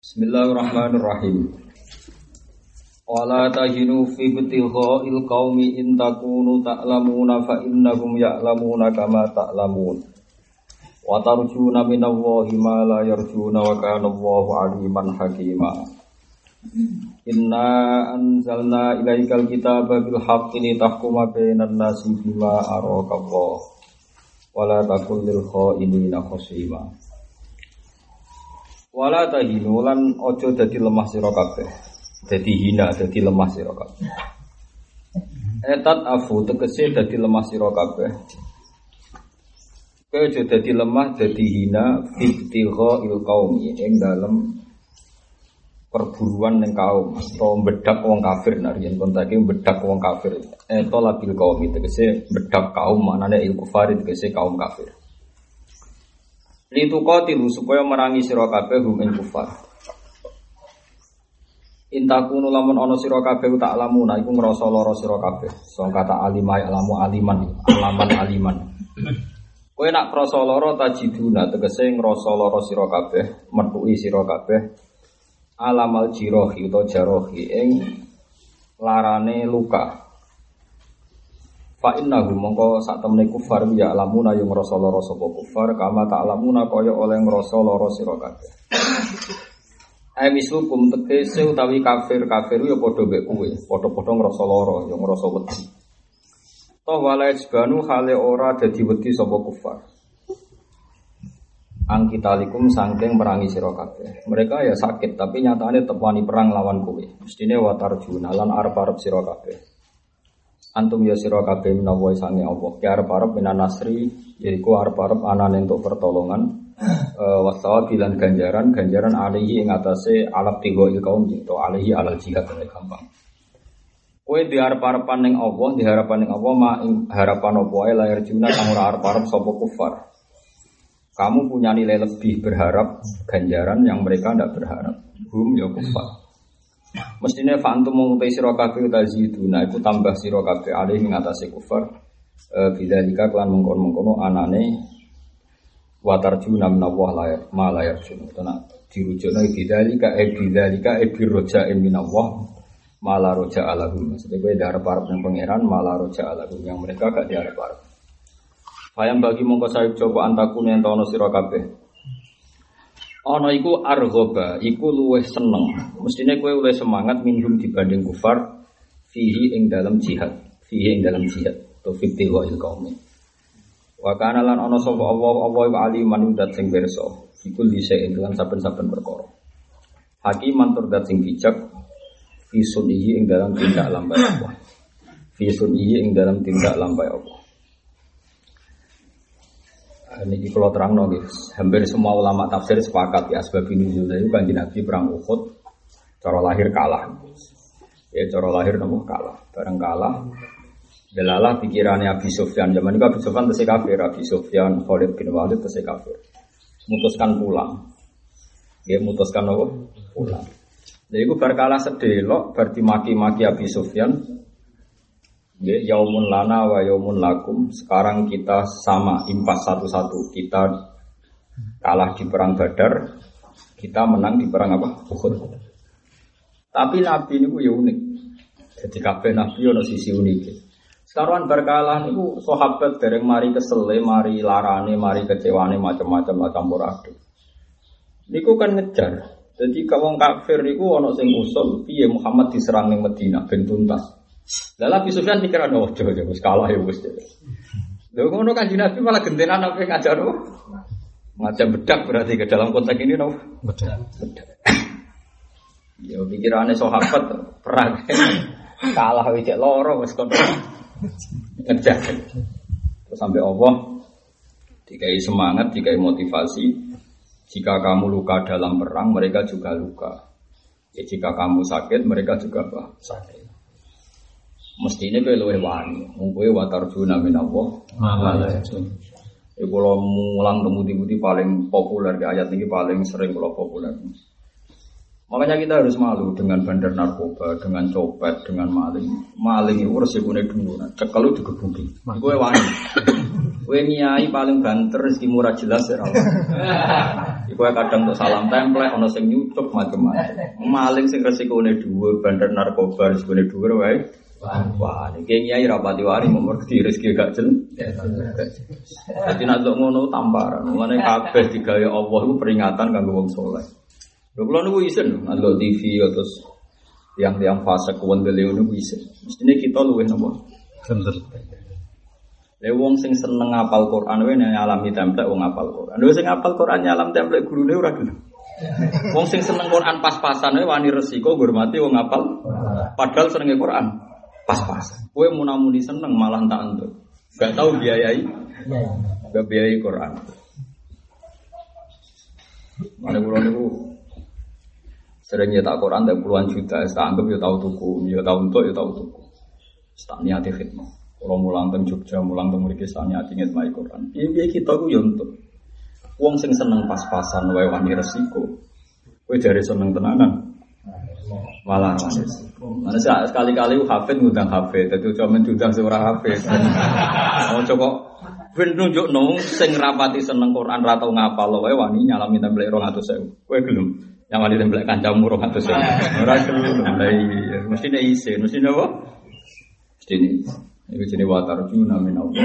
Bismillahirrahmanirrahim. Wala tahinu fi ibtigha'il qaumi in takunu ta'lamuna fa innahum ya'lamuna kama ta'lamun. Wa tarjuna minallahi ma la yarjuna wa kana Allahu 'aliman hakima. Inna anzalna ilaikal kitaba bil haqqi litahkuma bainan nasi bima araka Allah. Wala takul lil kha'inina khasima. Wala tahinu lan ojo dadi lemah sira kabeh. Dadi hina, dadi lemah sira kabeh. Etat afu tegese dadi lemah sira kabeh. Kowe ojo dadi lemah, dadi hina fittighail qaumi ing dalem perburuan ning kaum atau bedak wong kafir nariyen kontake bedak wong kafir. Eta labil qaumi tegese bedak kaum maknane il kufar tegese kaum kafir. Lituqatilu supaya merangi sira kabeh hum ing kufar. Intakunu lamun ana sira kabeh tak lamuna iku ngrasa lara sira kabeh. Song kata alimai alamu aliman. Kowe nak krasa lara tajiduna tegese ngrasa lara sira kabeh, metuki sira kabeh alamal jirohi utawa jarohi ing larane luka. Fa innahu mongko sak temene kufar ya lamuna yo ngrasa lara sapa kufar kama tak lamuna kaya oleh ngrasa lara sira kabeh. Ai mislukum tegese utawi kafir yo padha mek kowe, padha-padha ngrasa lara yo ngrasa wedi. Toh wala isbanu hale ora dadi wedi sapa kufar. Angkitalikum sangking merangi sira kabeh. Mereka ya sakit tapi nyatane tetep wani perang lawan kowe. Mestine watarjuna lan arep-arep sira kabeh. Antum ya sira kabeh menawa sange Allah. Ya arep-arep minan nasri yaiku arep-arep anane entuk pertolongan wasawabi lan ganjaran alihi ing atase alap tigo il kaum itu alihi alal jihad gampang. Kowe diarep-arepan ning Allah, diharapan ning Allah ma ing harapan apa wae layar juna kang ora arep-arep sapa kufar. Kamu punya nilai lebih berharap ganjaran yang mereka tidak berharap. Hum ya kufar. Mestine fantum mengutai sira kabeh taziduna iku tambah sira kabeh alih ing atase kufar bidzalika lan mengkon-mengkono anane wa tarjuna minallah la yarjun tenan dirujukna bidzalika birroja'in minallah ma la roja'a lahum. Maksudnya kowe diarep-arep ning pangeran ma la roja'a lahum yang mereka gak diarep-arep. Fayam bagi mongko sayup coba antakune entono sira kabeh. Ana iku arghoba, iku luwih seneng. Mestine kowe luwih semangat minhum dibanding kufar fihi ing dalam jihad, to fittighail qaumi. Wa kana lan ana sapa Allah iku aliman dat sing pirsa, iku lise ing lan saben-saben perkara. Hakiman tur dat sing bijak fi sunihi ing dalam tindak lambai Allah. Fi sunihi ing dalam tindak lambai Allah. Ini kalau terang guys, hampir semua ulama tafsir sepakat ya sebab nuzul itu kanjeng Nabi perang Uhud, cara lahir kalah, ya cara lahir nopo kalah, bareng kalah, delalah pikirannya Abi Sufyan zaman itu Abi Sufyan tesih kafir, Abi Sufyan Khalid bin Walid tesih kafir, mutuskan pulang, dia mutuskan nopo pulang, jadi itu berkalah sedelok, berarti maki-maki Abi Sufyan. Yaumun lana wa yaumun lakum. Sekarang kita sama impas satu-satu. Kita kalah di perang Badar, kita menang di perang apa? Uhud. Tapi Nabi ini ya unik. Jadi kabeh Nabi ada sisi unik. Sekarang berkalah niku sahabat dereng mari kesele, mari larane, mari kecewane macam-macam lah campur aduk. Niku kan ngejar. Jadi wong kafir niku ana sing usul piye Muhammad diserang ning Madinah ben tuntas. Lah Abi Sufyan pikir ana ojo wis kalah ya wis. Lha ngono kan Nabi malah gentenan apa ngajar macam bedak berarti ke dalam konteks ini no. Bedak. Ya pikirane sahabat perang kalah wis loro wis kon ngejar. Terus sampai Allah dikai semangat, dikai motivasi. Jika kamu luka dalam perang, mereka juga luka. Ya jika kamu sakit, mereka juga sakit. Mestine kowe luwih wani, wong kowe wa tarjuna minallah. Iku kula mulang temudi-mudi paling populer di ayat ini paling sering kula populer. Makanya kita harus malu dengan bandar narkoba, dengan copet, dengan maling. Maling itu resikune dulu, cekel itu digebuki. Kowe wani. Kowe nyai paling banter rezeki murah jelas ya Allah. Iku kadang untuk salam template, ono sing nyucuk macam-macam. Maling sing resikone dhuwur, bandar narkoba resikone dhuwur wae. Wah, iki nyai rapati wari mergi rezeki gak jelas. Dadi nek ngono tamparan. Mulane kabeh digawe Allah iku peringatan kanggo wong saleh. Lho kula niku isin ndelok TV terus yang fase kuwendele niku isin. Mestine kita luwih napa? Bener. Lha wong sing seneng ngapal Quran wae nyalami template wong ngapal Quran. Lha sing ngapal Quran nyalam template gurune ora gelem. Wong sing seneng Quran pas-pasan wae wani resiko ngurmati wong ngapal. Padahal senenge Quran pas-pasan. Kowe munamuni seneng malah tak entuk. Gak tau biayai. Gak biayai Quran. Mane kula niku sering nyetak Quran tak puluhan juta, tak anggap ya tahu tuku, ya tahu untuk ya tahu tuku. Tak niati khidmah. Kalau mulang teng Jogja, mulang teng mriki tak niati ngitmai Quran. Piye kita ku ya untuk. Wong sing seneng pas-pasan wae wani resiko. Kowe jare seneng tenanan. Malah wani resiko. Mana sekali-kali hafid ngundang hafid, dadi aja men diundang sing ora hafid. Oh coba ben nunjukno sing rapati seneng Quran ra tau ngapal wae wani nyalami template 200.000. Kowe gelem nyamali template kancamu 200.000. Ora gelem. Lah iya, mestine isin, mestine apa? Mestine. Iku jenenge watarjuna min Allah.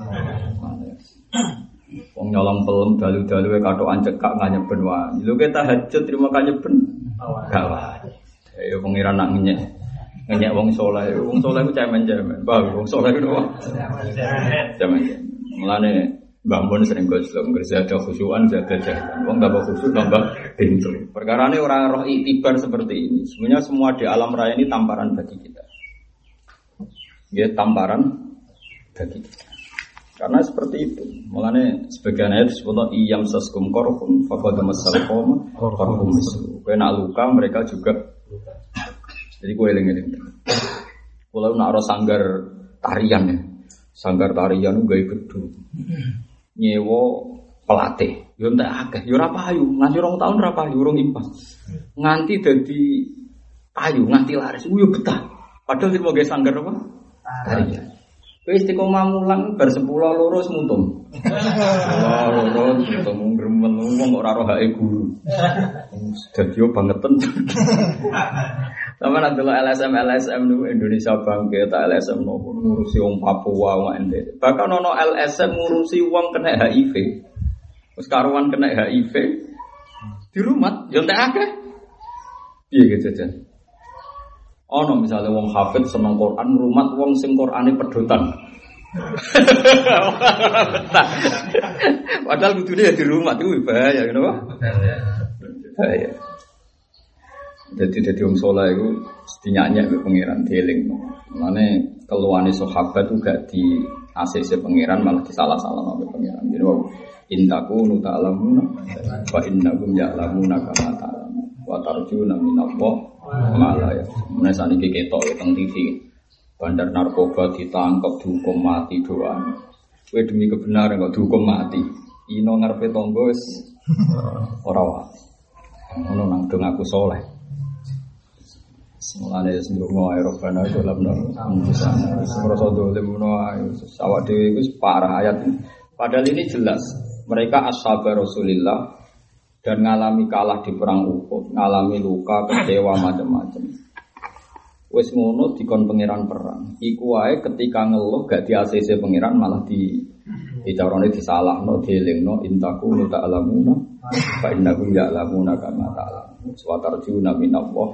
Wong nyolong pelem dalu-dalu katokan cekak nganyeben wae. Lho ke tahajud terima kanyeben. Gawat. Ya pengiran nak ngenyek wong saleh. Wong saleh ku cemen-cemen. Wong saleh ku apa? Cemen. Mulane Mbah Mun sering goslo ngerja ada khusyuan jaga jalan. Wong tambah khusyuk tambah pintu. Perkarane orang roh iktibar seperti ini. Sebenarnya semua di alam raya ini tamparan bagi kita. Ya tamparan bagi kita. Karena seperti itu. Mulane sebagian ayat disebut iyam saskum korhum faqad masalqom korhum mislu. Kowe nak luka mereka juga jadi kowe eling-eling. Kalau nak ora sanggar tarian ya. Sanggar tarian gawe gedung. Nyewa pelatih, yo entek akeh, yo ora payu, nganti 2 tahun ora payu, urung impas. Nganti dadi payu, nganti laris, yo betah. Padahal sing gawe sanggar apa? Tarian. Kowe istiqomah mulang bar 10 loro semuntung. Loro semuntung gremel wong ora roh hake guru. Dadi yo bangeten. Sama nanti lo LSM itu Indonesia Bangkit, LSM nopo ngurusi wong Papua, wong NTT. Bahkan ono LSM ngurusi wong kena HIV, terus karuan kena HIV di rumah, jangan akeh. Iya gitu aja. Ono misalnya wong hafid seneng Quran, rumah wong sing Qurane pedotan. Padahal kudune ya di rumah itu bahaya, kenapa? Bahaya. Jadi wong saleh iku dinyanyi mbek pangeran dieling. Mulane keluhane sahabat itu gak di ACC pangeran malah disalah-salahno mbek pangeran. Jadi intaku nu ta'lamuna wa innakum ya'lamuna kama ta'lamun wa tarjuna minallah ma la ya. Mulane saniki ketok teng TV. Bandar narkoba ditangkap dihukum mati doan. Kowe demi kebenaran kok dihukum mati. Ino ngarepe tangga wis ora wae. Ngono nang dong aku saleh. Mulane sendungo aerobana dalam nang semroso dolim menawa awak dhewe iku parah ayat. Padahal ini jelas mereka ashabar Rasulillah dan ngalami kalah di perang Uhud, ngalami luka, kecewa macam-macam. Wis ngono dikon pangeran perang. Iku wae ketika ngeluh gak di ACC pangeran malah dicarane disalahno, dielingno intaku nu ta'lamuna fa innakum ya'lamuna kama ta'lamun. Suwatarjuna minallah.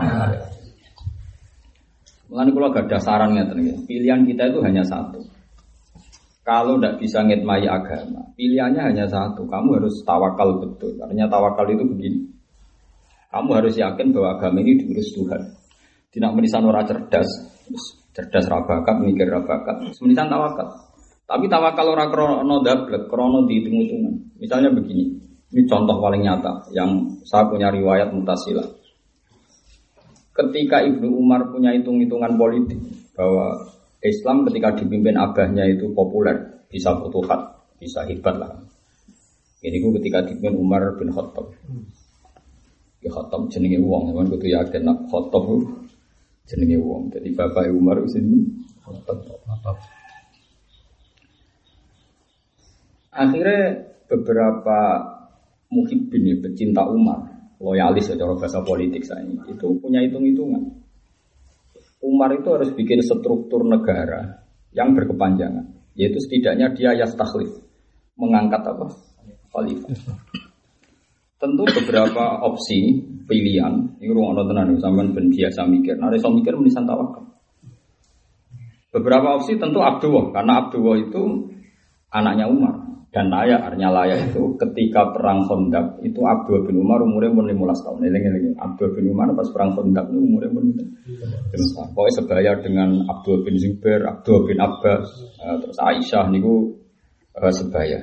Mulane kula gadah saran ngeten nggih. Pilihan kita itu hanya satu. Kalau tidak bisa ngitmai agama, pilihannya hanya satu. Kamu harus tawakal betul. Artinya tawakal itu begini. Kamu harus yakin bahwa agama ini diurus Tuhan. Tidak menisan orang cerdas rabakat, mikir rabakat. Menisan tawakal. Tapi tawakal orang krono dablek, krono dihitung-hitungan. Misalnya begini. Ini contoh paling nyata yang saya punya riwayat mutasilah. Ketika Ibnu Umar punya hitung-hitungan politik bahwa Islam ketika dipimpin abahnya itu populer, bisa futuhat, bisa hebat lah. Ini ketika dipimpin Umar bin Khattab. Ya Khattab jenenge wong, memang kudu yakin nak Khattab jenenge wong. Jadi bapak Umar sini Khattab. Akhirnya beberapa muhibbin ya, pecinta Umar, loyalis secara bahasa politik saya ini, itu punya hitung-hitungan. Umar itu harus bikin struktur negara yang berkepanjangan, yaitu setidaknya dia yastakhlif, mengangkat apa? Khalifah. Tentu beberapa opsi pilihan, ini ruang tenan sampean ben biasa mikir. Nah, iso mikir menisan tawakal. Beberapa opsi tentu Abdullah, karena Abdullah itu anaknya Umar dan Laya, artinya Laya itu ketika perang Khandaq itu Abdullah bin Umar umurnya umur 15 tahun. Eling-eling Abdullah bin Umar pas perang Khandaq itu umurnya umur 15 tahun. Pokoknya sebaya dengan Abdullah bin Zubair, Abdullah bin Abbas, terus Aisyah niku sebaya.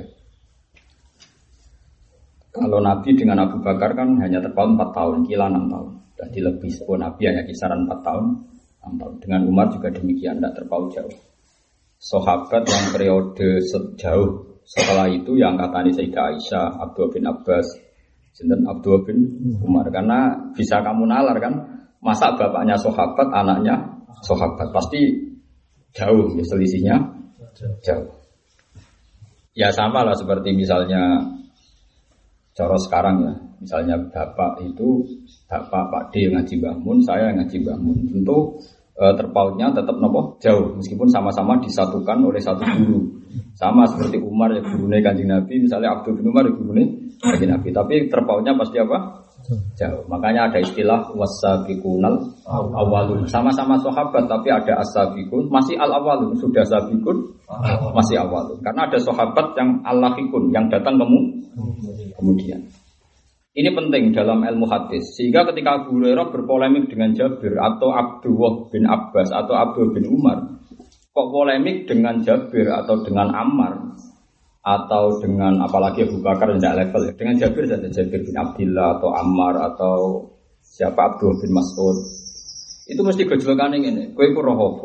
Kalau Nabi dengan Abu Bakar kan hanya terpaut 4 tahun, kila 6 tahun. Jadi lebih sepuluh Nabi hanya kisaran 4 tahun, 6 tahun. Dengan Umar juga demikian, tidak terpaut jauh. Sahabat yang periode sejauh setelah itu yang katanya Sayyidah Aisyah, Abdullah bin Abbas, dan Abdullah bin Umar. Karena bisa kamu nalar kan, masa bapaknya sahabat, anaknya sahabat. Pasti jauh, ya, selisihnya jauh. Ya sama lah seperti misalnya cara sekarang ya, misalnya bapak itu, bapak Pak D ngaji Mbah Mun, saya ngaji Mbah Mun. Tentu terpautnya tetap nopo jauh, meskipun sama-sama disatukan oleh satu guru. Sama seperti Umar ya gurunya Kanjeng Nabi, misalnya Abdul bin Umar ya gurunya Kanjeng Nabi. Tapi terpautnya pasti apa? Jauh. Makanya ada istilah wasabiqunal awalun. Sama-sama sahabat tapi ada as-sabiqun, masih al-awalun, sudah sabiqun, masih awalun. Karena ada sahabat yang al-lahiqun, yang datang kemudian. Ini penting dalam ilmu hadis. Sehingga ketika Abu Hurairah berpolemik dengan Jabir atau Abdullah bin Abbas atau Abdul bin Umar, kok polemik dengan Jabir atau dengan Ammar atau dengan apalagi Abu Bakar tidak level ya. Dengan Jabir saja, Jabir bin Abdullah atau Ammar atau siapa Abdullah bin Mas'ud. Itu mesti gejolakane ngene. Kowe ku roh apa?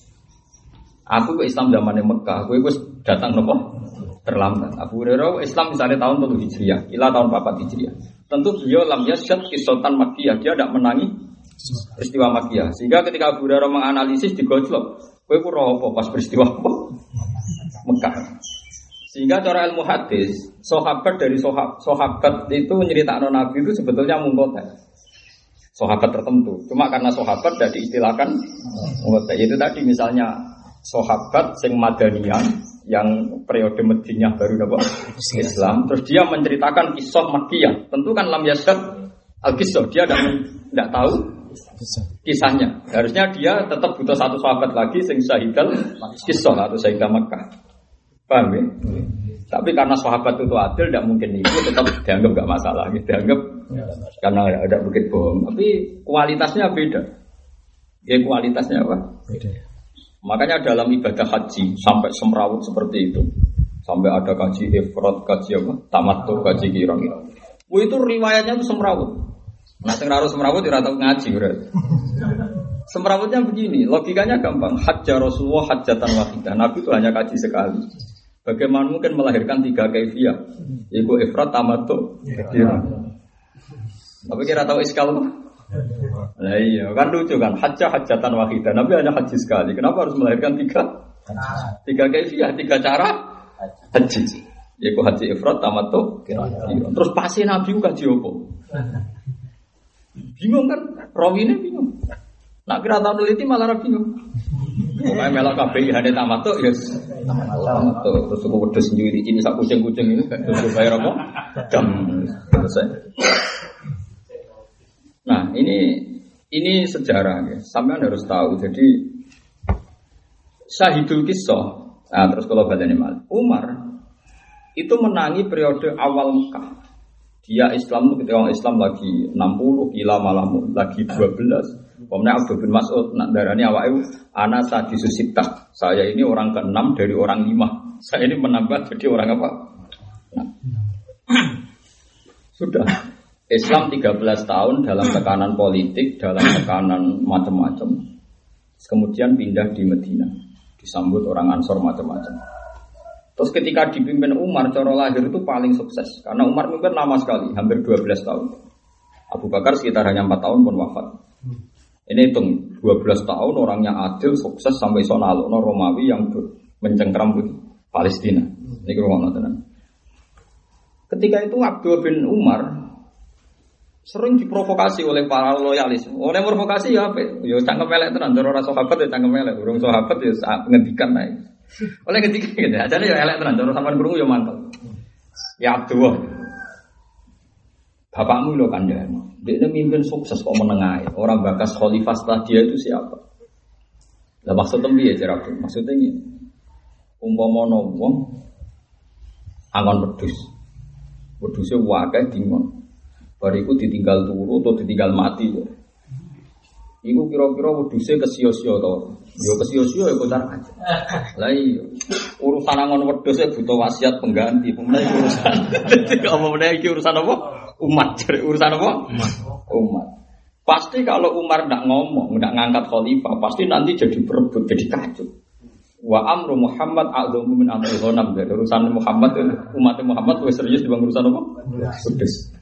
Aku ke Islam zaman Mekah, kowe wis datang nopo? Terlambat. Abu Hurairah Islam misalnya tahun 3 Hijriah, ila tahun 4 Hijriah. Tentu beliau lam yasyad kisatan Makkiyah, dia tidak menangi peristiwa Makkiyah. Sehingga ketika Abu Hurairah menganalisis digojlok, kowe ku roh apa pas peristiwa apa? Mekah. Sehingga cara ilmu hadis, sahabat dari sahabat itu nyeritakno Nabi itu sebetulnya mungkotek. Sahabat tertentu. Cuma karena sahabat tidak diistilahkan mungkotek. Itu tadi misalnya sahabat sing Madaniyah yang periode Madinah baru dapat Islam, terus dia menceritakan kisah Makkiyah. Tentu kan lam yasad al-kisah, dia tidak tahu kisahnya. Harusnya dia tetap butuh satu sahabat lagi sing syahidal kisah atau syahidah Makkah. Paham ya? Tapi karena sahabat itu adil, tidak mungkin itu tetap dianggap nggak masalah, dianggap karena ada bukit bohong. Tapi kualitasnya beda. Ya kualitasnya apa? Beda. Makanya dalam ibadah haji sampai semrawut seperti itu, sampai ada kaji ifrad, kaji apa, tamattu, kaji kirang. Itu riwayatnya itu semrawut. Nah, sekarang semrawut tidak tahu ngaji, berarti. Semrawutnya begini, logikanya gampang. Hajjah Rasulullah hajjatan wahidah. Nabi itu hanya kaji sekali. Bagaimana mungkin melahirkan 3 kaifiyah? Yaitu ifrad, tamattu, kirang. Tapi kira tahu iskal apa? Nah iya, kan lucu kan, hajjatan wahidah. Nabi hanya haji sekali. Kenapa harus melahirkan 3 kaifiyah, 3 cara haji? Yaitu haji ifrad, tamattu, kirang. Terus pasti Nabi kaji apa? Bingung kan? Rawinya bingung. Nak kira tahu teliti malah bingung. Pokoknya melok kabeh hane tamattu ya. Tamattu terus kok wedhus nyuwiri cini sak kucing-kucing ini terus bayar apa? Jam selesai. Nah, ini sejarah ya. Sampean harus tahu. Jadi Syahidul Kisah. Nah, terus kalau badane mal. Umar itu menangi periode awal Mekah. Dia Islam itu ketika orang Islam lagi 60, kila malah lagi 12. Kemudian Abdul bin Mas'ud nak darani awake ana sadisu sittah. Saya ini orang ke-6 dari orang 5. Saya ini menambah jadi orang apa? Nah. Sudah Islam 13 tahun dalam tekanan politik, dalam tekanan macam-macam. Kemudian pindah di Medina, disambut orang Ansor macam-macam. Terus ketika dipimpin Umar, cara lahir itu paling sukses. Karena Umar mimpin lama sekali, hampir 12 tahun. Abu Bakar sekitar hanya 4 tahun pun wafat. Ini hitung, 12 tahun orang yang adil, sukses sampai sonalo, Romawi yang mencengkram Palestina. Ini rumah nonton. Ketika itu Abdul bin Umar sering diprovokasi oleh para loyalis. Oleh provokasi ya apa? Ya cangkem elek tenan, cara ora sahabat ya cangkem elek, urung sahabat ya ngendikan ae. Oleh ngendikan gitu, ajane ya elek tenan, cara sampean krungu ya mantep. Ya Abdul. Bapakmu lho kandhane. Dia mimpin sukses kok menengahi. Orang bakas khalifah setelah dia itu siapa? Lah maksudnya piye cara Abdul? Maksudnya ini. Umpama wong angon wedhus. Wedhuse wae dingon. Bariku ditinggal turu atau ditinggal mati ya. Iku kira-kira wedhuse kesio-sio to. Ya kesio-sio ya kocar aja. Lah iya. Urusan angon wedhus butuh wasiat pengganti. Pemene urusan. Dadi apa meneh iki urusan apa? Umat. Urusan apa? Umat. Pasti kalau Umar ndak ngomong, ndak ngangkat khalifah, pasti nanti jadi berebut, jadi kacau. Wa amru Muhammad a'dhamu min amri ghanam. Urusan Muhammad umat Muhammad lebih serius dibanding urusan apa? Wedhus.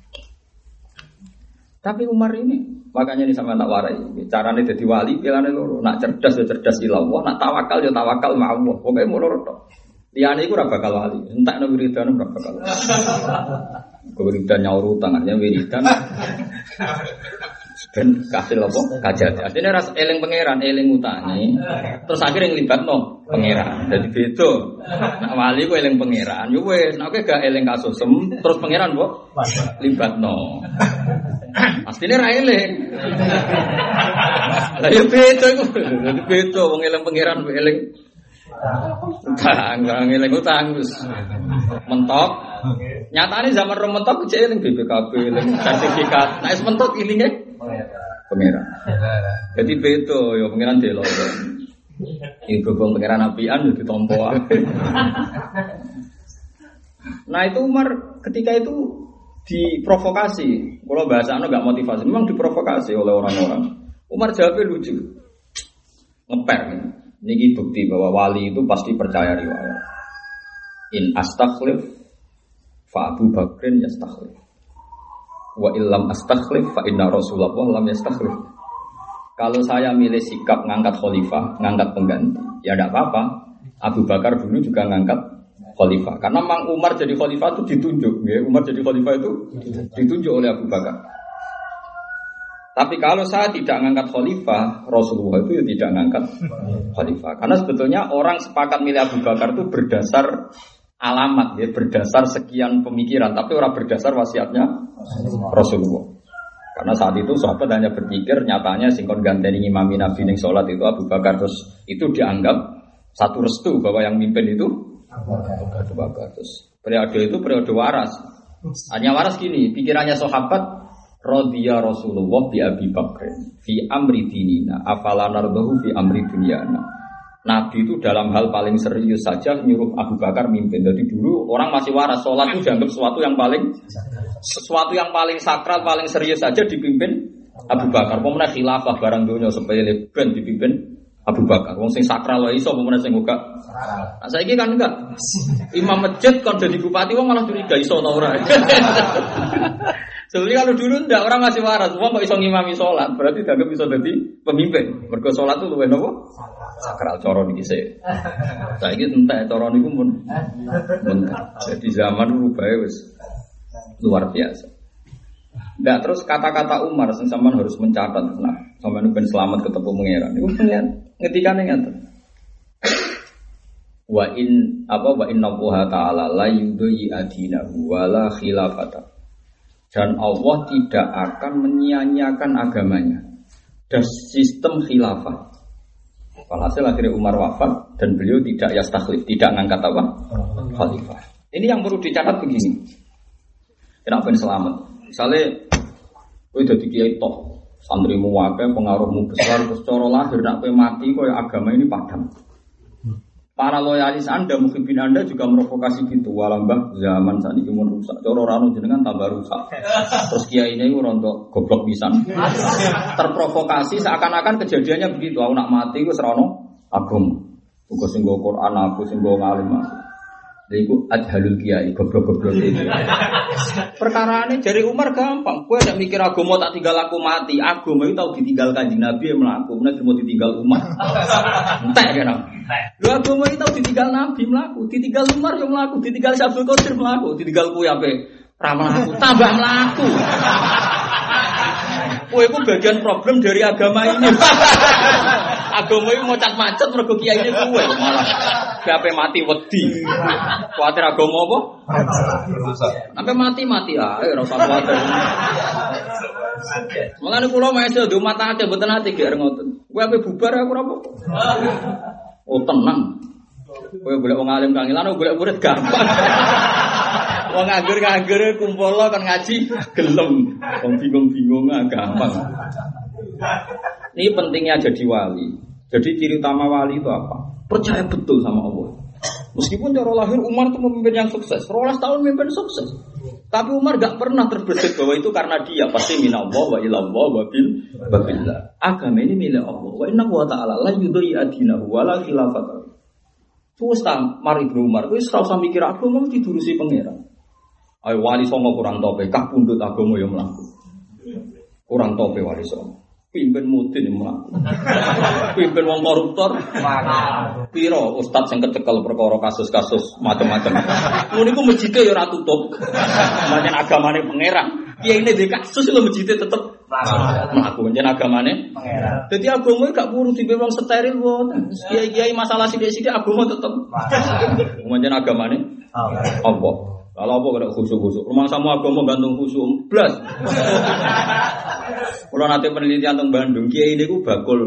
Tapi Umar ini, makanya ini sama tak warai. Caranya jadi wali, pilihnya loro. Nak cerdas ya cerdas ilallah, nak tawakal ya tawakal ma'allah. Pokoknya mau loro tok. Liane iku ora bakal wali. Entek nang wiridan ora bakal. Wiridan nyaur tangannya wiridan. Ben kasil apa? Kajati. Artinya ras eling pangeran, eling utangi. Terus akhirnya nglibatno pangeran. Jadi beda. Nak wali ku eling pangeran, yo wis. Nek gak eling kasusem, terus pangeran kok libatno. Asline ra eling. Lah yo beda iku. Dadi beda wong eling pangeran kok eling utang, eling utang wis mentok. Nyatane zaman rom mentok cek eling BPKB, eling sertifikat. Nek wis mentok ilinge pangeran. Jadi beda ya pangeran delok. Iki gobong pangeran apian yo ditampa. Nah itu Umar ketika itu diprovokasi. Kalau bahasanya enggak motivasi, memang diprovokasi oleh orang-orang. Umar jawabnya lucu. Ngeper. Ini bukti bahwa wali itu pasti percaya riwayat. In astakhlif fa Abu Bakrin yastakhlif. Wa illam astakhlif fa inna Rasulullah lam yastakhlif. Kalau saya milih sikap ngangkat khalifah, ngangkat pengganti, ya tidak apa-apa. Abu Bakar dulu juga ngangkat khalifah. Karena Mang Umar jadi khalifah itu ditunjuk, ya. Umar jadi khalifah itu ditunjuk oleh Abu Bakar. Tapi kalau saya tidak ngangkat khalifah, Rasulullah itu ya tidak ngangkat khalifah. Karena sebetulnya orang sepakat milih Abu Bakar itu berdasar alamat, ya, berdasar sekian pemikiran, tapi orang berdasar wasiatnya Rasulullah. Karena saat itu sahabat hanya berpikir, nyatanya singkon ganteni imami Nabi ning salat itu Abu Bakar, terus itu dianggap satu restu bahwa yang mimpin itu Abu Bakar. Terus periode itu periode waras. Hanya waras gini, pikirannya sahabat radhiya Rasulullah bi Abi Bakr fi amri dinina afala nardahu fi amri dunyana. Nabi itu dalam hal paling serius saja nyuruh Abu Bakar mimpin. Jadi dulu orang masih waras, sholat itu dianggap sesuatu yang paling sakral, paling serius saja dipimpin Abu Bakar. Pemenang khilafah barang dunia sepele ben dipimpin Abu Bakar. Wong sing sakral wae iso pemenang sing enggak. Nah, saiki kan enggak. Imam masjid kon dadi bupati wong malah curiga iso ta ora. Sebenarnya kalau dulu enggak, orang masih waras, semua kok iso ngimami sholat, berarti dianggap bisa jadi pemimpin. Mergo sholat itu luwih nopo? Sakral coro niki sik. Saiki entek coro niku mun. Jadi zaman rubah wis luar biasa. Enggak, terus kata-kata Umar sing sampean harus mencatat. Nah, sampean ben selamat ketemu pangeran. Niku pengen ngetikane ngaten. Wa inna Allaha ta'ala la yudhi adinahu wa la khilafata. Dan Allah tidak akan menyia-nyiakan agamanya dan sistem khilafah. Walhasil akhirnya Umar wafat dan beliau tidak yastakhlif, tidak ngangkat apa? Khalifah. Ini yang perlu dicatat begini. Kenapa ini selamat? Misalnya, kowe dadi kiai toh, santrimu akeh, pengaruhmu besar, terus cara lahir nek kowe mati koyo agama ini padam. Para loyalis Anda, mukhibin Anda juga merokokasi gitu. Walambah zaman saat ini mun rusak. Cara rano jenengan tambah rusak. Terus kiai ini rontok goblok pisan. Terprovokasi seakan-akan kejadiannya begitu. Aku nak mati ku serono agama. Uga sing nggo Quran, aku sing nggo ngalim. Lha iku adhalul kiai, goblok-goblok itu. Perkarane jari Umar gampang. Kowe nek mikir agama tak tinggal aku mati. Agama itu tau ditinggal Kanjeng Nabi mlaku, nek mau ditinggal umat. Entek kan. Lha agama itu tau ditinggal Nabi mlaku, ditinggal Umar yo mlaku, ditinggal Abdul Qadir mlaku, ditinggal kowe ape Ra mlaku, tambah mlaku. Kowe iku bagian problem dari agama ini. Agama iki macet-macet mergo kiai ini kowe malah gape mati wedi. Kuwatir agama apa? Sampai mati ae ora usah kuwatir. Mulane kula mesti do mata ate mboten ati gek ngoten. Kowe ape bubar aku ora apa. Oh tenang. Kowe golek wong alim kangelan golek murid gampang. Wong nganggur kumpul kan ngaji gelem. Wong bingung-bingung gampang. Ini pentingnya jadi wali. Jadi ciri utama wali itu apa? Percaya betul sama Allah. Meskipun cara lahir Umar itu pemimpin yang sukses, 12 tahun memimpin sukses. Tapi Umar gak pernah terbesit bahwa itu karena dia. Pasti minallah wa ilallah wa billah. Agama ini milik Allah. Wa inna wa ta'ala la yudhi adinahu wa la khilafatahu. Terus mari Ibnu Umar, wis ora usah mikir agama didurusi pangeran. Ayo wali songo kurang tope, kah pundut agama yo mlaku. Kurang tope wali songo. Pimpin mudin yo mlaku. Pimpin wong koruptor. Piro ustaz sing kecekel perkara kasus-kasus macam-macam. Ngono niku masjide yo ora tutup. Pancen agamane pangeran. Kiai ini di kasus lho masjide tetep mlaku pancen agamane pangeran. Dadi agama gak perlu diwong steril wonten. Kiai-kiai masalah sithik-sithik agama tetep. Pancen agamane Allah. Kalau apa kena khusyuk-khusyuk, rumah sama agama gantung khusyuk, blas. Kalau nanti penelitian tentang Bandung, kiai ini ku bakul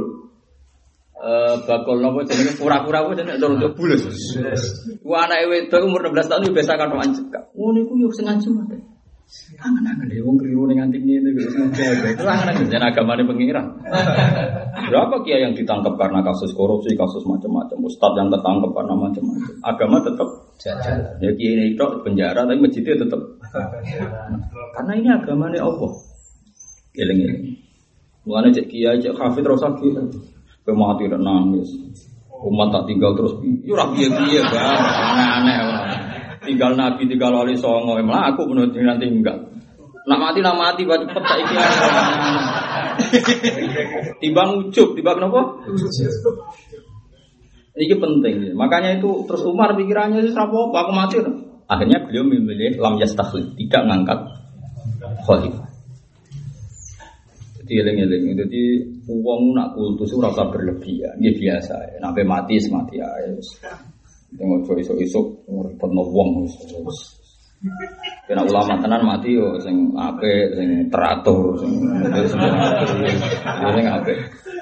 nopo jenenge pura-pura ku jenenge terus bulus. Ku anake wedok umur 16 tahun biasa kan anjek. Ngono iku yo sing ngancem ae. Angen-angen wong kliru ning nganti ngene iki sengaja. Itu angen-angen jen agamane pengiran. Berapa kiai yang ditangkap karena kasus korupsi, kasus macam-macam, ustaz yang tertangkap karena macam-macam. Agama tetap jalan. Ya kiai ini itu penjara tapi masjidnya tetap. Karena ini agamane Allah. Eling-eling. Mulane cek kiai, cek hafid terus sakit. Pemati dan nangis. Umat tak tinggal terus. Yo ra piye-piye, Bang. Aneh-aneh ora. Tinggal Nabi, tinggal wali songo, emang aku menurut nanti enggak. Nak mati baca cepet saiki. Timbang ujub, timbang apa? Ini penting. Makanya itu terus Umar pikirannya itu apa? Aku mati. Akhirnya beliau memilih lam yastakhlif, tidak ngangkat khalifah. Jadi eling-eling. Jadi uang nak kultus itu rasa berlebihan. Ini biasa. Nabi mati semati ya. Tengok isuk-isuk repotno wong wis. Kena ulama tenan mati yo sing apik, sing teratur, sing apik.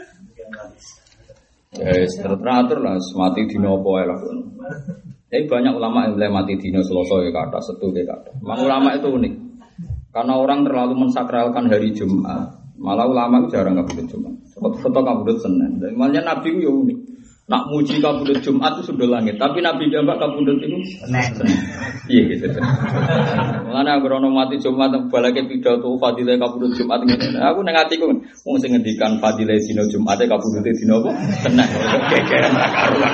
Wis teratur lah, mati dina apa ae lah. Tapi banyak ulama yang mulai mati dina Selasa ya kata, Setu ya kata. Memang ulama itu unik. Karena orang terlalu mensakralkan hari Jumat. Malah ulama itu jarang kabudut Jumat. Foto kabudut Senin. Dan malah Nabi itu ya unik. Nak muji kabudut Jumat itu sudah langit, tapi Nabi jambak kabudut itu Senin. Iya gitu. Mulane aku ora mati Jumat balake pidato fadilah kabudut Jumat ngene. Aku nang atiku wong sing ngendikan fadilah dina Jumat kabudute dina apa? Senin. Gegeran ra karuan.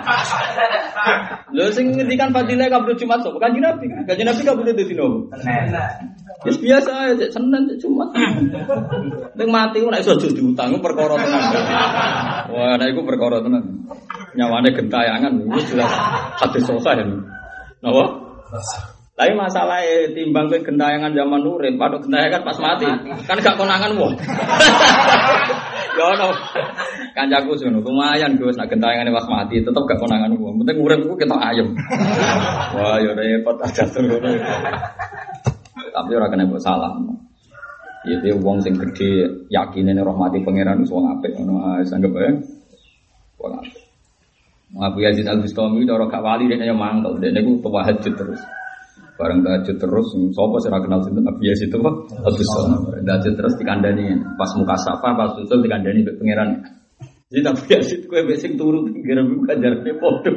Lho sing ngendikan fadilah kabudut Jumat sapa? Kanjeng Nabi. Kanjeng Nabi kabudute dina apa? Senin. Wis biasa aja Senin Jumat. Ning mati ora iso diutang perkara tenan. Wah, nek iku perkara tenan. Nyawane gentayangan itu jelas hadis sahih. Napa? Tapi masalah timbang ke gentayangan zaman urip, padha gentayangan pas mati. Kan gak konangan wong. Ya ono. Kancaku ngono, lumayan Gus nek gentayangane pas mati tetep gak konangan wong. Penting urip ku ketok ayem. Wah, ya repot aja ngono. Tapi ora kena mbok salah. Ya dia wong sing gedhe yakine nek rahmati pangeran wis wong apik ngono. Wis anggap ae. Wong apik. Abu Yazid Al-Bustami cara gak wali dekne yo mangkel, dekne ku tahajud terus. Bareng tahajud terus, sapa sing ora kenal sinten Abu Yazid itu kok Al-Bustami. Tahajud terus dikandani pas muka safa, pas usul dikandani mbek pangeran. Jadi Abu Yazid kowe mbek sing turu pinggir iku kajarane padha.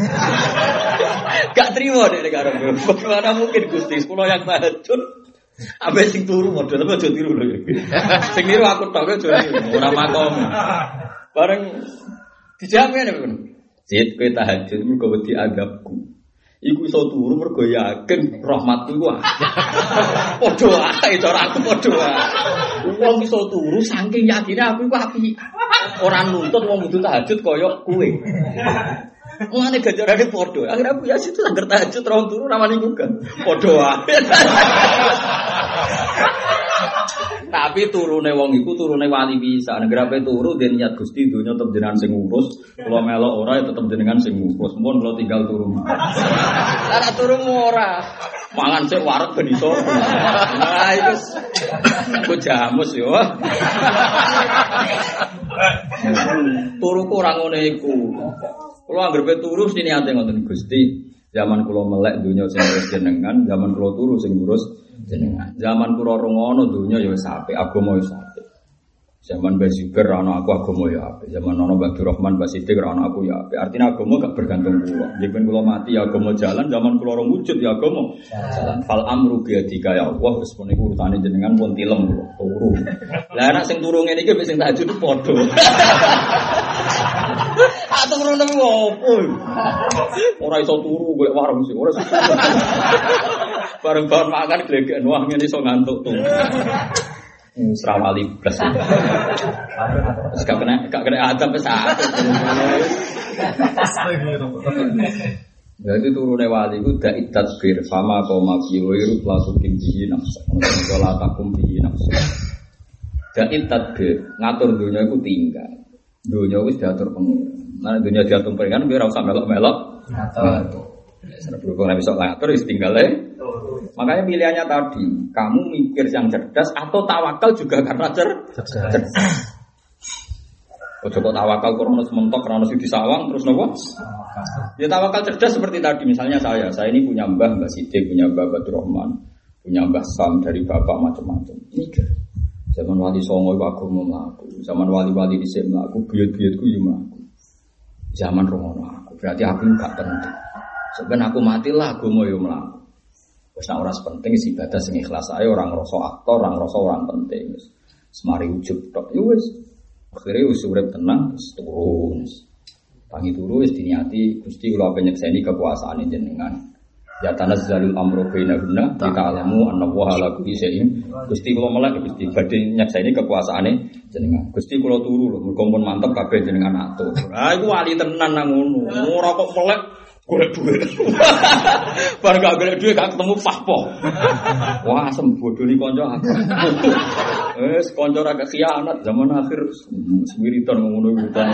Gak trimo dekne karo bagaimana mungkin Gusti kula yang tahajud ambek sing turu modho tapi aja tiru lho. Sing niru aku tok aja ora makom. Bareng dijawab ngene kan. Zid kowe tahajud mergo wedi adabku. Iku iso turu mergo yakin rahmatku iku. Padha ae cara aku padha ae. Wong iso turu saking yakine aku iku apik. Ora nuntut wong kudu tahajud kaya kowe. Mulane ganjarane padha. Akhire Abu Yazid itu anggar tahajud terus turu ramane bukan. Padha wae. Tapi turune wong iku turune wali bisa. Negarape turu den niat Gusti donya tetep jenengan sing ngurus. Kula melok ora ya tetep jenengan sing ngurus. Mun kula tinggal turu. Ora turu ora. Mangan sik wareg ben iso. Nah iku ku jamus yo. Turuku ora ngene iku. Kula anggere turu sini ate ngoten Gusti. Zaman kula melek donya sing ngurus jenengan, zaman kula turu sing ngurus jenengan. Zaman kula rungono donya ya wis apik, agama wis apik. Zaman Mbah Zubair ana aku agama ya apik. Zaman ana Mbah Abdurrahman Mbah Siddiq ana aku ya apik. Artinya agama gak bergantung kula. Yen kula mati ya agama jalan, zaman kula ora wujud ya agama jalan. Fal amru bi yadika ya Allah, wis pun iku urutane jenengan pun tilem kula turu. Lah nek sing turu ngene iki wis sing tahajud padha. Atau turu nang opo? Ora iso turu golek warung sih, ora iso. Bareng-bareng makan glegeken wah ngene iso ngantuk tuh. Serawali plus. Gak kena adab wis apik. Jadi turune wali ku da'it tadbir sama qoma fi wairu lasukin bihi nafsa. Wala takum bihi nafsa. Da'it tadbir ngatur dunya iku tinggal. Dunya wis diatur pengiran. Nah dunya diatur pengiran kowe ora usah melok-melok. Ngatur. Nek berhubung nek iso ngatur wis tinggal ae. Makanya pilihannya tadi, kamu mikir yang cerdas atau tawakal juga karena cerdas. Ojo kok tawakal krono sementok krono sing disawang terus nopo? Ya tawakal cerdas seperti tadi misalnya saya ini punya Mbah Siddiq, punya Mbah Abdurrahman, punya Mbah Sam dari bapak macam-macam. Mikir. Zaman wali songo iku aku mlaku, zaman wali-wali dhisik mlaku, buyut-buyutku yo mlaku. Zaman romono aku, berarti aku gak penting. Sebenarnya aku matilah agama yo mlaku. Wis nek ora penting isi ibadah sing ikhlas ae orang ngrasa aktor, orang ngrasa orang penting. Semari ujug tok. Ya wis. Akhire wis urip tenang terus turun. Tangi turu wis diniati Gusti kula penyekseni kekuasaane jenengan. Ya tanazzalul amru bainahunna ta'lamu anna wa ala kulli syai'in. Gusti kula melek Gusti badhe nyekseni kekuasaane jenengan. Gusti kula turu lho mergo pun mantep kabeh jenengan atur. Ha iku wali tenan nang ngono. Ora kok melek golek duit. Bar gak golek duit gak ketemu fahpo. Wah, asem bodoni kanca aku. Wis kanca ra khianat zaman akhir wiridan ngono wiridan.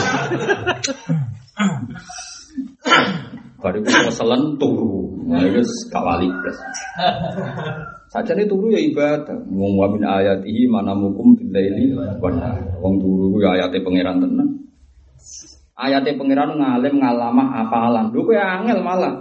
Bariku keselen turu. Nah iki gak wali blas. Sajane turu ya ibadah. Wong wa min ayatihi manamukum billaili wa nahar. Wong turu ku ya ayate pangeran tenan. Ayate pangeran ngalim ngalamah apalan. Lho kowe angel malah.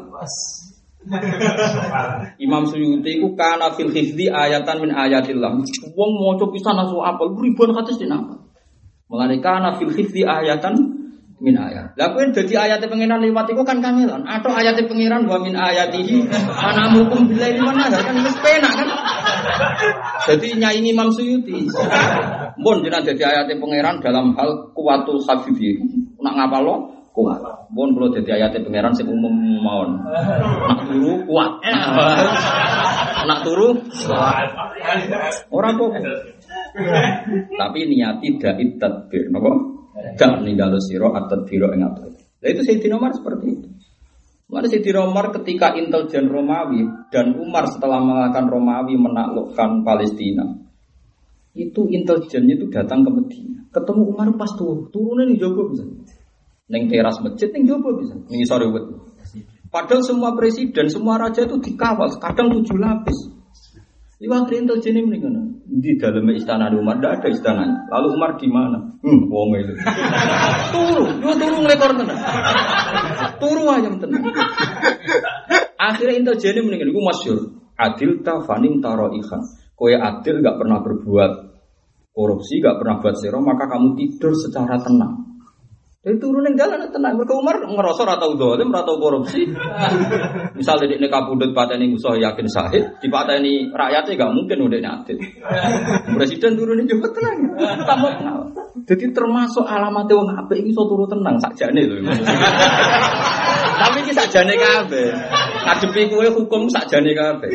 Imam Suyuti ku kana fil hifdzi ayatan min ayatillah. Wong maca pisan asu apal ribuan hadis dinapa. Mulane kana fil hifdzi ayatan min ayat. Lah kowe dadi ayate pangeran liwat iku kan kangelan. Atau ayate pangeran wa min ayatihi anamukum billahi wa nahar kan wis penak kan. Jadi nyanyi Imam Suyuti. Mun jenengan dadi ayate pangeran dalam hal kuwatul hafidhi. Nak ngapal lo kuat. Mun kula dadi ayate pangeran sing umum mawon. Nak turu kuat. Nak turu kuat. Ora apa-apa. Tapi niati da'it tadbir napa? Dak ninggalo sira at-tadbir ing atur. Lah itu Sayyidina Umar seperti itu. Maka Sayyidina Umar ketika intelijen Romawi dan Umar setelah mengalahkan Romawi menaklukkan Palestina. Itu intelijennya itu datang ke Medina. Ketemu Umar pas turunnya ning jaba bisa. Ning teras masjid ning jaba bisa. Ning sore wet. Padahal semua presiden, semua raja itu dikawal, kadang 7 lapis. Iwak intelijennya mendingan. Di dalam istana Umar tidak ada istananya. Lalu Umar di mana? Wong itu. Turu ngelekor tenan. Turu ayam tenan. Akhirnya intelijennya mendingan. Itu masyhur. Adil ta fanim taro ikhan. Kowe adil gak pernah berbuat korupsi, gak pernah buat zero, maka kamu tidur secara tenang. Jadi turun yang jalan tenang. Mereka Umar ngerasa ratau dolim, ratau korupsi. Misalnya di kapundut pateni musuh yakin sahid, di pateni rakyatnya gak mungkin udah adil. Presiden turun juga tenang. Tambah tenang. Jadi termasuk alamatnya wong apik iki iso turu tenang sakjane lho. Tapi iki sakjane kabeh. Ngadepi kowe hukum sakjane kabeh.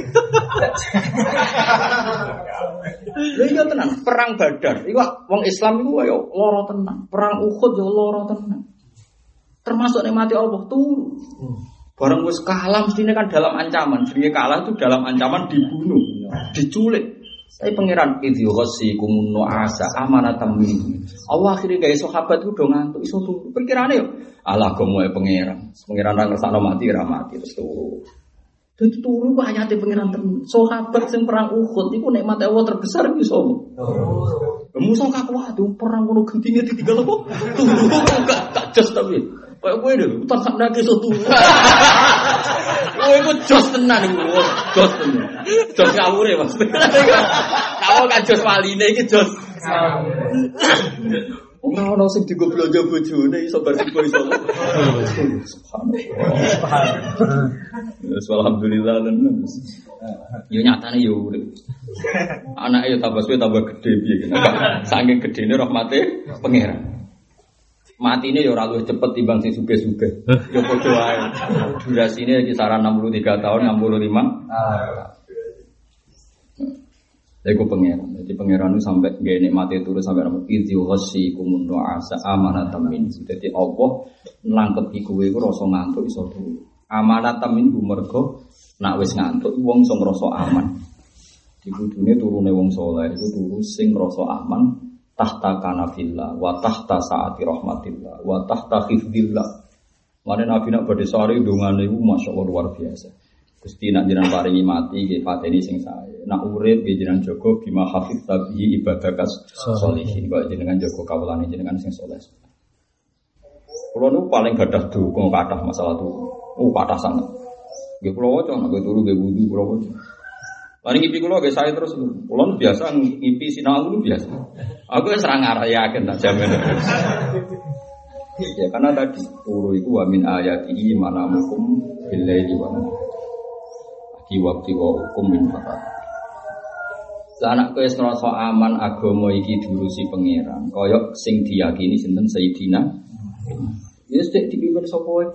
Lha iya tenan, perang Badar. Iku wong Islam iku kaya lara tenan. Perang Uhud yo lara tenan. termasuk nikmati Allah turu. Barang wis kalah mestine kan dalam ancaman. Jenenge kalah itu dalam ancaman dibunuh, diculik. Saya pangeran idzi ghasikum nu'asa amanatan minhu. Allah akhire gawe sahabat ku do ngantuk iso turu. Pikirane yo Allah gomoe pangeran. Pangeran ra ngersakno mati ra mati terus turu. Dadi turu ku ayate pangeran tenan. Sahabat sing perang Uhud iku nikmat Allah terbesar iku sapa? Musa kakuat perang ngono gentinge ditinggal apa? Turu gak jos tapi. Kayak kowe lho, utar sak nake iso turu. Kowe iku jos tenan iku, jos tenan. Jos ngawure Mas. Kamu kan jos waline iki jos. Ora ono sing digo blonjo bojone iso bersipo iso. Subhanallah. Alhamdulillah tenan. Yo nyatane yo urip. Anake yo tambah suwe tambah gedhe piye kene. Saking gedene rahmate pangeran. Matine ya ora luwih cepet timbang sing sugih-sugih. Ya padha wae. Durasine kisaran 63 tahun, 65. Iku pangeran. Jadi pangeran itu sampai nggih nikmate turu sampai nang idzi ghasikum nu'asa amanatan min. Dadi Allah nangkepi kowe iku rasa ngantuk iso turu. Amanatan min mergo nak wis ngantuk wong iso ngrasa aman. Dikudune turune wong saleh iku turu sing ngrasa aman tahta kanafillah wa tahta saati rahmatillah wa tahta khifdillah. Mane Nabi nak badhe sare ndongane iku masyaallah luar biasa. Gusti nak jenengan paringi mati nggih pateni sing sae. Nak urip nggih jenengan jaga bima hafid tabihi ibadakas sholihin. Kok jenengan jaga kawulane jenengan sing saleh. Kulo nu paling gadah duka kathah masalah tuh. Kathah sanget. Nggih kulo waca nek turu nggih wudu kulo waca. Mari ngipi kulo nggih sae terus kulo biasa ngipi sinau itu biasa. Aku wis ora ngarayaken tak jamin. Ya karena tadi turu iku wa min ayatihi manamukum billaili wa waktu wa hukum min fakat. Anak kowe ngrasa aman agama iki diurusi pangeran. Kaya sing diyakini sinten Sayyidina. Wis tek dipimpin sapa wae.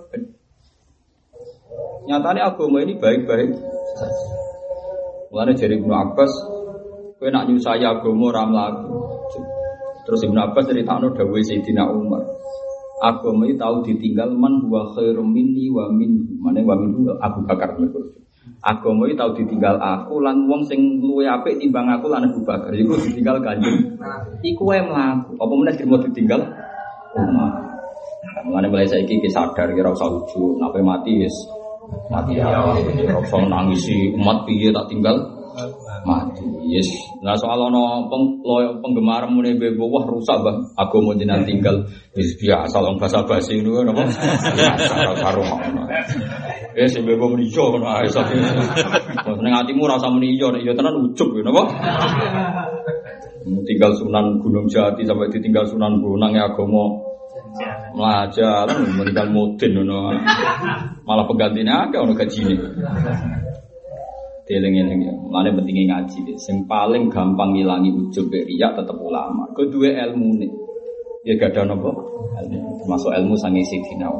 Nyatane agama ini baik-baik saja. Mulane jare Ibnu Abbas, kowe nak nyusai agama ora mlaku. Terus Ibnu Abbas critakno dawuhe Sayyidina Umar. Agama iki tau ditinggal man huwa khairum minni wa min. Mane wa min Abu Bakar mergo. Agama iki tau ditinggal aku lan wong sing luwih apik timbang aku lan Abu Bakar. Iku ditinggal Kanjeng. Iku wae mlaku. Apa meneh dirimo ditinggal? Umar. Mulane mulai saiki iki sadar kira usah ujug, nek mati wis mati ya. Ora usah nangisi umat piye tak tinggal mati. Yes. Nah soal ana penggemar mune bebo wah rusak Bang. Agama jenengan tinggal wis biasa wong basa-basi ngono napa? Biasa karo ngono. Sing bebo muni yo ngono ae sak. Ning atimu ora usah muni yo, ya tenan ujug napa? Tinggal Sunan Gunung Jati sampai ditinggal Sunan Bonang ya agama melajar, meninggal mudin ngono. Malah penggantinya akeh ono gajine. Eling-eling ya, mulane pentingnya ngaji. Sing paling gampang ngilangi ujub riya tetep ulama. Kedua ilmu nih, ya gak ada nopo. Termasuk ilmu sangi sidina.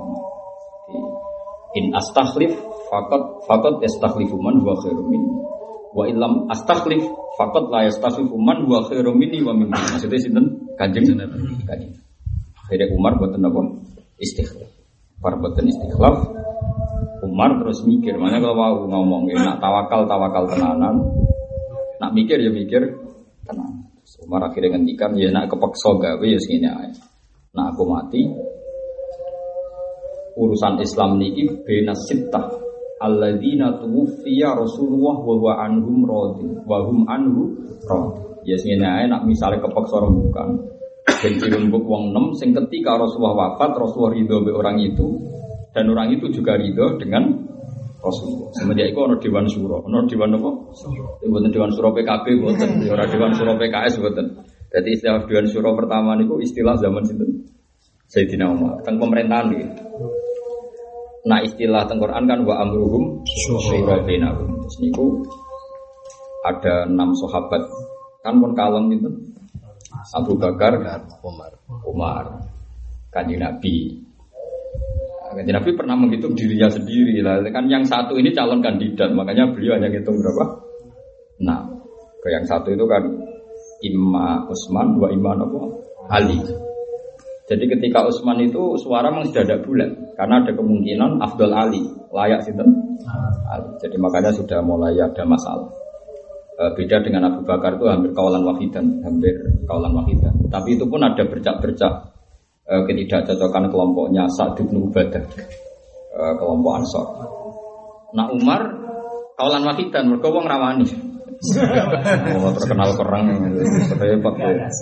In astakhlif fakot yastakhlifu man huwa khairum minni. Wa illam astakhlif fakot la yastakhlifu man huwa khairum minni wa minni. Maksudnya sinten? Kanjeng. Akhirnya Umar boten nopo istikhlaf. Par boten istikhlaf. Umar terus mikir, makanya kalau mau ngomong nak tawakal tenanan, nak mikir ya mikir tenan. Umar akhirnya ngendikan, ya nak kepeksa gawe ya segini aja. Nak aku mati, urusan Islam niki bena sittah alladzina tuwfiya Rasulullah wa huwa anhum radin wa hum anhu radin. Ya segini aja nak misalnya kepeksa rembukan. Ben dirembuk wong 6 sing ketika Rasulullah wafat, Rasulullah ridho be orang itu. Dan orang itu juga ridho dengan Rasulullah. Semenjak itu ada Dewan Syuro. Ada Dewan apa? Bukan Dewan Syuro PKB, bukan. Ada Dewan Syuro PKS, bukan. Jadi istilah Dewan Syuro pertama itu istilah zaman itu Sayyidina Umar. Tentang pemerintahan gitu. Nah istilah teng Quran kan wa amruhum syura bainahum. Terus niku ada 6 sahabat. Kan pun kalem itu. Abu Bakar, Umar, Kanjeng Nabi. Kanjeng Nabi pernah menghitung dirinya sendiri lah. Kan yang satu ini calon kandidat, makanya beliau hanya ngitung berapa? Nah, ke yang satu itu kan Imam Utsman, dua Imam apa? Ali. Jadi ketika Utsman itu suara memang sudah tidak bulat karena ada kemungkinan Afdal Ali layak sinten Ali. Jadi makanya sudah mulai ada masalah. Beda dengan Abu Bakar itu hampir kaulan wahidan. Tapi itu pun ada bercak-bercak ketidakcocokan kelompoknya Sa'd bin Ubadah, kelompok Ansor. Nah Umar kaulan wahidan mergo wong rawani. Terkenal kerang repot.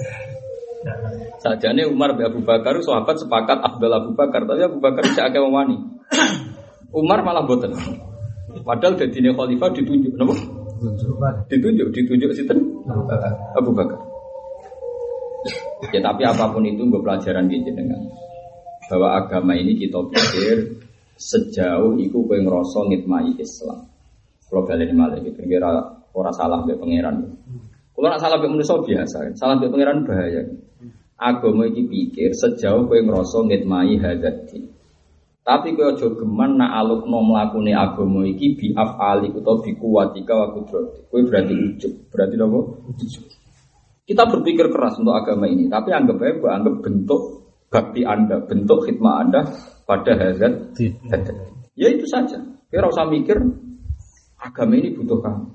Sajane Umar bin Abu Bakar sahabat sepakat Afdal Abu Bakar, tapi Abu Bakar tidak akeh wani. Umar malah boten. Padahal dadine khalifah ditunjuk napa? Ditunjuk sinten? Abu Bakar. Ya tapi apapun itu gue pelajaran gitu dengan bahwa agama ini kita pikir sejauh itu kowe ngrasa ngitmai Islam. Kalau baleni malih iki kira ora salah mbek pangeran. Kalau nak salah mbek manusa biasa, salah mbek pangeran bahaya. Agama iki pikir sejauh kowe ngrasa ngitmai hadati. Tapi kowe aja geman nak alukno mlakune agama iki bi afali utawa bi kuwatika wa qudrati. Kowe berarti ujub. Berarti napa? Ujub. Kita berpikir keras untuk agama ini, tapi anggap aja anggap bentuk bakti Anda, bentuk khidmah Anda pada hadat. Ya itu saja. Kira usah mikir agama ini butuh kamu.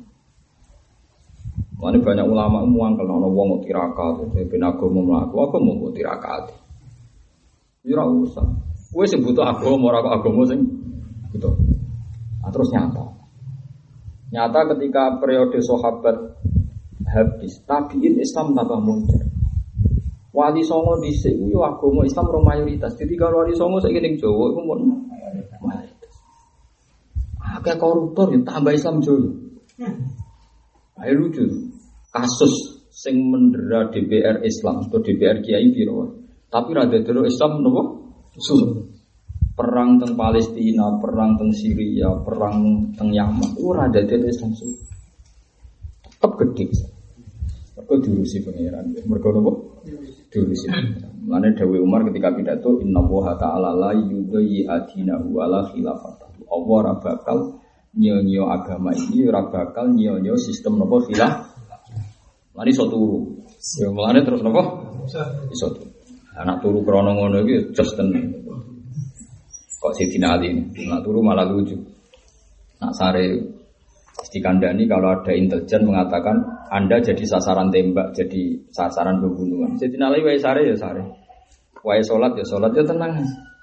Mana banyak ulama muang kalau orang mau tirakat, ben agama mlaku, agama mau tirakat. Ya ora usah. Kowe sing butuh agama ora kok agama sing butuh. Nah, terus nyata ketika periode sahabat habis, tabiin Islam tambah muncul. Wali Songo dhisik yo agama Islam ora mayoritas. Jadi kalau Wali Songo saiki ning Jawa iku mun mayoritas. Akeh koruptor yo tambah Islam Jawa. Ayo lucu. Kasus sing mendera DPR Islam atau DPR Kiai piro. Tapi ra dadero Islam napa? Susu. Perang teng Palestina, perang teng Syria, perang teng Yaman, ora dadero Islam susu. Tetep gede. Mergo diurusi pangeran. Mergo napa? Diurusi. Mulane dawuh Umar ketika pidato innallaha ta'ala la yudhi adinahu ala khilafatihi. Allah ora bakal nyonyo agama ini, ora bakal nyonyo sistem napa khilaf. Mulane iso turu. Ya mulane terus napa? Iso turu. Anak turu krana ngono iki jos tenan. Kok Sidina Ali ini, nak turu malah lucu. Nak sare dikandani kalau ada intelijen mengatakan Anda jadi sasaran tembak, jadi sasaran pembunuhan. Sidina Ali wae sare ya sare. Wae salat ya tenang.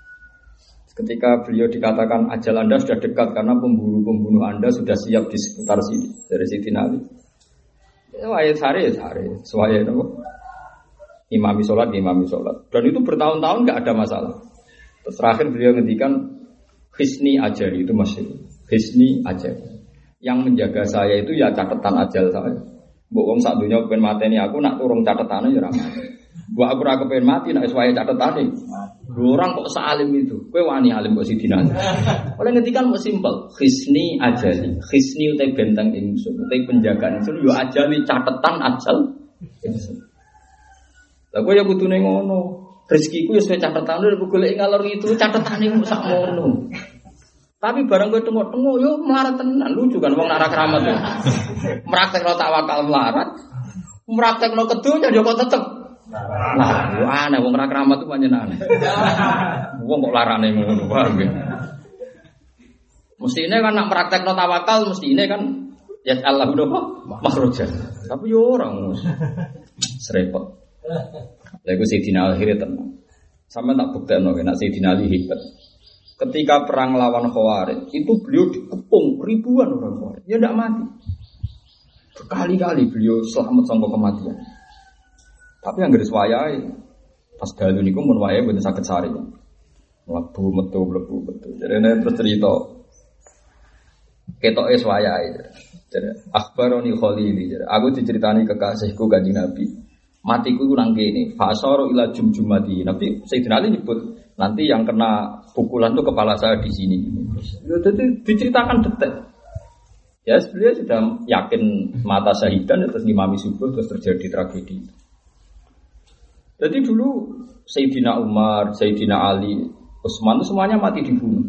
Ketika beliau dikatakan ajal Anda sudah dekat karena pembunuh Anda sudah siap di sekitar sini dari Sidina Ali. Wae sare ya sare. Suwaye napa? Imami sholat. Dan itu bertahun-tahun nggak ada masalah. Terus terakhir beliau ngendikan hisni ajali itu masih hisni ajali. Yang menjaga saya itu ya catatan ajal saya. Mbok wong sak donya pengen mateni aku nak turung catetane ya ora mati. Mbok aku ora kepen mati nak wis wae catetane. Orang kok salim itu. Kowe wani alim kok sidina. Oleh ngendikan kok simpel, hisni ajali. Hisni utai benteng ingsun, utai penjagaan ingsun yo ajali catatan ajal ingsun. Lah kowe ya kudune ngono. Rezekiku ya sesuai catatan lho golek ngalor itu catetane kok sak ngono. Tapi barang kowe tengok-tengok yo melarat tenan lucu kan wong lara keramat yo. Praktekno tawakal melarat. Praktekno kedonya yo kok tetep. Lah yo aneh wong ora keramat itu pancen aneh. Wong kok larane ngono wae. Mestine kan nak praktekno tawakal mestine kan ya Allah udah makhraja. Tapi yo ora ngono. Serepot. Lha iku Sayyidina Ali tenang. Sampe tak buktekno nek Sayyidina Ali hebat. Ketika perang lawan Khawarij, itu beliau dikepung ribuan orang Khawarij. Ya ndak mati. Berkali-kali beliau selamat sangka kematian. Tapi yang garis wayahe pas dalu niku mun wayahe mboten saged sari. Mlebu metu. Jadi terus cerita ketoke wayahe. Jadi akhbaroni Khalili. Jadi aku diceritani kekasihku Kanjeng Nabi. Matiku itu nang kene, fasara ila jumjumati. Nabi Sayyidina Ali nyebut nanti yang kena pukulan itu kepala saya di sini. Jadi diceritakan detail. Ya beliau sudah yakin mata syahidan terus ngimami subuh terus terjadi tragedi. Jadi dulu Sayyidina Umar, Sayyidina Ali, Utsman itu semuanya mati dibunuh.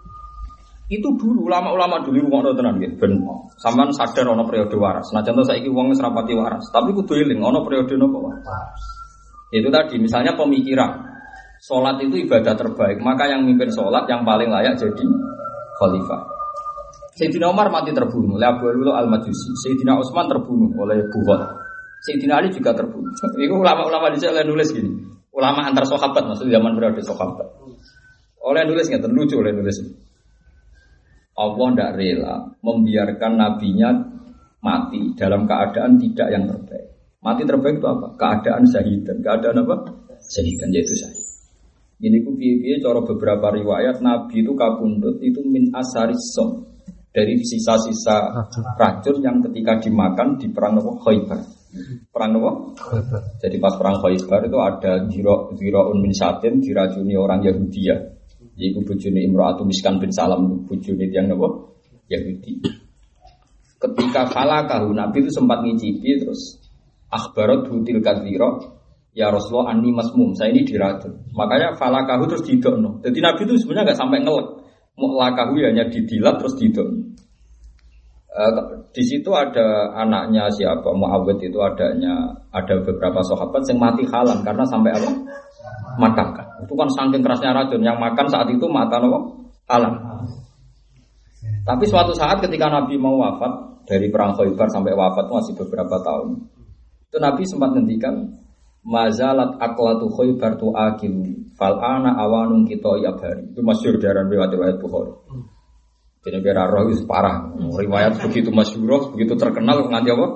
Itu dulu ulama-ulama dulu ngono tenan nggih ben sampean sadar ana periode waras. Senajan to saiki wong wis rapati waras, tapi kudu eling ana periode napa waras. Itu tadi misalnya pemikiran. Sholat itu ibadah terbaik, maka yang mimpin sholat yang paling layak jadi khalifah. Sayyidina Umar mati terbunuh oleh Abu Lulu Al-Majusi. Sayyidina Utsman terbunuh oleh Bukhot. Sayyidina Ali juga terbunuh. Itu ulama-ulama di sana nulis gini. Ulama antar sahabat maksud zaman periode sahabat. Oleh nulis nggak terlucu oleh nulis. Allah tidak rela membiarkan nabinya mati dalam keadaan tidak yang terbaik. Mati terbaik itu apa? Keadaan syahidan. Keadaan apa? Syahidan yaitu syahid. Ini ku piye-piye cara beberapa riwayat Nabi itu kapundhut itu min asarisom dari sisa-sisa racun yang ketika dimakan di perang Khaybar. Perang apa? Khaybar. Jadi pas perang Khaybar itu ada ziraun min satin diracuni orang Yahudi ya. Yaitu bojone Imra'atu Miskan bin Salam, bojone yang apa? Yahudi. Ketika falakahu Nabi itu sempat ngicipi terus akhbarat hutil kadzira ya Rasulullah anni masmum, saya ini diracun. Makanya falakahu terus didokno. Jadi Nabi itu sebenarnya enggak sampai ngelek. Mu'lakahu hanya didilat terus didokno. Di situ ada anaknya siapa Muawwid itu ada beberapa sahabat yang mati halan karena sampai apa? Makan. Itu kan saking kerasnya racun yang makan saat itu mata apa? Halan. Tapi suatu saat ketika Nabi mau wafat dari perang Khaybar sampai wafat masih beberapa tahun. Itu Nabi sempat ngendikan mazalat aklatu Khaybar tu akil fal ana awanun kita yabari. Itu masyhur dari riwayat Bukhari. Jadi biar roh itu parah. Riwayat begitu masyhur, begitu terkenal nganti apa?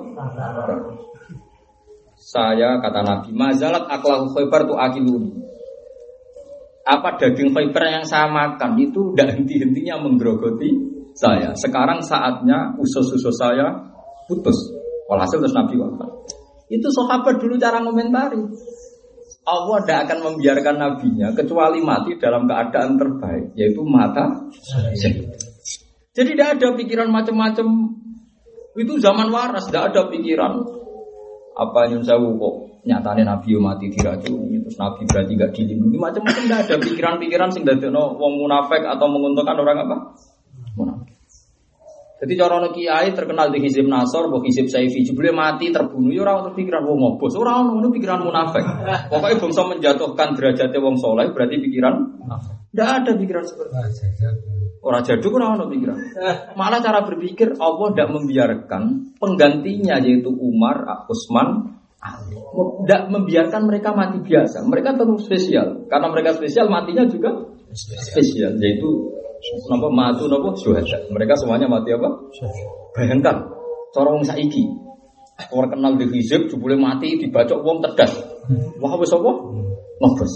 Saya kata Nabi mazalat aklatu Khaybar tu akiluni. Apa daging Khaybar yang saya makan itu tidak henti-hentinya menggerogoti saya. Sekarang saatnya usus-usus saya putus. Walhasil terus Nabi wafat. Itu sahabat dulu cara komentari. Allah tidak akan membiarkan nabinya kecuali mati dalam keadaan terbaik, yaitu mata syahid. Jadi tidak ada pikiran macam-macam. Itu zaman waras, tidak ada pikiran apa nyun sewu kok nyatanya Nabi mati diracuni, terus Nabi berarti gak dilindungi, macam-macam. Tidak ada pikiran-pikiran sing dadekno wong munafik atau menguntungkan orang apa? Munafik. Jadi cara kiai terkenal di hizib Nasr, bukan hizib Saifi, jebule mati terbunuh, ya orang pikiran wong ngobos, orang ngono pikiran munafik. Pokoknya bangsa menjatuhkan derajatnya wong soleh berarti pikiran tidak ada pikiran seperti itu. Orang jaduk orang pikiran. Malah cara berpikir Allah tidak membiarkan penggantinya yaitu Umar, Utsman, Ali. Tidak membiarkan mereka mati biasa. Mereka tetap spesial. Karena mereka spesial matinya juga spesial yaitu napa matu napa syuhada. Mereka semuanya mati apa? Bayangkan cara wong saiki. Orang kenal di hizib jebule mati dibacok wong cerdas. Wah wis apa? Ngobos.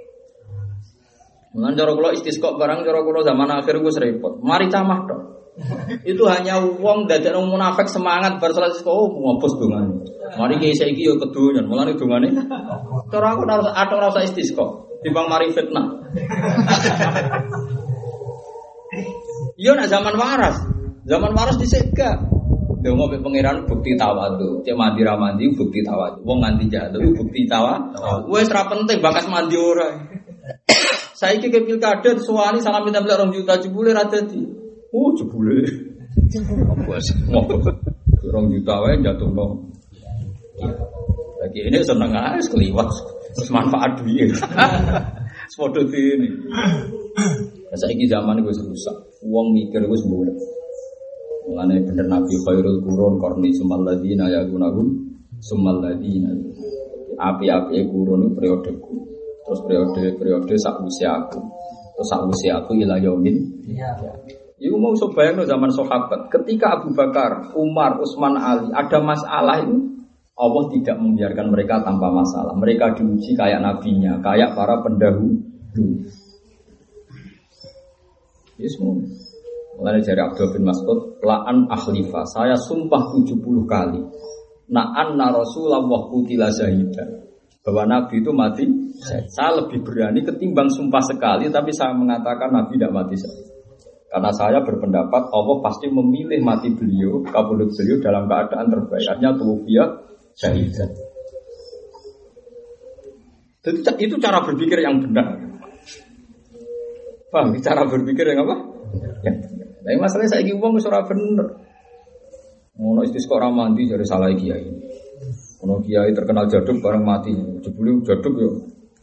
Mun cara kula istisqa barang cara kula zaman akhir wis repot. Mari camah tok. Itu hanya wong dadekno munafik semangat bar salat istisqa ngobos dongane. Mari kiai saiki yo kedonyan, mulane dongane. Cara aku ora usah istisqa. Timbang mari fitnah. Iya nak zaman waras disegak. Dongo be pangeran bukti tawadhu. Cek mandi ra mandi bukti tawadhu. Wong nganti jatuh bukti tawadhu. Wis ra penting bakas mandi ora. Saiki ke pilkada suwani salam minta 2 juta jebule ra dadi. Jebule. Ngopos. 2 juta wae jatuhno. Lagi ini seneng ae keliwat. Manfaat duit. Sepodo ini. Saiki zaman wis rusak. Wong mikir wis mbuh. Mulane bener Nabi khairul qurun qarni sumal ladina yagunahum sumal ladina. Api-api qurun periodeku. Terus periode sak usiaku. Terus sak usiaku ila yaumin. Iya. Iku mau bayangno zaman sahabat. Ketika Abu Bakar, Umar, Utsman, Ali ada masalah itu Allah tidak membiarkan mereka tanpa masalah. Mereka diuji kayak nabinya, kayak para pendahulu. Yes, mulai dari Abdul bin Mas'ud, la'an akhlifa, saya sumpah 70 kali. Na'anna Rasulullah qutila syahidan. Bahwa Nabi itu mati syahid. Saya lebih berani ketimbang sumpah sekali, tapi saya mengatakan Nabi tidak mati syahid. Karena saya berpendapat Allah pasti memilih mati beliau, kabulut beliau dalam keadaan terbaik. Artinya tuwfiya syahidan. Jadi itu cara berpikir yang benar. Paham? Cara berpikir yang apa? Yang benar. Tapi masalahnya saya ingin uang ora bener. Ono istisqa ora mandi jadi salah kiai. Ono kiai terkenal jaduk bareng mati. Jebule jaduk yo.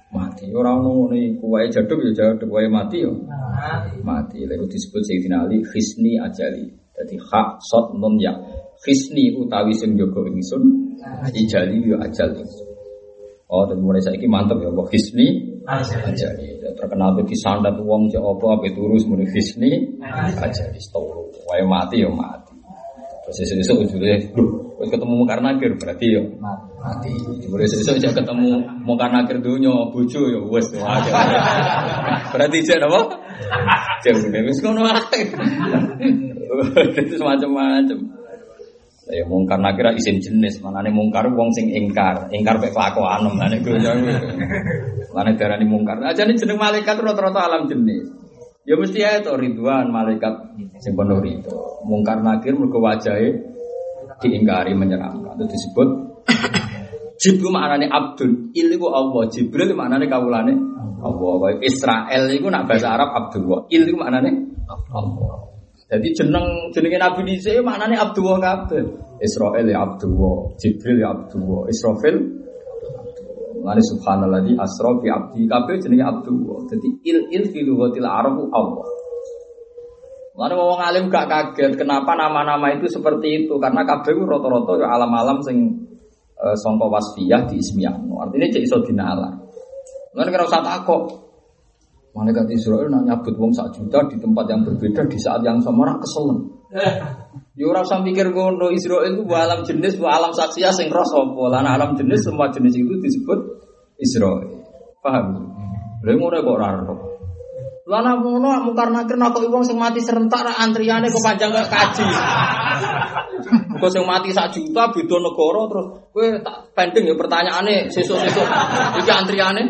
mati. Ora ono ngene iku wae jaduk ya jaduk wae mati ya. Mati. Lha disebut Sayyidina Ali khisni ajali. Dadi hak sot nun ya. Khisni utawi sing jaga ingsun, ajali ya ajal ingsun. Oh, dan mulai saiki mantep ya kok khisni ajali. Terkenal be disandat wong cek apa terus muni khisni ajali setoro. Wae mati ya mati. Terus sesuk ujule wis ketemu Mungkar Nakir berarti ya mati. Mulai sesuk aja ketemu Mungkar Nakir donya bojo ya wis wae. Berarti cek apa? Cek wis ngono ae. Itu macam-macam. Ya mungkar nakir isim jenis, manane mungkar wong sing ingkar pek kelakuan manane donya. Manane darani mungkar. Ajane jeneng malaikat rata-rata alam jenis. Ya mesti ae to Ridwan malaikat sing penuh ridho. Mungkar nakir mergo wajahe diingkari menyeramkan. Itu disebut Jibril maknane Abdul, iku Allah. Jibril maknane kawulane Allah. Israel iku nak bahasa Arab Abdullah. Iku maknane Allah. Jadi jenenge Nabi Isa maknane Abdullah kabeh. Israel ya Abdullah, Jibril ya Abdullah, Israfil Mane subhanalladzi asra bi abdi kabeh jenenge Abdullah. Dadi il fi lughatil Arab Allah. Mane wong alim gak kaget kenapa nama-nama itu seperti itu karena kabeh ku rata-rata ya alam-alam sing sangka wasfiyah di ismiyah. Artinya cek iso dinalar. Mane kira usah takok. Malaikat Israel nak nyabut wong 1 juta di tempat yang berbeda di saat yang sama ora keselen. Ya ora usah mikir ngono, Israel itu alam jenis, alam saksiah sing ros apa. Lan alam jenis semua jenis itu disebut Israel. Paham? Lha ngono kok ora ero. Lan ngono Mungkar Nakir kok wong sing mati serentak ra antriane kok panjang kok kaji. Kok sing mati 1 juta beda negara terus kowe tak pending ya pertanyaane sesuk-sesuk iki antriane.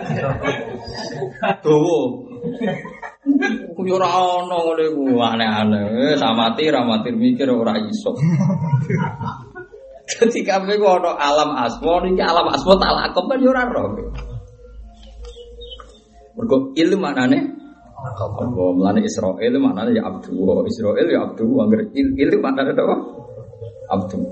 Dowo. Ku yo ora ono ngene ku aneh-aneh. Samati ra matir mikir ora iso. Ketika kabeh ku ono alam asma niki alam asma tak lakop kan yo ora ro. Mergo ilmu maknane apa mlane Israel maknane ya Abdullah. Israel ya Abdullah angger ilmu maknane apa? Abdul.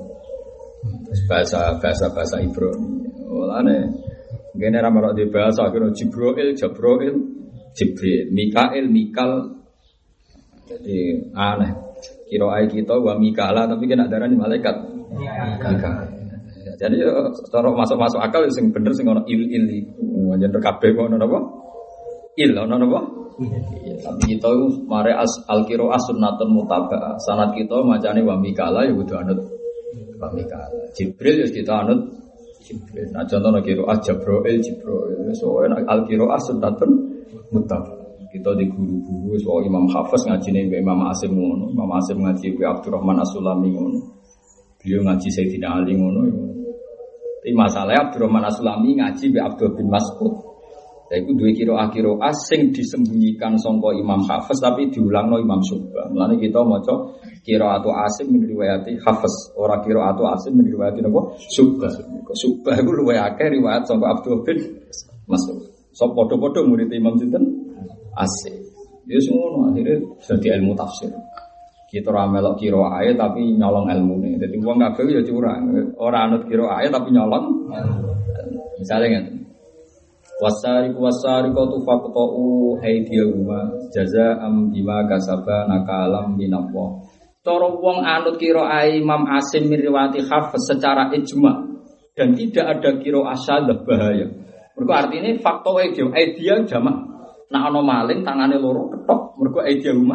Bahasa Ibrani. Mlane ngene ra marok di bahasa kira Jibril, Jibril, Mikael, Mikal. Jadi aneh. Kiraai kita wa Mikala tapi kena darani malaikat. Mikal. Jadi cara masuk akal sing bener sing ono il iku. Njen kabeh kok ono apa? Il ono apa? Tapi kita mare al-qiraah sunnatun mutaba'ah. Sanad kita macane wa Mikala ya kudu anut wa Mikala. Jibril ya kita anut Jibril. Nah contohnya qiraah Jibril. So al-qiraah sunnatun mutaba'ah. Kita di guru-guru soal Imam Hafiz ngajine mbek Imam Asim ngono. Imam Asim ngaji mbek Abdurrahman As-Sulami ngono. Beliau ngaji Sayyidina Ali ngono. Tapi masalahnya Abdurrahman As-Sulami ngaji mbek Abdul bin Mas'ud. Lha iku duwe qiraah sing disembunyikan sangka Imam Hafiz tapi diulangno Imam Syu'bah. Mulane kita maca qiraatu Asim min riwayati Hafiz, ora qiraatu Asim min riwayati napa? Syu'bah. Syu'bah iku luwih akeh riwayat sangka Abdul bin Mas'ud. So padha-padha murid Imam sinten? Asim. Ya semua akhirnya jadi ilmu tafsir. Kita ora melok qiraah ae tapi nyolong ilmune. Dadi wong kabeh ya curang. Ora anut qiraah ae tapi nyolong. Misale ngene. Wasariqatu faqta'u aydiyahuma jazaa'an bima kasaba nakalam minallah. Cara wong anut qiraah Imam Asim min riwayati Hafiz secara ijma dan tidak ada qiraah syadzah bahaya. Mergo artine faqta'u aydiyah jamak. Nah ana maling tangane loro ketok mergo aydiyahuma.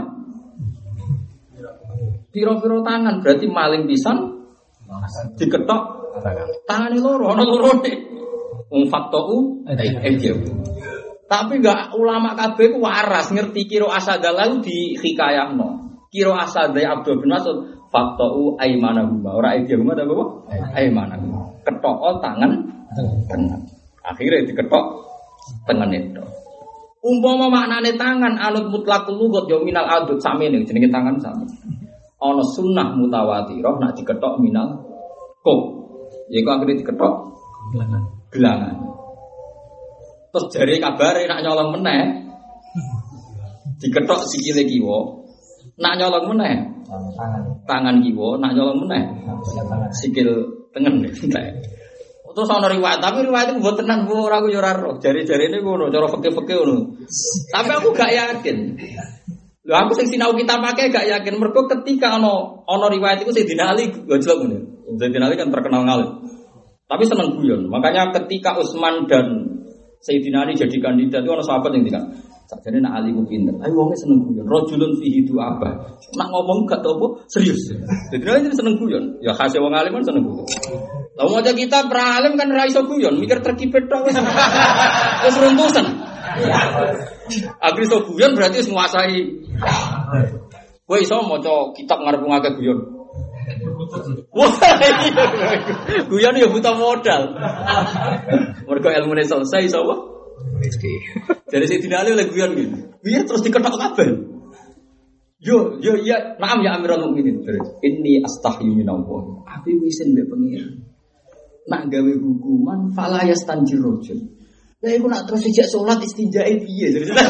Piro-piro tangan berarti maling pisan diketok tangane loro ana lorone. Faktou tapi enggak ulama kabeh ku waras ngerti kira asadalah di hikayahno kira asadai Abdul bin Mas'ud faktou aimanahuma ora aidiyahuma ta apa aimanahuma ketok tangan tengen akhirnya diketok tengen itu umpama maknane tangan anut mutlaqul lughat ya minal adud samene jenenge tangan sami ana sunnah mutawatirah nak diketok minal kok yaiku akhirnya diketok gelangan. Terus jari kabare nak nyolong meneh. Diketok sikile kiwa. Nak nyolong meneh. Tangan kiwa nak nyolong meneh. Sikil tengen entek. Terus ana riwayat, tapi riwayat itu mboten tenan ora aku yo ora roh. Jari-jarine ngono, cara fikih-fikih ngono. Tapi aku gak yakin. Lho aku sing sinau kita pakai gak yakin mergo ketika ana riwayat iku Sayyidina Ali gojlok ngene. Sayyidina Ali kan terkenal ngalim. Tapi seneng guyon. Makanya ketika Utsman dan Sayyidina Ali jadi kandidat itu ana sahabat yang bilang, sakjane nak Ali ku pinter. Ayo wong seneng guyon. Rajulun fihi du'aba. Nak ngomong gak tau apa serius. Sayyidina Ali seneng guyon. Ya khase wong alim kan seneng guyon. Lah mau kita pralim kan ra iso guyon, mikir terkipet tok wis. Wis runtusan. Agar iso guyon berarti wis nguasai. Kowe iso maca kitab ngarep ngake guyon. Wah, guyon ya buta modal. Mergo ilmune selesai iso apa? Jadi saya dinali oleh guyon gitu. Guyon terus diketok kabeh. Yo iya, naam ya Amirul Mukminin. Inni astahyi minallah. Aku wisen mbek pengiran. Nak gawe hukuman fala yastanjir rajul. Lah iku nak terus sejak salat istinjae piye?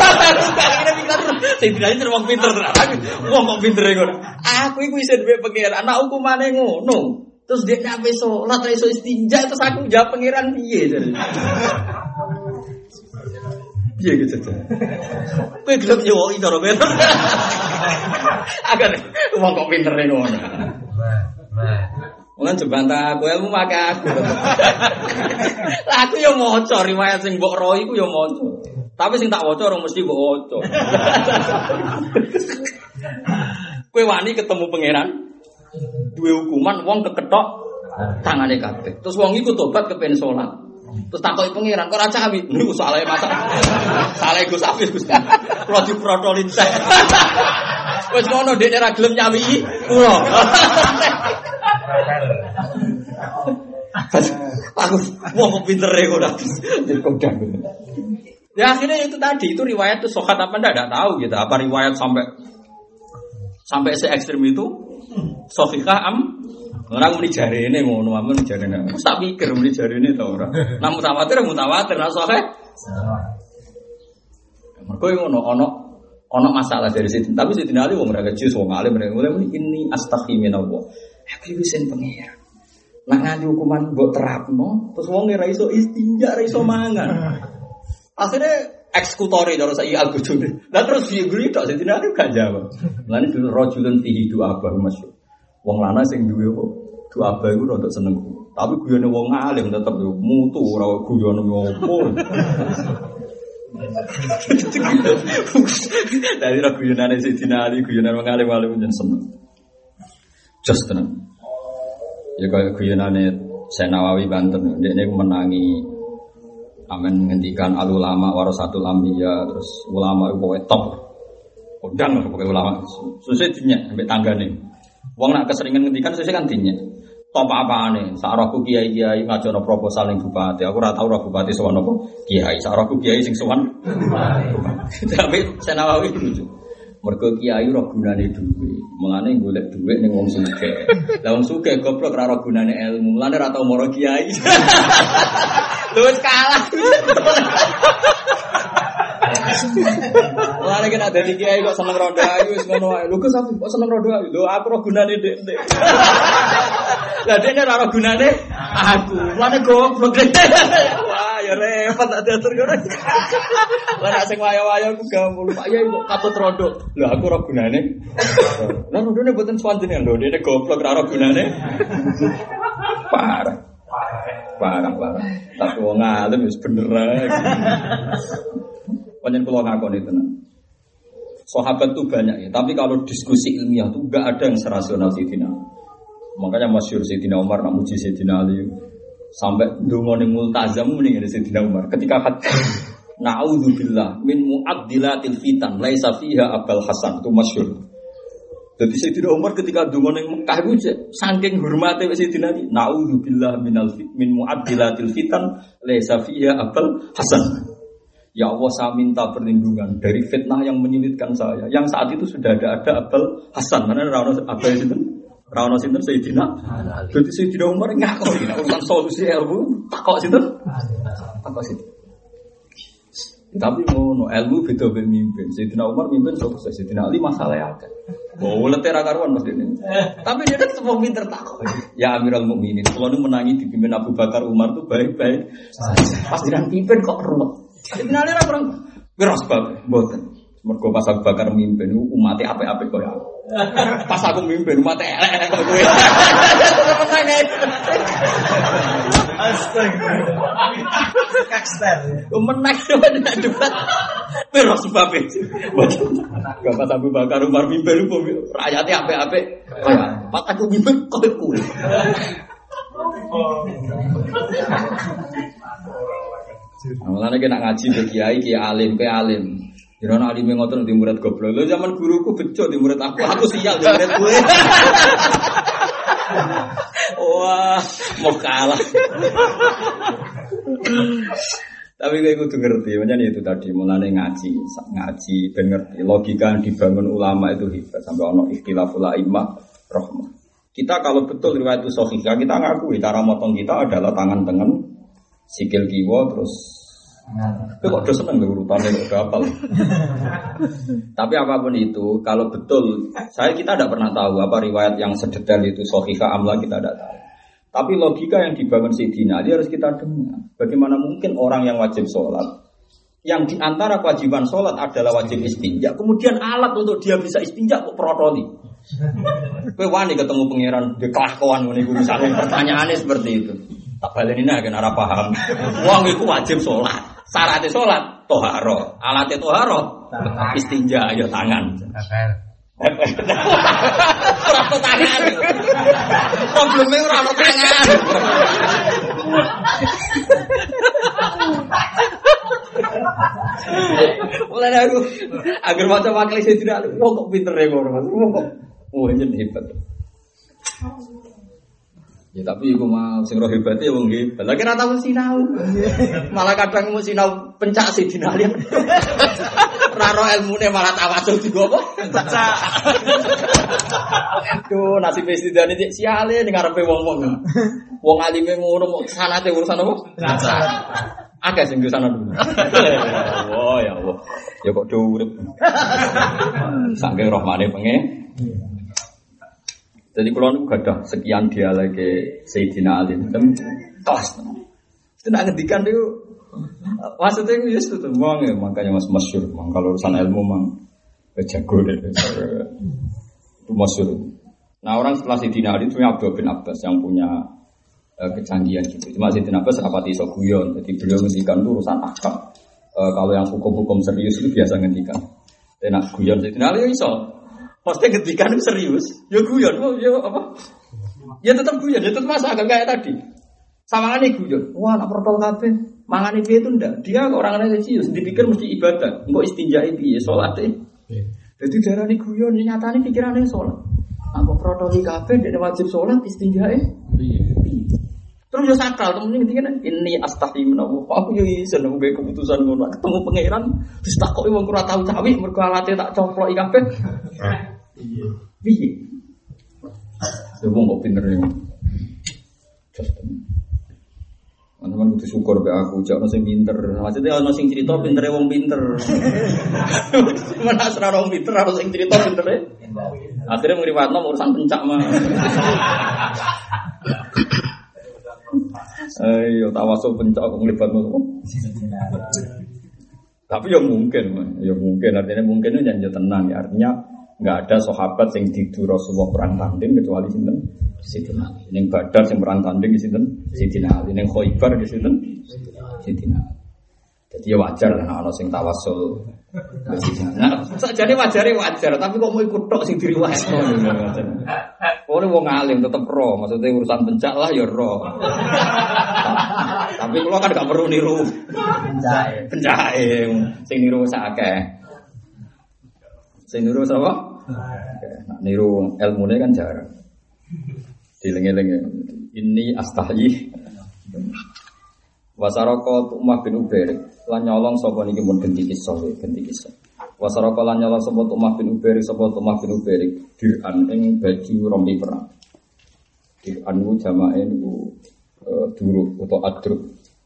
Sing dinali terus wong pinter tenan. Wong kok pintere ngono. Aku iku wisen mbek pengiran. Anak hukumane ngono. Terus dia nabe salat ra iso istinja terus aku jawab pengiran piye jare. Piye gitu ta. Kowe gelem nyowoki karo pinter. Agar wong kok pintere ngono. Wong jebantah aku ilmu make aku. Lah aku yo maca riwayat sing mbok ro iku yo maca. Tapi sing tak waca ora mesti mbok waca. Kowe wani ketemu pangeran duwe hukuman wong kekethok tangane kabeh. Terus wong iku tobat kepen salat. Terus takoki pangeran kok ora cawi. Niku soalé masak. Salah Gus Afif Gus. Kulo diprotolin teh. Wis ngono dekne ra gelem nyawi kulo. Aku mau pintere kok kodang. Ya akhirnya itu tadi itu riwayat itu sokat apa enggak tahu gitu. Apa riwayat sampai se ekstrem itu sahihah orang muni jarene ngono amun jarene. Wis tak pikir muni jarene ta ora. Nah mutawatir nah sahih. Mergo ono masalah dari situ. Tapi Sayyidina Ali wong ora kecil wong alim mulai muni ini astaghi minallah. Aku wis pengen. Nak nganti hukuman mbok terapno, terus wong ora iso istinja, ora iso mangan. Akhirnya eksekutori karo saiki Al-Ghazali. Lah terus piye guri tok Sayyidina Ali gak jawab. Lane dulu rajulun fihi du'aba masyhur. Wong lanang sing duwe du'aba iku rada seneng. Tapi guyone wong alim tetep mutu ora guyone ngopo. Dari guyonane Sayyidina Ali, guyonane wong alim-alim jeneng seneng. Just tenan. Ya kaya guyonane Syekh Nawawi Banten, ndekne menangi amen ngendikan al ulama warasatul anbiya, terus ulama iku pokoke top. Kondang pokoke ulama. Susah dinyek sampai tanggane. Wong nak keseringan ngendikan susah kan dinyek. Top apane? Sak rohku kiai-kiai ngajono proposal ning bupati. Aku ora tau roh bupati sowan apa kiai. Sak rohku kiai sing sowan bupati. Tapi Syekh Nawawi lucu. Mergo kiai ora gunane dhuwit. Mulane golek dhuwit ning wong sugih. Lah wong sugih goblok ora gunane ilmu. Mulane ora tau moro kiai. Lho wis kalah. Mulane kena dadi kiai kok seneng rondo ayu wis ngono wae. Lho kok seneng rondo ayu. Lho aku ora gunane ndek. Lah dekne ora gunane aku. Mulane goblok. Wah, ya repot tak diatur ngono. Lah nek sing wayo-wayo ku gampang. Pak Yai kok katut rondo. Lah aku ora gunane. Lah rondone mboten swanjene lho, dene goblok ora gunane. Parah. Tapi wong alim wis bener ae. Panjen kula ngakoni tenan. Sahabat tuh banyak ya, tapi kalau diskusi ilmiah tuh enggak ada yang serasional Sayyidina. Makanya masyhur Sayyidina Umar nak muji Sayyidina Ali sampai ndongone multazam mending Sayyidina Umar ketika na'udzubillah min mu'addilatil fitan laisa fiha Abul Hasan itu masyhur. Jadi Sayyidina Umar ketika ndonga ning Mekah iku saking hormate Sayyidina Ali na'udzubillah min mu'addilatil fitan laisa fiha Abul Hasan. Ya Allah saya minta perlindungan dari fitnah yang menyulitkan saya. Yang saat itu sudah ada Abul Hasan. Mana Rano Abul itu? Rano sinten Sayyidina Ali. Jadi Sayyidina Umar ngakoni urusan solusi ilmu takok sinten? Takok sinten? Tapi ngono ilmu beda be mimpin. Sayyidina Umar mimpin sukses, Sayyidina Ali masalah akeh. Boleh ra karuan Mas Dene. Tapi dia tetep pinter takok. Ya Amirul Mukminin, kalau nu menangi dipimpin Abu Bakar Umar tuh baik-baik. Pas jiran pimpin kok ruwet. Finale ra kurang beres sebab mboten. Mergo pas Abu Bakar mimpin umate apik-apik koyo aku. Pas aku mimpin umate elek-elek koyo kowe. Astagfirullah. Kakster. Menang debat. Beres sebab itu. Gak pas Abu Bakar Umar mimpin rakyatnya apik-apik. Pas aku mimpin koyo kowe. Mulane kena ngaji ke kiai alim. Jangan alim ngoten di murid goblok. Lho zaman guruku bejo di murid aku sial di murid gue. Wah, mau kalah. Tapi kayak kudu ngerti, macam itu tadi mulane ngaji ben ngerti logika yang dibangun ulama itu hebat sampai ono ikhtilaful a'immah rahmah. Kita kalau betul riwayat itu sahih, kita ngakui cara motong kita adalah tangan tengen, sikil kiwa terus. Itu kok udah seneng deh urutannya udah hafal. Tapi apapun itu, kalau betul, kita tidak pernah tahu apa riwayat yang sedetail itu sahihah amla kita tidak tahu. Tapi logika yang dibangun Sayyidina Ali harus kita dengar. Bagaimana mungkin orang yang wajib sholat, yang diantara kewajiban sholat adalah wajib istinja, kemudian alat untuk dia bisa istinja kok protoli. Kowe wani ketemu pangeran di kelakuan ngene iku misalnya pertanyaannya seperti itu. Tak baleni nek ora paham. Wong iku wajib sholat. Syaratnya sholat toharo, alatnya toharo istinja ya tangan. Rasa tangan. Problemnya rasa tangan. Mulai aku agar macam wakil saya tidak. Wah kok pinter ya orang. Wah jadi hebat. Ya tapi iku mah sing roh hebate wong hebat. Lah kira tau sinau. Malah kadang mau sinau pencak Sayyidina Ali. Ora ro ilmune malah tawasul digo apa? Pencak. Aduh, nasib Sayyidina iki siale ning ngarepe wong-wong. Wong alime ngono kok sanate urusan apa? Pencak. Akeh sing sana dulu. Oh ya Allah. Ya kok do urip. Saking rahmane pengen. Jadi kalau nu gadah sekian dia lagi Sayyidina Ali dan tos. Itu nak ngedikan itu maksudnya itu just itu ya makanya masyhur. Kalau urusan ilmu mang jago deh. Itu masyhur. Nah orang setelah Sayyidina Ali itu Abdul bin Abbas yang punya kecanggihan gitu. Cuma Sayyidina Abbas rapati iso guyon. Jadi beliau ngedikan itu urusan akal. Kalau yang hukum-hukum serius itu biasa ngedikan. Dan nak guyon Sayyidina Ali iso. Maksudnya ketika itu serius, ya guyon, ya apa? Ya tetap guyon, ya tetap masa agak kayak tadi. Sama ini guyon, wah nak protol kafe, mangan itu ndak. Dia orangnya serius, dipikir mesti ibadah, enggak istinja piye sholat Jadi darah ini guyon, nyatanya pikirannya sholat. Apa protol kafe, dia wajib sholat istinja Terus ya sakral, temen ini ini astaghfirullah menawa. Aku yo iso nang keputusan ngono. Ketemu pangeran, terus takoki wong ora tau cawi mergo alate tak coplok kabeh. Piye? Wong kok pinter ya. Teman-teman kudu syukur be aku, jak ono sing pinter. Maksudnya ono sing cerita pintere wong pinter. Mana asra wong pinter ono sing cerita pintere. Akhirnya ngriwatno urusan pencak mah. Ayo tawasul pencak nglibatno. Tapi ya mungkin artinya mungkin itu janji tenang ya, artinya nggak ada sahabat yang tidur Rasulullah perang tanding kecuali sinten Sayyidina Ali. Ning Badar sing perang tanding sinten Sayyidina Ali, ning Khaibar sinten Sayyidina Ali. Jadi ya wajar lah ana sing tawasul. Nah, sakjane wajar, tapi kok mau ikut tok sing diriwayatno. Oleh wong alim tetep ro, maksudnya urusan pencak lah ya ro. Tapi kalau kan gak perlu niru pencahe, sing niru sakake. Sing niru sapa? Nah, niru ilmune kan jarang. Dileng-eleng ini astahyi. Wasaraka Umar bin Ubair lan nyolong sapa niki mun genti kisah. Wasaraka lan nyolong sapa Umar bin Ubair diran ing baju rompi perang. Diran ku jamae niku duruk atau adruk.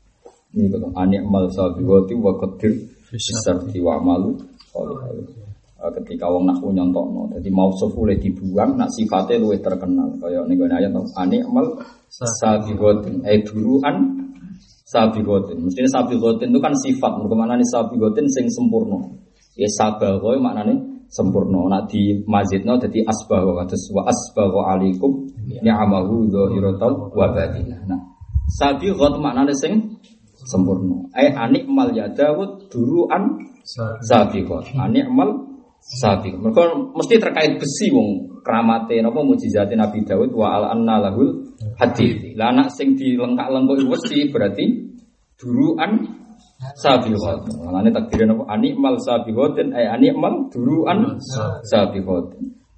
Niku to anik mal sabiwati wa qadir fisarti wa malu. ketika wong nahwu nyontokno. Dadi mausuf oleh dibuang nak sifate luwih terkenal. Kaya ning gone ayat animal sabiqatin duruan sabiqatin. Mestine sabiqatin itu kan sifat, mergo maknane sabiqatin sing sempurna. Ya sabagha maknane sempurna. Nak di mazidna dadi asbagha kados wa asbagha alaikum ni'amahu dzahiratan wa batinah. Nah, sabiqat maknane sing sempurna. Animal ya Daud duruan sabiqat. Animal sabiq. Mergo mesti terkait besi wong keramate napa mukjizate Nabi Daud wa al-anna lahul hadid. Lah anak sing dilengkak-lengkok besi berarti duruan sabiqat. Mulane takdire napa animal sabiqatin animal duruan sabiqat.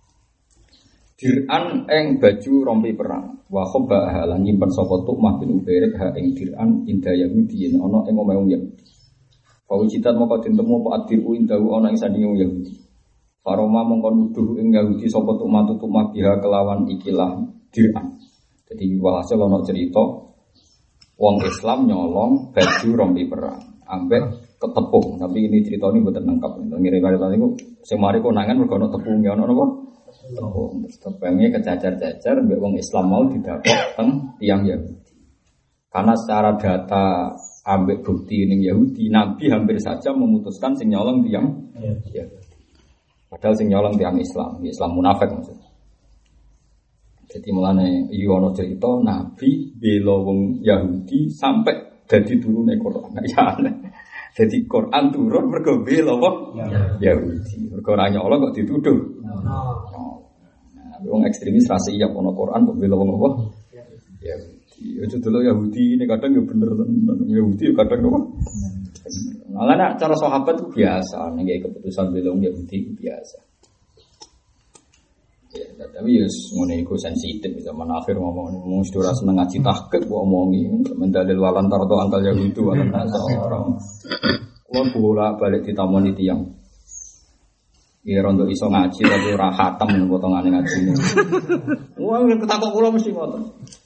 Dir'an ing baju rompi perang. Wa khabba lan nyimpen sapa Tu'mah bin Ubairah ha ing dir'an inda Yahudi ana ing omahe Yahudi. Fawujitat moko ditemu apa adiru indahu ana ing sandinge Yahudi. Faroma mongko nuduh ing Yahudi sapa Tu'mah biha kelawan ikilah dir'an. Jadi walhasil ana cerita wong Islam nyolong baju rompi perang ambek ketepung. Tapi ini cerita ini mboten lengkap. Ngire-ngire niku sing mari konangan mergo ana tepunge ana napa? Tepung. Tepungnya kecacar-cacar mbek wong Islam mau didapok teng tiyang Yahudi. Karena secara data ambek bukti ning Yahudi, Nabi hampir saja memutuskan sing nyolong tiyang Yahudi. Padahal sing nyolong tiyang Islam, Islam munafik maksudnya. Jadi mulane iki ana cerita Nabi bela wong Yahudi sampai dadi turune Quran. Ya aneh. Jadi Quran turun mergo bela wong Yahudi. Mergo ora nyolong kok dituduh. Wong ekstremis ra siap ana Quran kok bela wong apa? Yahudi. Ojo delok Yahudi ini kadang ya bener tenan. Yahudi kadang apa? Malah nek cara sahabat itu biasa, nek keputusan bela wong Yahudi itu biasa. Ya, tapi ya ngene iku sensitif zaman akhir ngomong sedora seneng ngaji tahqiq kok omongi mendalil walan tarto angkal Yahudi walan nasara. Kuwi bolak-balik ditamoni tiyang. Ya rondo iso ngaji tapi ora khatam potongane ngajine. Wah, ketakok kula mesti ngoten.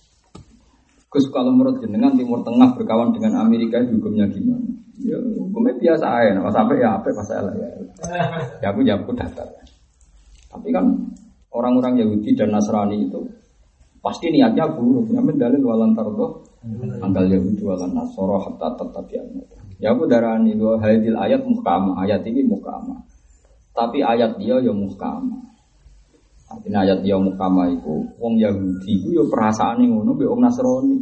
Gus kalau menurut jenengan Timur Tengah berkawan dengan Amerika hukumnya gimana? Ya hukumnya biasa aja, kalau sampai ya apa masalah ya. Ya aku daftar. Tapi kan orang-orang Yahudi dan Nasrani itu pasti niatnya buruk. Yang mendalil walan tardo anggal Yahudi walan Nasara hatta tatabi'an. Ya aku darani bahwa hadil ayat muhkamah, ayat ini muhkamah. Tapi ayat dia ya muhkamah. Artinya ayat dia muhkamah itu wong Yahudi itu ya perasaane ngono mbek wong Nasrani.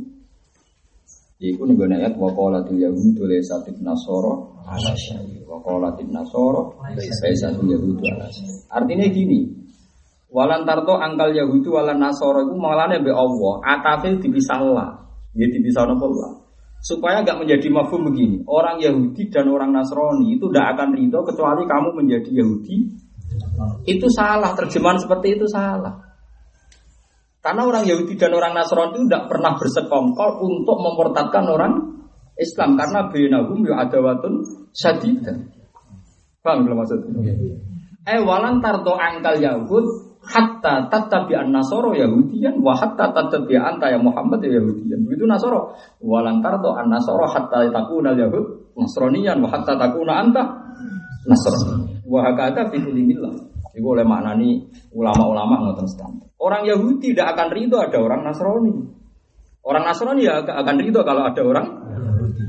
Iku ning gone ayat wa qalatil yahudu laysatil nasara ala syai' wa qalatil nasara laysatil yahudu ala syai'. Artinya gini, walan tarto angkal yahudu walan nasara iku malane mbek Allah, atafe dipisahlah. Ya dipisah napa Allah. Supaya enggak menjadi mafhum begini. Orang Yahudi dan orang Nasrani itu tidak akan ridho kecuali kamu menjadi Yahudi. Itu salah, terjemahan seperti itu salah. Karena orang Yahudi dan orang Nasrani itu tidak pernah bersekongkol untuk memurtadkan orang Islam karena bainahum adawatun syadidah. Paham belum maksudnya? Walan tardo angkal Yahud hatta tattabi'an nasoro Yahudiyan wa hatta tattabi'an ya Muhammad Yahudiyan. Begitu Nasoro. Walan tardo an nasoro hatta takuna Yahud Nasraniyan wa hatta takuna anta Nasrani. Wa hakata fi kulli millah. Iku oleh maknani ulama-ulama ngoten standar. Orang Yahudi tidak akan ridho ada orang Nasrani. Orang Nasrani ya akan ridho kalau ada orang Yahudi.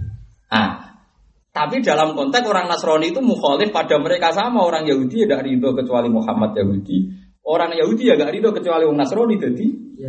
Tapi dalam konteks orang Nasrani itu mukhalif pada mereka sama orang Yahudi tidak ridho kecuali Muhammad Yahudi. Orang Yahudi ya gak ridho kecuali orang Nasrani jadi. Ya.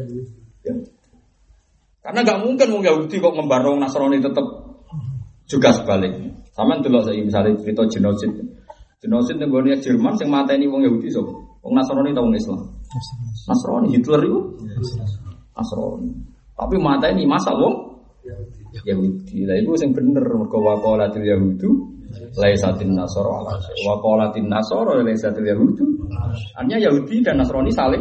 Karena gak mungkin orang Yahudi kok ngembar orang Nasrani tetap juga sebaliknya. Sama delok saya misalnya cerita genosid. Genosid yang gue Jerman yang mateni orang Yahudi so. Orang Nasrani atau orang Islam? Nasrani. Hitler itu Nasrani. Tapi mateni masa wong Yahudi. Lah iku sing bener mergo waqalatil yahudu laisatin nasara ala syai'. Waqalatin nasara laisatil yahudu. Artinya Yahudi dan Nasrani saling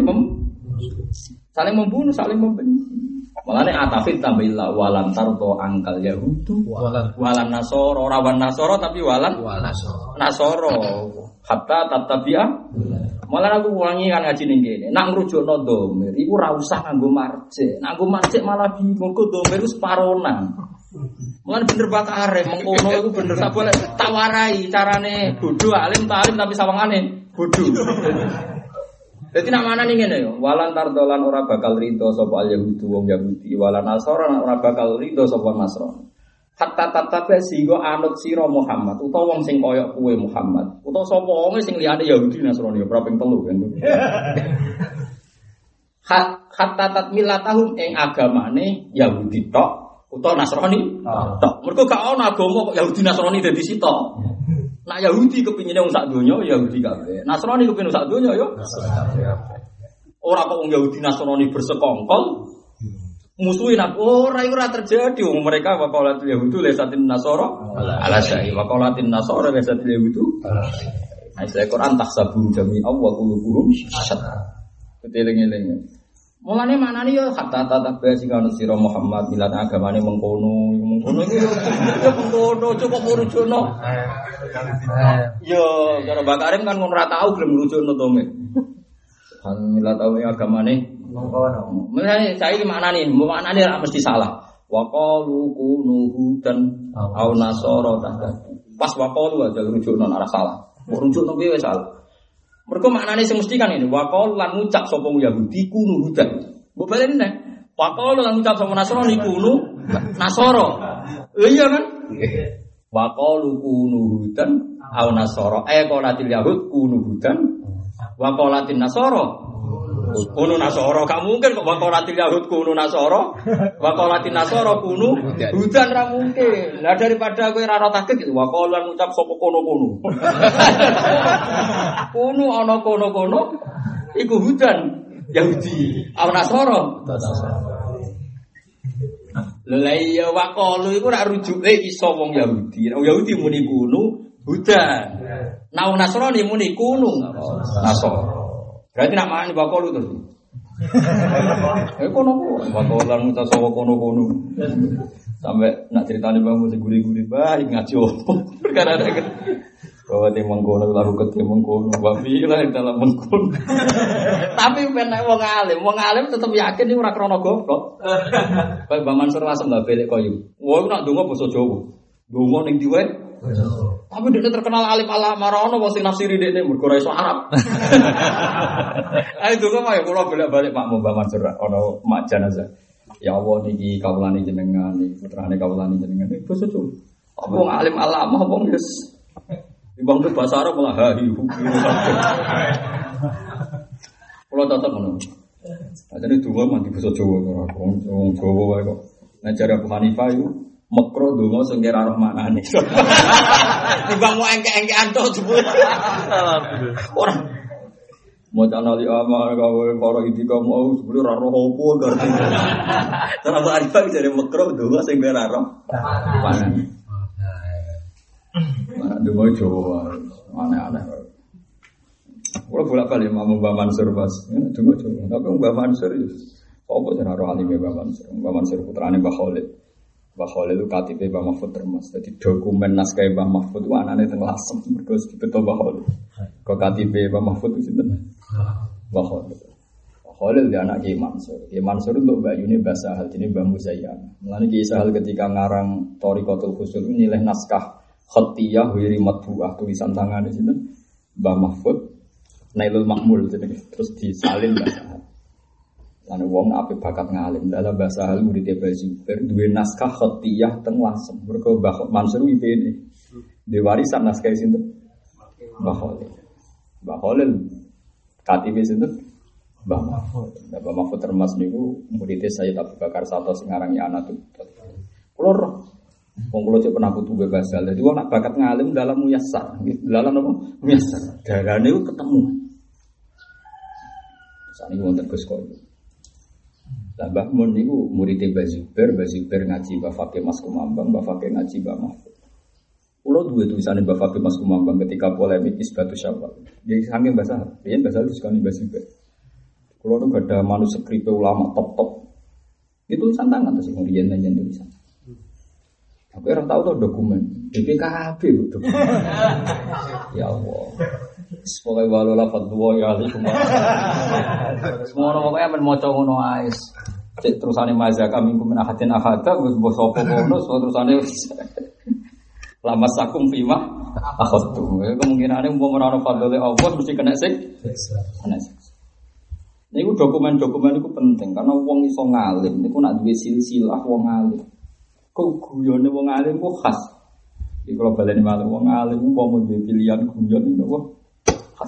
membunuh, saling membenci. Malane atafid tambillah walan tardo angkal yahudu walan nasara, ora wan nasara tapi walan nasara. Hatta tatabia. Malah aku wangi kan ngaji ning kene. Nak ngrujukno dhamir iku ora usah nganggo marjek. Nganggo marjek malah bingung kok dhamir wis paronan. Mulane bener bakare mengkono iku bener sak boleh tak warai carane bodho alim tapi sawangane bodho. Dadi nak manane ngene yo, walan tardolan ora bakal rido sapa al Yahudi wong Yahudi, walan Nasara ora bakal rido sapa Nasrani. Hatta tatabe sehingga anut sira Muhammad utawa wong sing kaya kowe Muhammad, utawa sapa wong sing liyane Yahudi Nasrani yo ping 3 kan. Hatta tatmilatahum ing agamane Yahudi tok utawa Nasrani tok. Mergo gak ono agama kok Yahudi Nasrani dadi sitok. Nak Yahudi kepingine wong sak donya Yahudi kabeh. Nasrani kepingin sak donya yo. Ora kok wong Yahudi Nasrani bersekongkol musuhin ora iku ora terjadi wong mereka waqalatul yahudu laisatin nasara ala syai waqalatin nasara laisatil yahudu. Ayat Quran tahsabu jami'a wa qulubuhum syatta. Keteling-eling. Mulane manane yo hatta tatabba sing ana sira Muhammad milat agamane mengkono iki yo mengkono coba merujukno. Yo karo Mbak Karim kan ngono ora tau gelem merujukno to mek. Milat agamane mengkono. Mulane saiki maknane ora mesti salah. Wa qalu kunu hudan au nasara tahta. Pas wa qalu aja rujukno ora salah. Mbok rujukno piye wis salah. Mergo maknane sing mesti kan ini waqal lan ngucap sapa Yahudi kunu hudan. Mbok baleni nek waqal lan ngucap sapa Nasrani kunu Nasara. Iya kan? Waqalu kunu hudan au Nasara. Qalatil yahud kunu hudan wa qalatin Nasara kunu Nasara. Gak mungkin kok waqalatil yahud kunu Nasara wa qalatin Nasara kunu hudan ra mungkin. Lah daripada kowe ra tahqiq gitu waqal lan ngucap sapa kono-kono. Kuno ana kono-kono iku hudan Yahudi au Nasara. Lha iya waqalu iku ora rujuke iso wong Yahudi. Wong Yahudi muni kuno hudan. Nah Nasrani muni kuno Nasara. Berarti nak mangan waqalu terus. Kono-kono waqalan ngucap sapa kono-kono. Sampai nak ceritane bangmu sing guri-guri bae ngaji opo. Perkara ada bahwa tim mengkono lalu ke tim mengkono babi lah dalam mengkono. Tapi penak wong alim tetep yakin iki ora krana goblok. Kayak Mbak Mansur Lasem lah belek koyo. Wong nak ndonga basa Jawa. Ndonga ning diwe. Tapi dia terkenal alim Allah marono wong sing nafsiri dekne mergo ora iso Arab. Ayo ndonga mah kula bolak-balik Pak Mbak Mansur ana mak jenazah. Ya Allah niki kawulane jenengan niki putrane kawulane jenengan iki basa Jawa. Apa wong alim Allah mah wong wis Ibang ke bahasa Arab malah hahi kalau tetap menurut jadi dua mandi bahasa Jawa orang Jawa wae kok ngajar Abu Hanifah itu makro dungo sengkira roh maknane ibang mau engke-engkean to jebul orang mau canali amal gawe para itika mau jebul ora roh opo garti cara Abu Hanifah jadi makro dungo sengkira roh maknane. Mana dungo Jawa, aneh-aneh. Kalau bolak-balik mau Mbak Mansur pas, dungo Jawa. Tapi Mbak Mansur itu, apa sih naruh alimnya Mbak Mansur? Mbak Mansur putrane Mbak Khalid. Mbak Khalid itu KTP Mbak Mahfud Termas. Jadi dokumen naskah Mbak Mahfud itu anaknya tengah lasem. Mereka dibetul Mbak Khalid. Kau KTP Mbak Mahfud itu sih Mbak Khalid. Mbak Khalid dia anak Kiai Mansur. Kiai Mansur untuk Mbak Yuni bahasa hal ini Mbak Muzayyana. Mulanya Kiai Sahal ketika ngarang Thariqatul Usul nilai naskah Khatiyah wiri matbu'ah tulisan tangan di sini Mbah Mahfud Nailul Makmul terus disalin bahasa hal. Lalu wong apik bakat ngalim dalam bahasa hal murid Zubair duwe naskah Khatiyah teng Lasem. Mergo Mbah Mansur IPD. Di warisan naskah sinten? Mbah Khalid. Mbah Khalid KTP sinten? Mbah Mahfud. Mbah Mahfud Termas niku murid Sayyid Abu Bakar Sato sing aran Ana Tut. Kulo wong kula cek pernah kudu bahasa. Dadi wong nak bakat ngalim dalam muyassar. Dalam apa? Muyassar. Darane ku ketemu. Saniki wonten Gus Koyo. Lah Mbah Mun niku murid Mbah Zubair ngaji Mbah Fakih Mas Kumambang, Mbah Fakih ngaji Mbah Mahfud. Kula duwe tulisane Mbah Fakih Mas Kumambang ketika polemik Isbatus Syawal. Dia saking bahasa, riyen bahasa diskoni Mbah Zubair. Kula tuh ada manuskrip ulama top-top. Itu tulisan tangan terus riyen nyen tulisan. Aku orang tahu tuh dokumen BPKB dokumen. Ya Allah. Semoga walola fatwa ya alaikum. Semua orang pokoknya men maca ngono ae. Cek terusane mazak kami kumin ahadin ahada wis mbok sapa kono terusane lama sakum fima akhadtu. Kemungkinane umpama ora ana fadhole Allah mesti kena sik. Kena sik. Niku dokumen-dokumen niku penting karena wong iso ngalim niku nak duwe silsilah wong alim. Kok guyone wong alim ku khas. Iki kalau baleni malah wong alim umpama duwe pilihan guyon niku khas.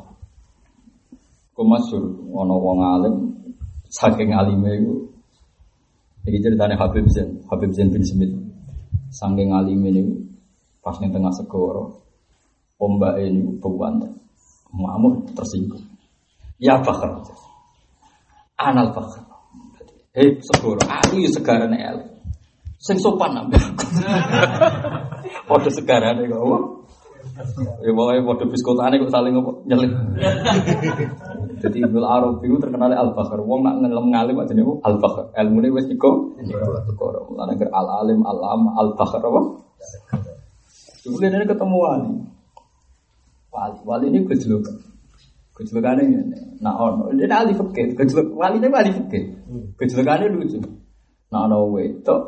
Kok masyhur ana wong alim saking alime iku. Iki ceritane Habib Zain bin Smith. Saking alime niku pas ning tengah segara ombake niku bewan. Ngamuk tersinggung. Ya Fakhr. Anal Fakhr. Segara, aku ya segarane el. Sing sopan nambah. Padha segarane kok. Ya pokoke padha biskotane kok saling nyelip. Jadi Ibnu Arabi itu terkenal Al-Fakhr. Wong nak ngelem ngalim aja niku Al-Fakhr. Ilmune wis iku segara. Mulane ger al-alim al-am Al-Fakhr apa? Kemudian ketemu wali. Wali ini gejolokan. Gejolokane ngene. Nah ono, dia ahli fikih. Waline ahli fikih. Gejolokane lucu. Nah ono wedok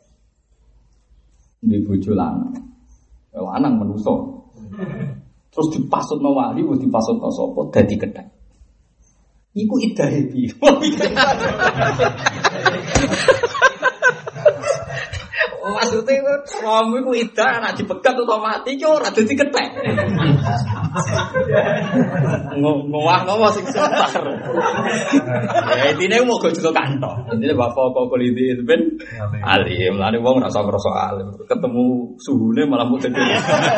di bojo lanang. Lanang manusa. Terus dipasutno wali, wis dipasutno sapa dadi kethek. Iku idahe piye? Maksudnya suami ku idah anak dipegat atau mati ki ora dadi kethek. Ngomong sing sebar. Ya intine mau gojo kantor. Intine bapak kok kuliti ben alim. Lane wong ora ngrasa alim. Ketemu suhune malah mung dadi.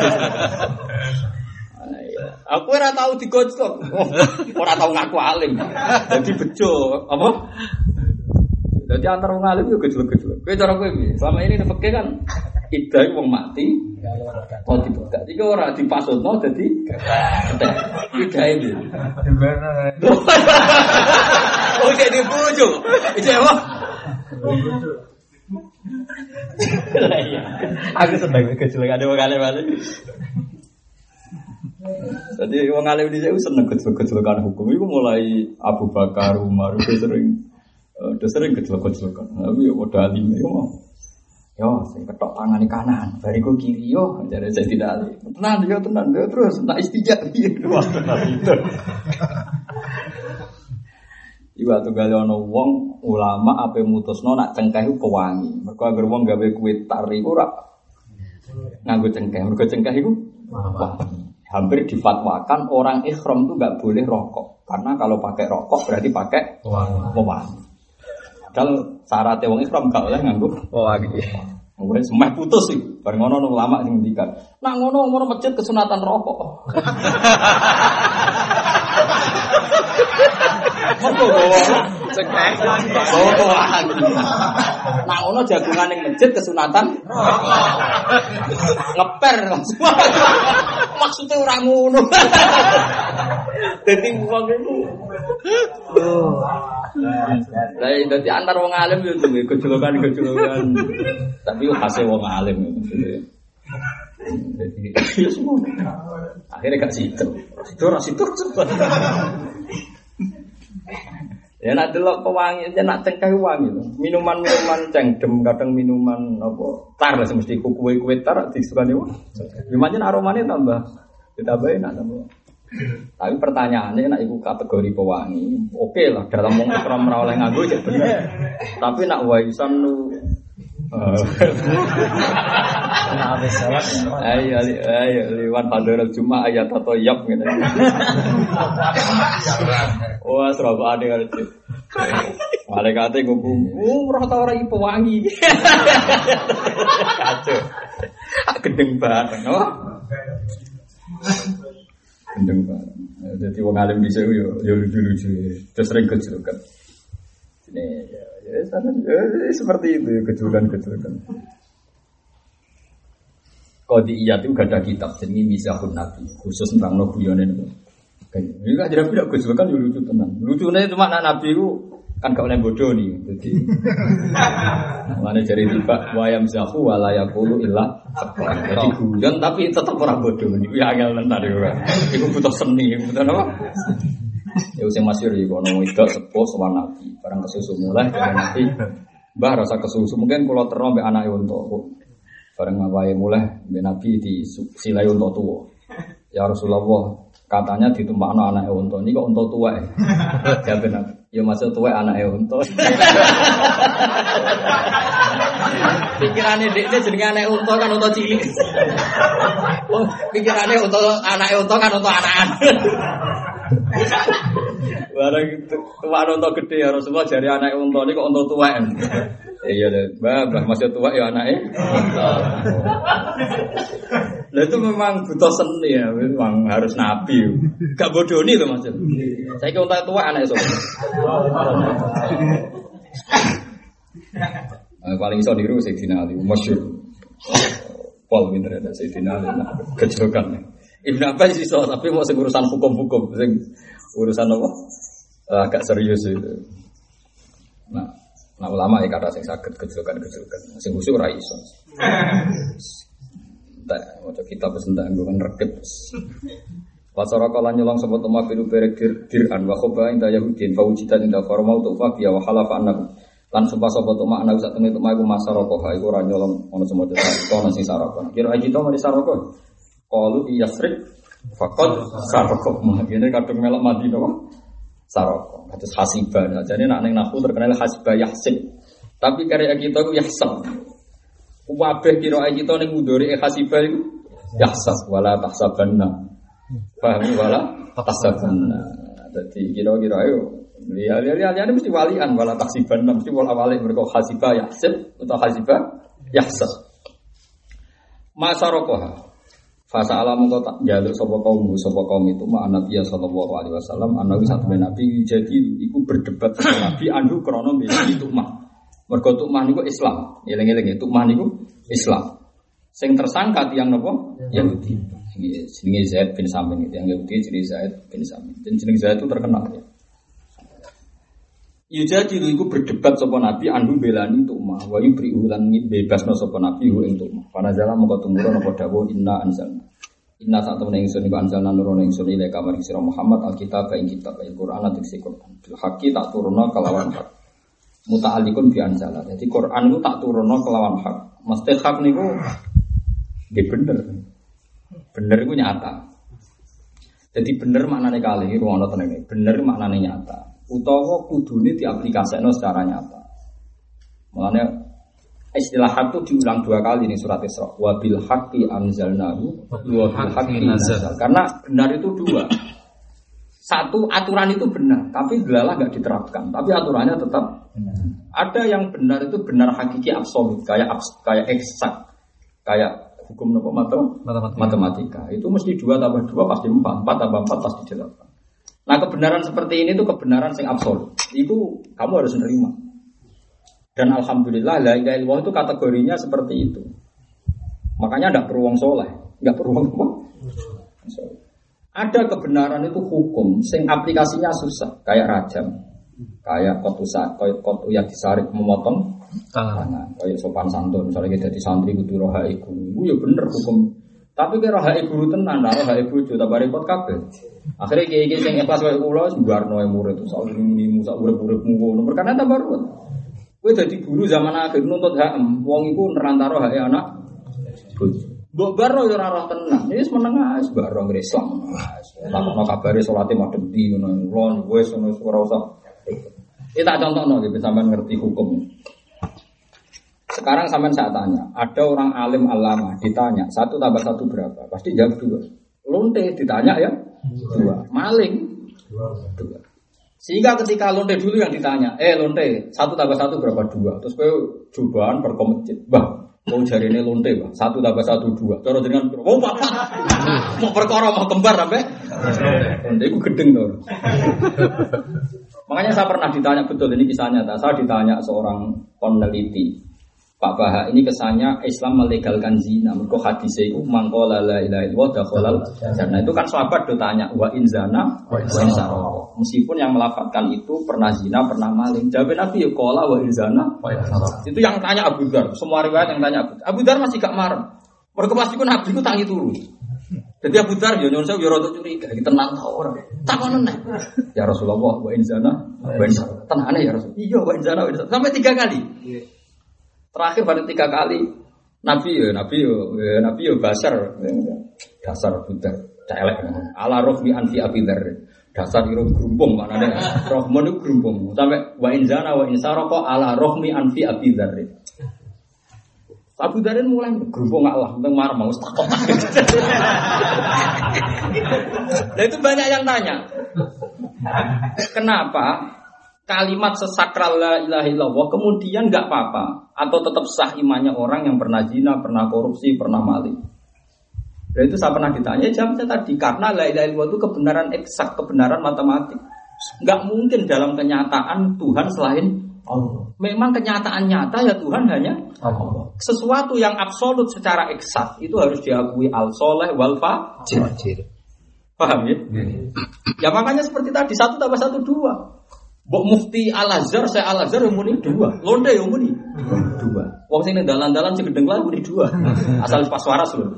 Aku ora tau digojlok. Ora tau ngaku alim. Dadi bejo, apa? Jadi antar wong alim yo gejlek-gejlek. Kowe cara kowe piye? Selama ini nepeke kan idah wong mati. Oh dipegat. Iki ora dipasutno dadi kethek. Idahe piye? Oh jadi bojo. Iki apa? Aku seneng gejlek ada wong alim. Jadi wong alim dhisik seneng gejlek-gejlekan hukum. Iku mulai Abu Bakar, Umar sering gejlek-gejlekan. Tapi ya padha alime yo. Yo sing ketok tangane kanan, bariku kiri yo, jare saya tidak ali. Tenan yo terus tak istijak piye itu. Iku tunggal ana wong ulama ape mutusno nak cengkeh iku pewangi. Mergo anggere wong gawe kuwi tar iku ora nganggo cengkeh. Mergo cengkeh iku hampir difatwakan orang ihram itu enggak boleh rokok. Karena kalau pakai rokok berarti pakai pewangi. Kalau syaratnya wong ihram gak oleh nganggo pewangi. Wis semeh putus sih. Bar ngono ulama sing ngendikan. Nak ngono umur masjid kesunatan rokok. Mergo cengkeh. Nak ngono jagungan ning masjid kesunatan rokok. Ngeper langsung. Maksudnya ora ngono. Dadi wong iku. Lah dadi antar wong alim yo duwe gejolokan. Tapi yo khase wong alim maksudnya. Jadi yo semua. Akhirnya gak situ. Situ. Ya nak delok pewangi, ya nak cengkeh wangi lho. Minuman-minuman cengdem, kadang minuman apa? Tar lah mesti kue tar disukani wong. Gimana aromane tambah ditambahin tambah. Tapi pertanyaannya nak iku kategori pewangi, oke lah dalam wong ikram ora oleh nganggo ya bener. Tapi nak waisan lu ayo liwan padahal cuma ayat atau yap gitu. Wah serba ada ngerti. Malaikatnya ngomong, roh tau orang pewangi. Kacau, gendeng banget, no? Gendeng banget. Jadi wong alim bisa yo lucu-lucu, terus sering kejulukan. Ini ya seperti itu kejulukan. Qadiyat itu gak ada kitab jenenge Mizahun Nabi khusus tentang nobuyone niku. Ini kan jadi tidak kejulukan yo lucu tenan. Lucune cuma anak Nabi itu kan gak oleh bodoh nih. Jadi mana cari tiba wayam zahu wala yaqulu illa haqqa. Jadi guyon tapi tetap ora bodoh. Niku ya angel tenan yo. Iku butuh seni, butuh apa? Ya sing masyhur iki ono wedok sepuh sowan Nabi, barang kesusu mulai dari Nabi. Mbah rasa kesusu mungkin kula terno mbek anake unta. Bareng wae mulai mbek Nabi di silai unta tuwa. Ya Rasulullah, katanya ditumpakno anake unta. Niki kok unta tuwa ya? Jawab Nabi. Ya maksud tuwa anake unta. Pikirane dekne jenenge anake unta kan unta cilik. Oh, pikirane unta anake unta kan unta anakan. Barang itu tuwa unta gede ya Rasulullah jari anake unta niki kok unta tuwa. Iya deh, mbah masih tua ya anaknya. Nah itu memang butuh seni ya, memang harus nabi. Gak bodoh nih loh maksud. Saya kira untuk tua anaknya soalnya. Paling iso niru Sayyidina Ali, masyhur. Pol pinter ada Sayyidina Ali, kejauhan. Ibn Abbas iso, tapi mau urusan hukum-hukum, urusan apa? Agak serius itu. Nah ulama ya kata sing saged gejolkan sing khusyuk ora iso. Tak maca kitab sentak nggo rekep. Pasara kala nyolong sapa tuma biru berek diran wa khoba inda yahudin fa ujitan inda farmau tu fa biya wa halafa annahu lan sumpah sapa tuma ana sak temene tuma iku masaraka iku ora nyolong ana semono ana sing saraka. Kira aji to mari saraka. Qalu yasrik faqad saraka. Ngene kadung melok Madinah kok. Saroko, kados hasibah. Jadi nak neng nahu terkenal hasibah yahsib. Tapi karya kita itu yahsab. Wabeh kira kita neng mudori hasibah itu yahsab. Wala tahsabanna. Paham wala tahsabanna. Jadi kira-kira ayo. Lihat-lihat mesti walian. Wala tahsibanna mesti wala wali mereka hasibah yahsib atau hasibah yahsab. Masarokoha. Fasa alam engkau tak jaluk sopo kaum itu ma Nabi sallallahu alaihi wasallam anawi satu nabi jadi iku berdebat sama Nabi anhu krono milih tukmah. Mergo tukmah niku Islam. Eling-eling tukmah niku Islam. Sing tersangka tiyang napa? Yahudi. Jenenge Zaid bin Samin itu yang Yahudi jenenge Zaid bin Samin. Dan jenenge Zaid itu terkenal ya. Jadi iku berdebat sapa Nabi anhu belani tukmah wa yubri'u lan bebasno sapa Nabi ing tukmah. Para jala mongko tumurun apa dawuh inna anzalna. Inna sak temene ingsun iku anzalna nurono ingsun ile kamar sira Muhammad alkitab ing kitab Al-Qur'an diksi Qur'an. Bil haqqi tak turunna kelawan hak. Muta'alliqun bi anzala. Jadi Qur'an itu tak turunna kelawan hak. Mesti hak niku nggih bener. Bener iku nyata. Jadi bener maknane kali ruwono tenene. Bener maknane nyata. Utawa kudune diaplikasekno secara nyata. Makanya istilah hak itu diulang 2 kali nih surat Isra. Wa bil haqqi anzalnahu wa bil haqqi nazal. Karena benar itu 2. Satu aturan itu benar, tapi delalah enggak diterapkan. Tapi aturannya tetap benar. Ada yang benar itu benar hakiki absolut, kayak eksak, kayak hukum matematika. Itu mesti 2 tambah 2 pasti 4, 4 tambah 4 pasti 8. Nah kebenaran seperti ini itu kebenaran yang absolut. Itu kamu harus menerima. Dan alhamdulillah la ilaha illallah itu kategorinya seperti itu. Makanya tidak perlu wong soleh, nggak perlu wong apa. Ada kebenaran itu hukum, sing aplikasinya susah, kayak rajam, kayak kotu yang disarik memotong tangan, kayak sopan santun. Misalnya kita di santri kudu roha iku, ya bener hukum. Tapi kira roha iku tenan, roha iku itu tak repot kabeh. Akhirnya kiai-kiai sing ikhlas kaya kula sembarno murid itu sak nimu sak urip-uripmu ngono. Perkara tambah ruwet. Kowe dadi guru zaman akhir nuntut hak wong iku nerantaro hak anak bojo. Mbok baro ya ora roh tenan. Wis meneng wis baro ngre Islam. Takokno kabare salate madhep ndi ngono. Lon wis ngono ora usah. Iki tak contohno nggih sampean ngerti hukum. Sekarang sampean saya tanya, ada orang alim alama ditanya 1 tambah 1 berapa? Pasti jawab 2. Lonte ditanya ya 2. Maling 2. Sehingga ketika lonte dulu yang ditanya, lonte 1 tambah 1 berapa 2? Terus kowe cobaan berkomentar, "Mbah, mau jarine lonte, Mbah. 1 tambah 1 2." Cara jenengan, "Oh, Bapak. Mau perkara mau kembar sampe." Lonte iku gedeng to. Makanya saya pernah ditanya betul ini kisahnya. Saya ditanya seorang peneliti. Pak Baha ini kesannya Islam melegalkan zina. Mergo hadis itu mangqala la ilaha illallah dakhalal jannah. Itu kan sahabat do tanya wa in zana wa in sarqa. Meskipun yang melafalkan itu pernah zina, pernah maling. Jawab Nabi ya qala wa in zana wa in sarqa. Itu yang tanya Abu Dzar. Semua riwayat yang tanya Abu Dzar masih gak marah. Mergo pas iku Nabi ku tangi turu. Jadi Abu Dzar yo nyuwun sewu yo rada curiga, iki tenan ta ora? Takon neh. Ya Rasulullah wa inzana wa inzana. Tenane ya Rasul. Iya wa inzana wa inzana. Sampai 3 kali. Terakhir pada 3 kali Nabi yo basar. Dasar Abu Dzar, celek. Ala rohmi anfi Abi Dzar. Dasar iro grumpung maknane. Rohmun iku grumpung. Sampai wa inzana wa insaraqa ala rohmi anfi Abi Dzar. Abu Dzar mulai grumpung Allah, tentang marah mau takut. Nah itu banyak yang tanya, kenapa kalimat sesakral la ilaha illallah kemudian nggak apa-apa atau tetap sah imannya orang yang pernah zina, pernah korupsi, pernah maling? Dan itu saya pernah ditanya, jawabnya tadi karena la ilaha illallah itu kebenaran eksak, kebenaran matematik. Nggak mungkin dalam kenyataan Tuhan selain Allah. Memang kenyataan nyata ya Tuhan hanya Allah. Sesuatu yang absolut secara eksak itu harus diakui al-soleh wal fajir. Paham ya? Ya makanya seperti tadi 1 tambah 1 2. Mbok mufti Al-Azhar, saya Al-Azhar yang muni 2. Londe yang muni 2. Wong sing ning dalan-dalan sing gedeng lah muni 2. Asal pas waras lho.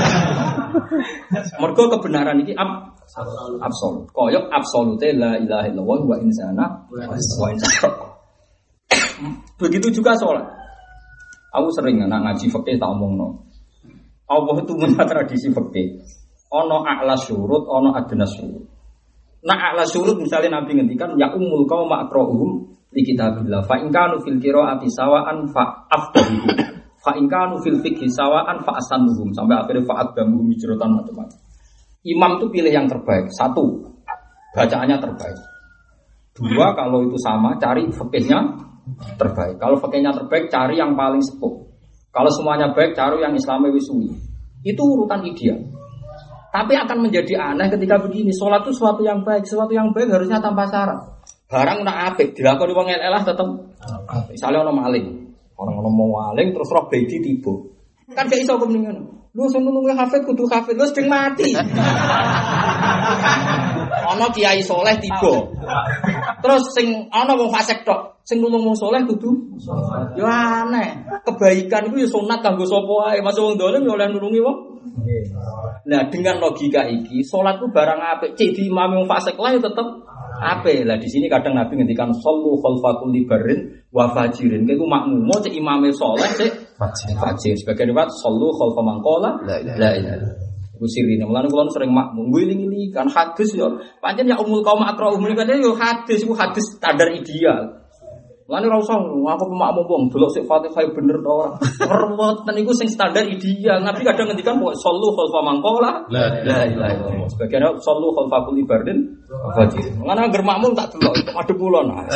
Mergo kebenaran iki absolut. Koyok absolute la ilaha illallah wa insana wa insana. Begitu juga sholat. Aku sering anak ngaji fikih tak omongno. Allah itu punya tradisi fikih. Ono a'la syurut, ono adna syurut. Nah a'la syurut misalnya Nabi ngendikan ya ummul qaum aqra'uhum li kitabillah fa in kanu fil qira'ati sawa'an fa afdahuhum fa in kanu fil fiqhi sawa'an fa asanuhum sampai akhirnya fa aqdamuhum hijratan macam-macam. Imam itu pilih yang terbaik. 1, bacaannya terbaik. 2, kalau itu sama cari fikihnya terbaik. Kalau fakihnya terbaik, cari yang paling sepuh. Kalau semuanya baik, cari yang Islamnya wisui. Itu urutan ideal. Tapi akan menjadi aneh ketika begini. Sholat itu sesuatu yang baik. Sesuatu yang baik harusnya tanpa syarat. Barang nak apik, dilakoni wong eleh tetep. Misalnya ono maling, orang mau maling terus roh bedi tiba. Kan gak iso kemeningan. Lu sing nulungi hafid kudu hafid, lu sedeng mati. Ono kiai soleh tiba. Terus sing ana wong fasik tok, sing nulung wong saleh kudu yo aneh. Kebaikan iku yo sunat kanggo sapa wae, masuk wong dolim yo oleh nulungi wong. Nah, dengan logika iki, salat ku barang apik, cek di imam wong fasik lah yo tetep apik. Lah di sini kadang Nabi ngendikan sallu khalfa kulli barrin wa fajirin. Iku makmum cek imame saleh cek fajir. Sebagian riwayat sallu khalfa man qala la ilaha illallah. Kusirine mulane kula sering makmum ngiling-ngiling kan hadis yo pancen ya umul qaum aqra'uhum niku yo hadis iku hadis standar ideal. Mulane ora usah aku pemakmum wong delok sik Fatihah bener to ora. Perweten niku sing standar ideal. Nabi kadang ngendikan kok sallu khalfa man qala la ilaha illallah. Sebagian sallu khalfa kulli bardin fajir. Mulane anggere makmum tak delok madhep kula nah.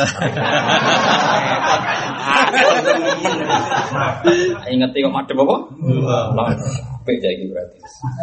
Ingat kok madhep apa? Apik iki berarti.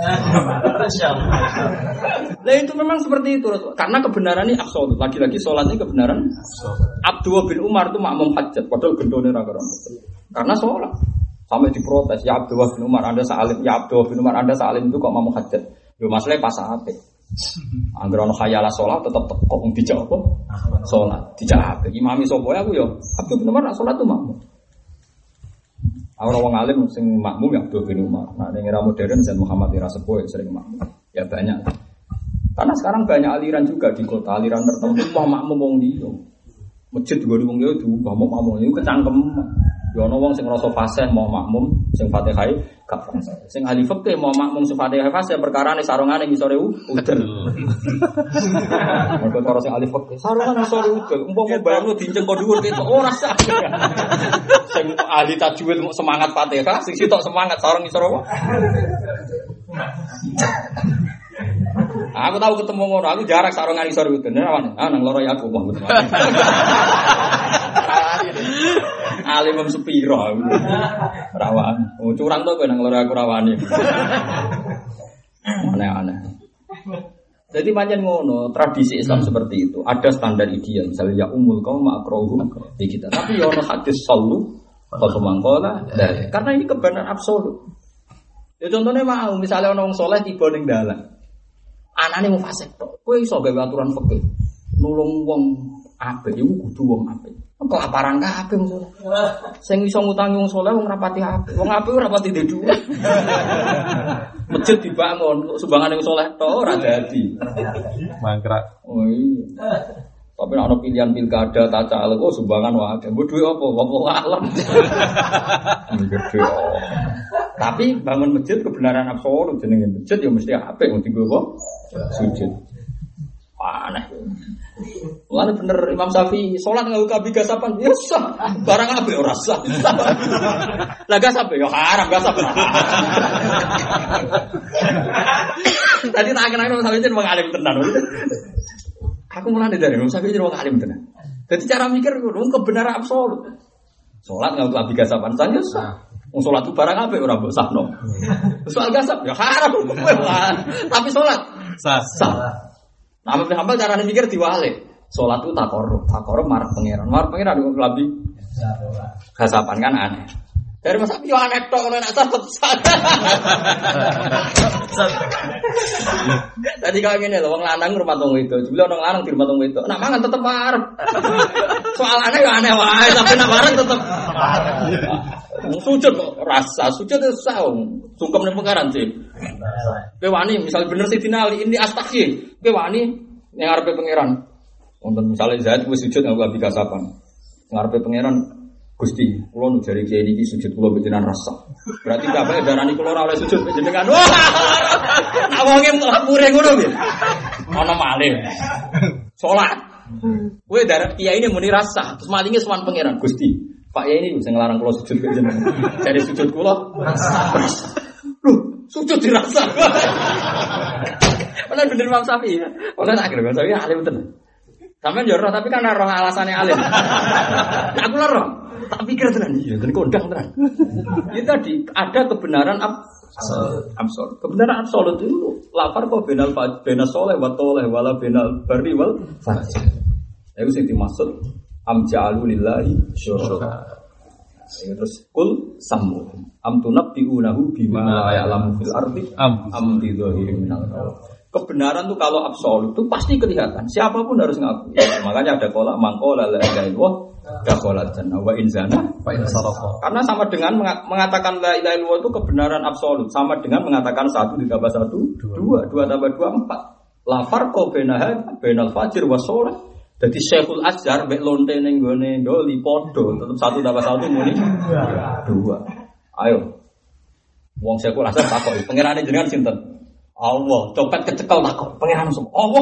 Nah itu memang seperti itu karena kebenaran ini absolut. Lagi-lagi sholatnya kebenaran Abdullah bin Umar itu makmum hajat padahal gendone ra karo. Karena sholat sampai diprotes ya Abdullah bin Umar Anda salim ya Abdullah bin Umar Anda salim itu kok makmum hajat. Yo masalahnya pas apik. Angger ana khayalah sholat tetep kok dijawab apa? Sholat dijawab. Imami sapa aku yo Abdullah bin Umar sholat tuh makmum. Orang alim sing makmum ya Abdul bin Umar. Nah, ning era modern Zain Muhammad era sepuh sering makmum. Ya banyak. Karena sekarang banyak aliran juga di kota, aliran tertentu mau makmum wong liya. Masjid gede wong liya diubah mau makmum iku kecangkem. Ya ana wong sing ngrasa fasih mau makmum sing Fatihah gak fasih. Sing ahli fikih mau makmum sing Fatihah fasih perkarane sarungane ngisore udel. Mergo karo sing ahli fikih sarungane ngisore udel. Umpama bayangno dinceng kok dhuwur ketok ora sak. Sing ahli tajwid semangat Fatihah, sing sitok semangat sarung ngisor apa? Aku tahu ketemu ngono, aku jarak sarungan ngisor udel. Nang nang loro ya aku wong. Alim sepiro rawan. Oh curang to kowe nang loro aku rawani. Aneh-aneh. Jadi pancen ngono, tradisi Islam seperti itu. Ada standar ideal, misalnya ya umul qaum aqra'uhum di kita. Tapi ya ono hadis sallu kalau mangkola, karena ini kebenaran absolut. Ya contohnya mau, misalnya ono wong saleh tiba ning dalan. Anane wong fasik tok. Kowe iso gawe aturan fikih. Nulung wong apik iku kudu wong apik. Kelaparan kabeh wong saleh. Sing iso ngutangi wong saleh wong rapati apik. Wong apik ora rapati duwe. Masjid dibangun, sumbangan yang soleh toh ora dadi. Mangkrak. Oh iya. Tapi nek ana pilihan pilkada tak caleg kok sumbangan wae. Mbok duwe apa? Wong alam. Gede. Tapi bangun masjid kebenaran absolut jenenge masjid ya mesti apik mesti nggo sujud. Aneh. Mulane bener Imam Syafi'i salat nganggo kabi gasapan ya sah. Barang apik ora sah. Lah gasap ya haram gasap. Tadi tak kenal Imam Syafi'i jeneng wong alim tenan. Aku mulane dari Imam Syafi'i jeneng wong alim tenan. Jadi cara mikir ngono kebenaran absolut. Salat nganggo kabi gasapan saja sah. Wong salat itu barang apik ora mbok sahno. Soal gasap ya haram. Tapi salat sah. Nah, hambal carane mikir diwalik. Salat itu takorup marah pangeran. Marah pangeran kok lebih gasapan kan aneh. Dari masa yo aneh tok ora nak sah. Tadi kalau ngene lho wong lanang rumah tong wedok, jebule ono lanang di rumah tong wedok. Nak mangan tetep marep. Soalane yo aneh wae, tapi nak marep tetep. Sujud kok rasa sujud itu saung sungkem ning pengaran sih. Kowe wani misal bener Sidina Ali ini astaghfir. Kowe wani ning ngarepe pangeran. Wonten misale Zaid wis sujud nganggo abi kasapan. Ngarepe pangeran Gusti, kula nu jari kiai niki sujud kula panjenengan rasa. Berarti kabeh darani kula ora oleh sujud panjenengan. Wah. Awake muring ngono piye? Ana malih. Salat. Kowe darah kiai ini muni rasa, terus malinge sowan pangeran Gusti. Pak ya ini bisa ngelarang kalau sujud ke jeneng. Jadi sujud kula rasa. Loh, sujud dirasa. Bener bener Imam Syafi'i. Oleh tak kira Imam Syafi'i alim tenan. Sampeyan yo roh tapi kan roh alasane alim. Nah, aku roh. Tak pikir tenan iya, dan kondang tenan. Itu tadi ada kebenaran absolut. Kebenaran absolut itu lapar kok benal soleh wa toleh wala benal bari wal fajir. Itu sing dimaksud amja'alu lillahi syuraka. Terus kul samu am tunabbi'unahu bima la ya'lamu fil ardi am bi dhahirin minal qaul. Kebenaran itu kalau absolut itu pasti kelihatan. Siapapun harus ngaku. Makanya ada qala mangqala la ilaha illallah dakhala jannah wa in zana fa in saraqa. Karena sama dengan mengatakan la ilaha illallah itu kebenaran absolut, sama dengan mengatakan 1 ditambah 1 2, 2 tambah 2 4. La farqa bainal fajir was shalah. Jadi Syekhul Azhar mek lonte ning gone ndoli padha tetep 1 tambah 1 muni 2. Ayo. Wong Syekhul Azhar takoki, pangerane jenengan sinten? Allah, copet kecekel takok, pangeran sapa? Allah.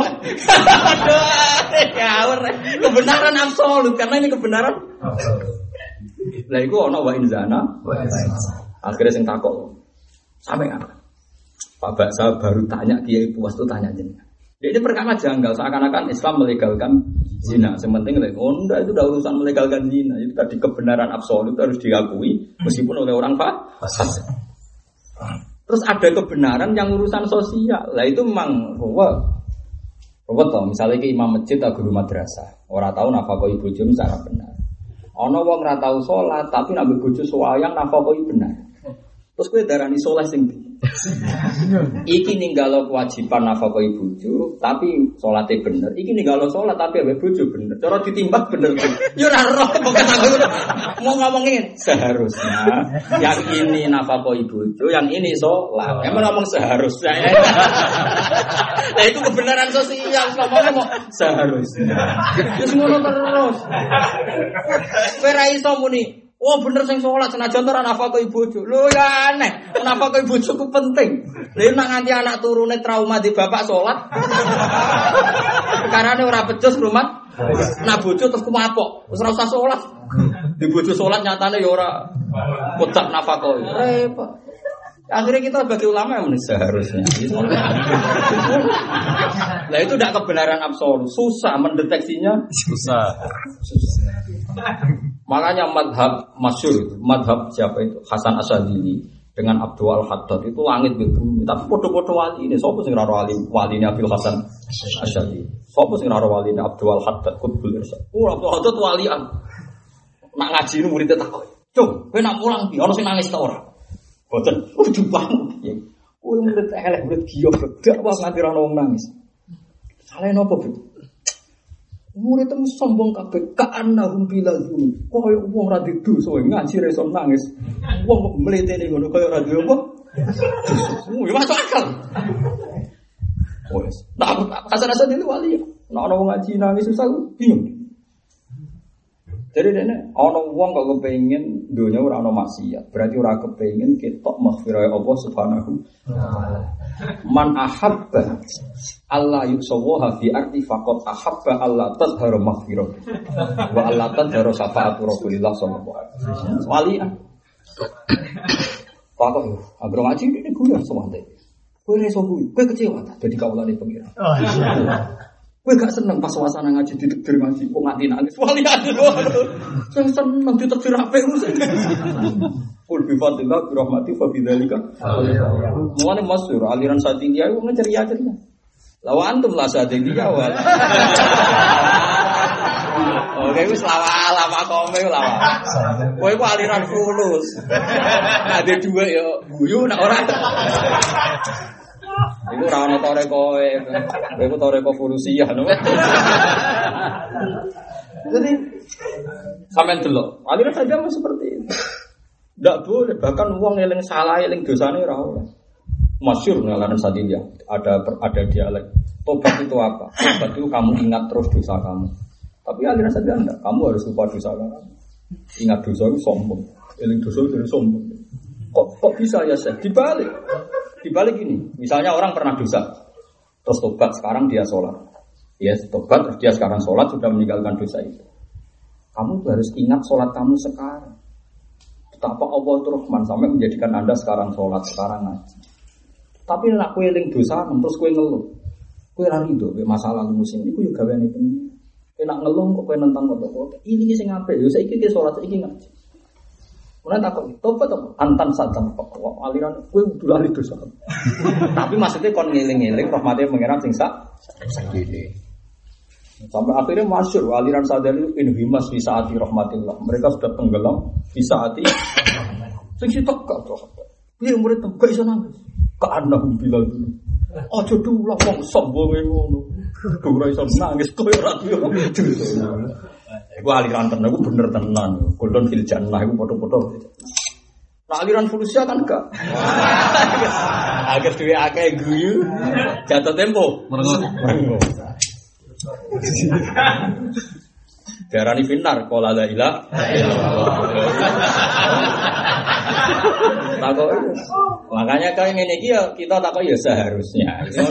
Aduh, ngawur. Kebenaran absolut karena ini kebenaran absolut. Lah iku ana wa inzana. Akhirnya sing takok. Sampe apa? Pak Baksa baru tanya Kiai Puas tuh tanya jenengan. Ini perkara janggal, seakan-akan Islam melegalkan zina. Sementing enggak itu udah urusan melegalkan zina. Itu tadi kebenaran absolut harus diakui meskipun oleh orang fasik. Terus ada kebenaran yang urusan sosial. Lah itu memang ruwet toh. Misalnya ke imam masjid atau guru madrasah, orang tahu nafkah bojo secara benar. Ana wong ora tau salat tapi nak bojo soayang nafkah benar. Terus kowe darani saleh sing iki ninggalo kewajiban nafkah bojo, tapi salate bener. Iki ninggalo salat tapi awe bojo bener. Cara ditimbang bener. Yo ora roh pokoke aku mau ngomongin seharusnya yang ini nafkah bojo, yang ini salat. Emang ngomong seharusnya. Nah itu kebenaran sosial ngomong seharusnya. Wis ngono terus. Kowe ra iso muni oh bener sing salat senajan ora nafkah bojo. Lho ya aneh, nafkah bojo ku penting. Lha nek nganti anak turune trauma di bapak salat. Perkarane ora becus rumah. Nah bojo terus kumapok, wis ora usah salat. Di bojo salat nyatane ya ora kotak nafkah. Repot. Akhirnya kita bagi ulama yang seharusnya. Nah itu tidak kebenaran absolut, susah mendeteksinya. Susah. Makanya madhab masyhur, madhab siapa itu Hasan Asyadili dengan Abdul Al-Haddad itu langit bumi. Tapi podo-podo wali ini, siapa sing ora wali ini Abdul Hasan Asyadili? Siapa sing ora wali ini Abdul Al-Haddad Qutbul Irsyad? Oh Abdul Al-Haddad walian. Nak ngaji ini muridnya takut. Cung, kowe nak mulang di, ono sing nangis ta ora? Boten, banget ya. Kowe murid elek, murid giok, gak wae nganti ora wong nangis. Salah nopo, Bu? Murid itu sombong kabeh, ka'annahum bilazun. Koyo wong ra didosa ngaji reso nangis. Wong kok mletene ngono koyo ra duwe apa? Masuk akal. Wes. Nah, Hasan itu wali. Nah, orang ngaji nangis susah bingung. Jadi dene ana wong kok kepengin donya ora ana maksiat, berarti ora kepengin ketok maghfirah Allah Subhanahu wa taala. Man ahabba Allah yusawaha fi arti faqat ahabba Allah tadhharu maghfirah. Wa Allah tadhharu syafaatu Rasulillah sallallahu alaihi wasallam. Walian. Pakok yo, anggere ngaji iki guna semate. Kowe reso kuwi, kowe kecewa ta dadi kawulane pengira. Oh iya. Kowe gak seneng pas suasana ngaji ditekdir ngaji kok nganti nangis. Walian lho. Sing seneng ditekdir apik mesti. Kul bi fadlillah bi rahmati fa bidzalika. Mulane masyhur aliran Sadiliyah wong ceria-ceria. Lawa antum la Sadiliyah wal. Oke wis lama kome lawa. Kowe ku aliran fulus. Ade dhuwit yo guyu nek ora. Iku ora ana toreko kowe toreko fulusiyah lho. Jadi sampean delok, aliran saja seperti itu. Ndak boleh bahkan wong eling salah eling dosane ora oleh. Masyhur aliran Sadiliyah, ada dialek. Tobat itu apa? Tobat itu kamu ingat terus dosa kamu. Tapi aliran Sadiliyah enggak, kamu harus lupa dosa kamu. Ingat dosa itu sombong. Eling dosa itu sombong. Kok bisa ya Syekh? Dibalik ini, misalnya orang pernah dosa, terus tobat, sekarang dia sholat. Ya, tobat, terus dia sekarang sholat, sudah meninggalkan dosa itu. Kamu harus ingat sholat kamu sekarang. Betapa Allah itu Rahman, sampai menjadikan Anda sekarang sholat, sekarang ngaji. Tapi nak kue eling dosa, terus kue ngeluh. Kue lari itu, masalah musim ini, kue juga ini penting. Kue nak ngeluh, kok kue nentang kotor-kotor. Ini sih ngapain? Ya, saya ikut sholat, saya ikut ngaji. Mulai takut, tobat apa? Antan satam aliran kue udah lari dosa. Tapi maksudnya kon ngeling-ngeling rahmatnya mengira sing sak segede. Sampai akhirnya masyhur aliran sadar itu inhimas fi saati rahmatillah. Mereka sudah tenggelam fi saati sing sitok gak to. Piye murid gak iso nangis. Ka anahum bilal dulu. Aja dulu wong sombong ngono. Ora iso nangis koyo ora duwe. Iku aliran tenan, iku bener tenan. Golden fil jannah iku foto-foto. Nah aliran Fulusia kan gak. Agar duwe akeh guyu, jatuh tempo. Merengo. Darani finar qala la ilaha illallah. Makanya kayak ngene iki ya kita takok ya seharusnya.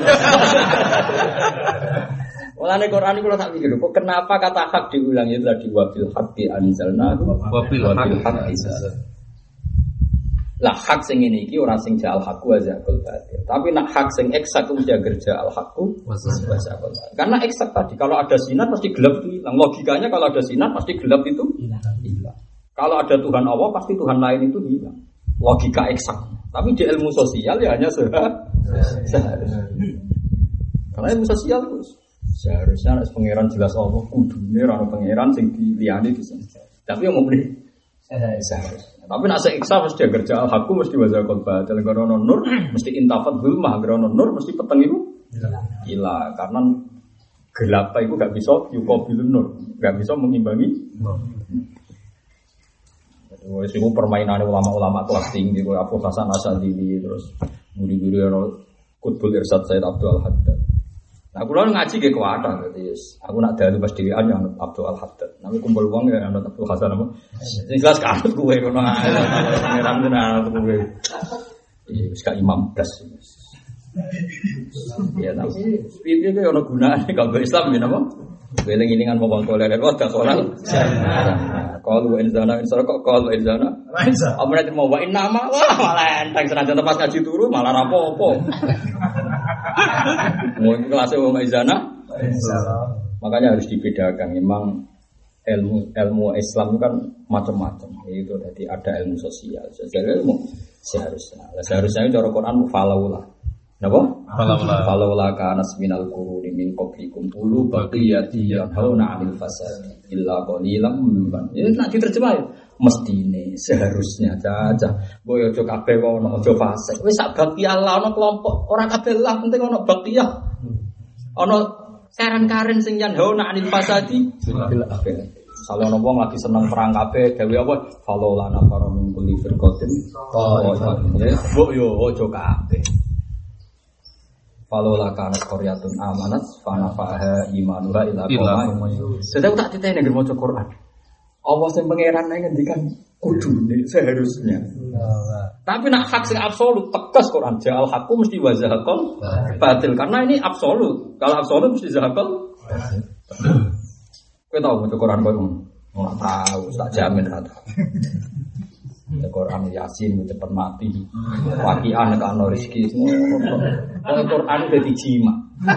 Mulane Quran iku tak pikir kok kenapa kata hak diulang itu tadi wabil haqqi anzalna wabil haqqi. Lah hak sing ngene iki ora sing ja'al haqqu wa zaqul batil. Tapi nak hak sing eksak mesti kerja al haqqu wa zaqul. Karena eksak tadi kalau ada sinar pasti gelap itu hilang. Logikanya kalau ada sinar pasti gelap itu hilang. Kalau ada Tuhan Allah pasti Tuhan lain itu hilang. Logika eksak. Tapi di ilmu sosial ya hanya seharusnya. Karena ilmu sosial itu seharusnya harus pangeran jelas Allah kudune ora pangeran sing diliyani di sini. Tapi yang ngomong seharusnya. Tapi nak seksa mesti kerja al-haqqu mesti wazaqul batil karena nur mesti intafat zulmah karena nur mesti peteng itu hilang karena gelap itu enggak bisa yuqabilun nur, enggak bisa mengimbangi. Wes iku permainan ulama-ulama kelas tinggi kaya Abu Hasan Asy'ari terus guru-guru ono Qutbul Irsyad Said Abdul Haddad. Nah, kula ngaji ge kuwata dadi aku nak dalu pas dhewean ya Abdul Haddad. Nami kumpul wong ya ana Abdul Hasan apa. Sing jelas kanut kowe ngono ae. Ngeram tenan kowe. Wis ka imam blas. Ya tapi piye ge ono gunane kalau Islam ya napa? Weling-elingan wong toleran wae soal. Qalu inzana kok qalu inzana. Apa nek mau wa inna ma malah enteng senajan pas ngaji turu malah rapopo. Mau kelasnya wong izana. Makanya harus dibedakan. Memang ilmu Islam itu kan macam-macam. Itu tadi ada ilmu sosial. Sosial ilmu seharusnya. Seharusnya cara Quran falaulah. Napa? Falaulah kana minal quruni min qablikum ulu baqiyati yanhauna 'anil fasad illa qalilan mimman. Ya nek diterjemah ya mestine seharusnya caca. Mbok aja kabeh ono aja fasik. Wis sak baqiyah ono kelompok ora kabeh lah penting ono baqiyah. Ono saran karen sing yanhauna 'anil fasadi illa Misalnya ono wong lagi seneng perang kabeh, gawe apa? Falo lana faro min kulli firqatin. Mbok yo ojo kabeh. Falo lakana qaryatun amanat fa nafaha imanuha ila qaumah. Sedang tak titene ngger maca Quran. Allah sing pangeran ngendikan kudune seharusnya. Tapi nak hak sing absolut tegas Quran ja'al haqqu mesti wa zahaqal batil karena ini absolut. Kalau absolut mesti zahaqal. Kowe tau maca Quran kowe ora tahu, tak jamin ra tau. Ya Quran Yasin cepet mati. Waqi'an nek ana rezeki semua. Quran dadi jima.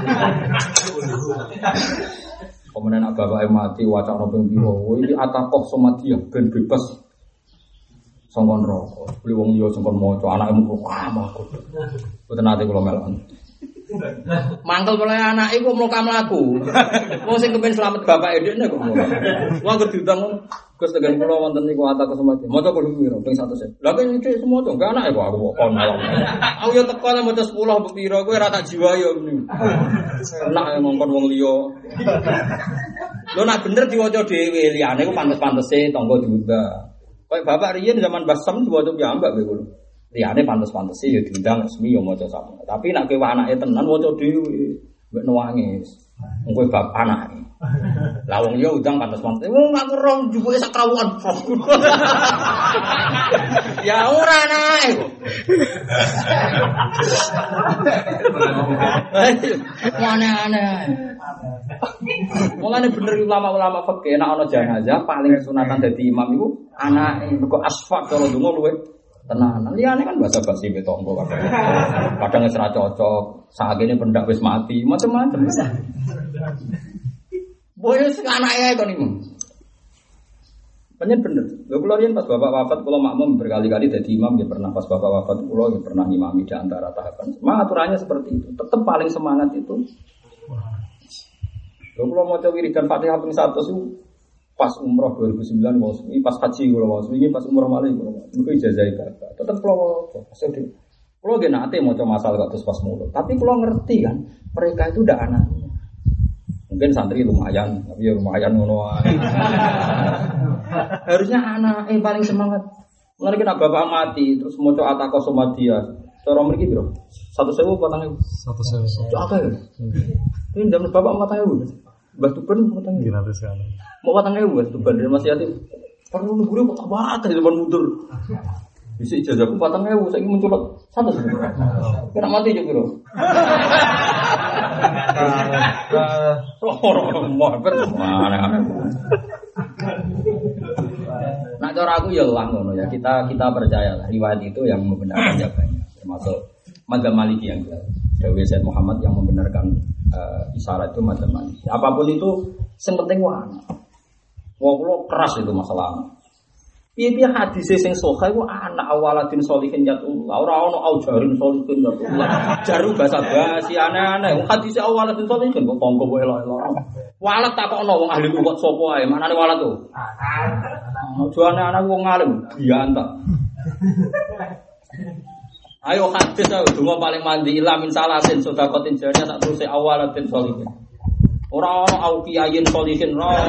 Kemudian bapak mati wacana ping piro. Iki atakoh somadia ben bebas. Sangkon rokok. Beli wong liya sangkon maca anake mung aku. Boten nate kula melon. Mangkel mulai anak iku mloka mlaku. Wong sing kepen slamet bapak edekne kok ngono. Wong anggere diundang Gus tegan kula wonten niku ata kesempatan. Maca kudu piro ping 100. Lah kok nyicik semua to, enggak anake kok aku kon malam. Aku yo teko nek maca 10 piro kowe ora tak jiwa yo. Enak ngongkon wong liya. Lho nek bener diwaca dhewe liyane ku pantes-pantese tangga diundang. Kayak bapak riyen zaman Basam diwaca piyambak kowe kulo. Liyane pantes-pantese ya diundang resmi ya maca sama. Tapi nek kowe anake tenan waca dhewe mbek nangis. Wong kowe bab anake. Lah wong ya undang pantes-pantese. Wong aku rong jupuke sak krawukan. Ya ora anake kok. Aneh-aneh. Mulane bener ulama-ulama fikih nek ana jenazah paling sunatan dadi imam iku anake. Kok asfak kalau donga luwe tenanan. Liyane kan basa-basi be tonggo kadang. Kadang wis ra cocok, sakjane pendak wis mati, macam-macam. Boyo sing anake kon iku. Panjen bener. Lho kula riyen pas bapak wafat kula makmum berkali-kali dadi imam, ya pernah pas bapak wafat kula ya pernah ngimami di antara tahapan. Aturannya seperti itu. Tetap paling semangat itu. Lho kula maca wiridan Fatihah ping 100 itu pas umroh 2009 ini pas haji kula ini pas umroh malih kula. Niku ijazah bapak. Tetep kula maksud kula nggih nate maca masal kok terus pas mulut. Tapi kula ngerti kan mereka itu ndak anaknya. Mungkin santri lumayan, tapi ya lumayan ngono wae. Harusnya anak paling semangat. Mulane kena bapak mati terus maca ataqo somadia. Cara mriki piro? 1.000 4.000. 1.000. Apa ya? Ini zaman bapak 4.000. Mbah Tuban 4.000. Gimana sekali? Mau 4.000 Mbah Tuban dari Mas Yatim. Perlu nunggu kok banget zaman mundur. Bisa ijazahku 4.000 saiki mencolot 100. Kena mati yo piro? Nah cara aku ya lah ngono ya kita percaya riwayat itu yang membenarkan ya banyak termasuk mazhab Maliki yang Dawi Said Muhammad yang membenarkan isyarat itu mazhab Maliki. Apapun itu yang penting wana. Wong kula keras itu masalah. Piye-piye hadis sing sahih ku anak awaladin sholihin yatullah ora ono aujarin sholihin yatullah. Jaru basa-basi aneh-aneh. Hadis awaladin sholihin kok tangga wae elok-elok. Walat takokno wong ahli kok sapa ae. Manane walat to? Aja anak-anak wong alim bianta. Ayo hadis ae donga paling mandi ila min salatin sedekatin jariyah sak terus awaladin sholihin. Ora ono auqiyayin sholihin ora.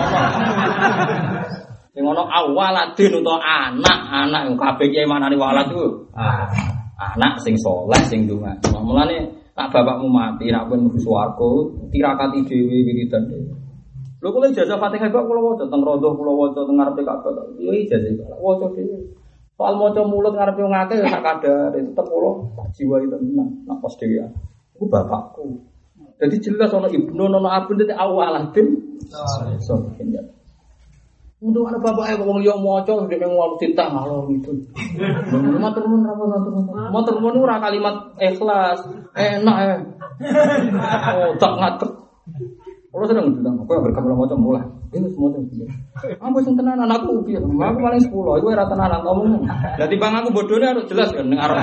Sing ana awaladin utawa anak yang kabeh kiye manane walad iku. Anak sing saleh sing ndonga. Mulane tak bapakmu mati nek pun mlebu swarga, tirakati dhewe wiridan dhewe. Lho kula ijazah Fatihah kok kula waca teng rodoh kula waca teng ngarepe Ka'bah. Yo ijazah waca dhewe. Soal maca mulut ngarepe wong akeh ya sak kadare tetep kula jiwa itu tenan nek pas dhewe. Iku bapakku. Jadi jelas ana ibnu ana abun dadi awaladin. Untuk anak bapak wong liya maca dene wong titah ngalor gitu. Matur nuwun ra matur nuwun ora kalimat ikhlas, enak ya. Oh, tak ngatek. Kalau sedang bilang, aku yang berkabel maca mulai. Ini semua tuh. Aku sing tenan anakku piye? Aku paling 10, iku ora tenanan ngomong. Lah timbang aku bodone harus jelas kan ning arep.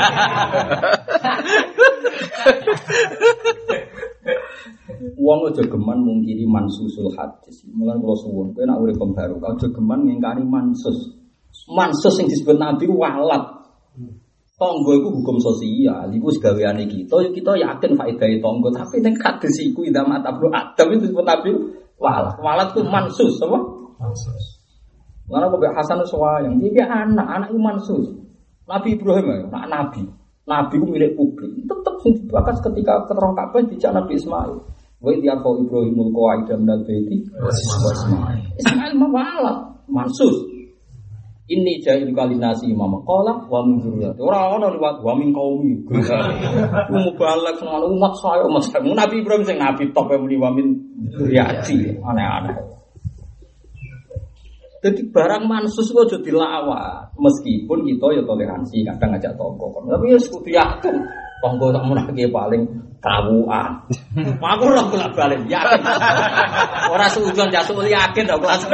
Wong aja geman mungkiri mansusul hadis. Mulane kula suwun, kowe nek urip baru, aja geman ngingkari mansus. Mansus sing disebut Nabi walat. Tangga iku hukum sosial, iku segaweane kita. Kita yakin faedahe tangga, tapi ning hadis iku idza matablu adam itu disebut Nabi walat. Walat ku mansus apa? Mana kok Hasan Suwayang, dia anak itu mansus. Nabi Ibrahim ya, nabi. Nabi itu milik publik. Tetap bahkan ketika keterang Ka'bah dijak Nabi Ismail. Wa idhiyarfau Ibrahimul qawaida minal baiti Ismail. Ismail mawala mansus. Ini jahil kalinasi imam qala wa min dzurriyyati. Ora ana liwat wa min qaumi. Mubalak ngono umat saya Mas. Nabi Ibrahim sing nabi top muni wa min dzurriyyati. Aneh-aneh. Jadi barang mansus itu aja dilawat. Meskipun kita ya toleransi kadang ngajak tonggo. Tapi ya kudu yakin tonggo tak menake paling kawuan. Aku ora bolak-balik yakin. Ora suujon jasuk yakin tok kelas.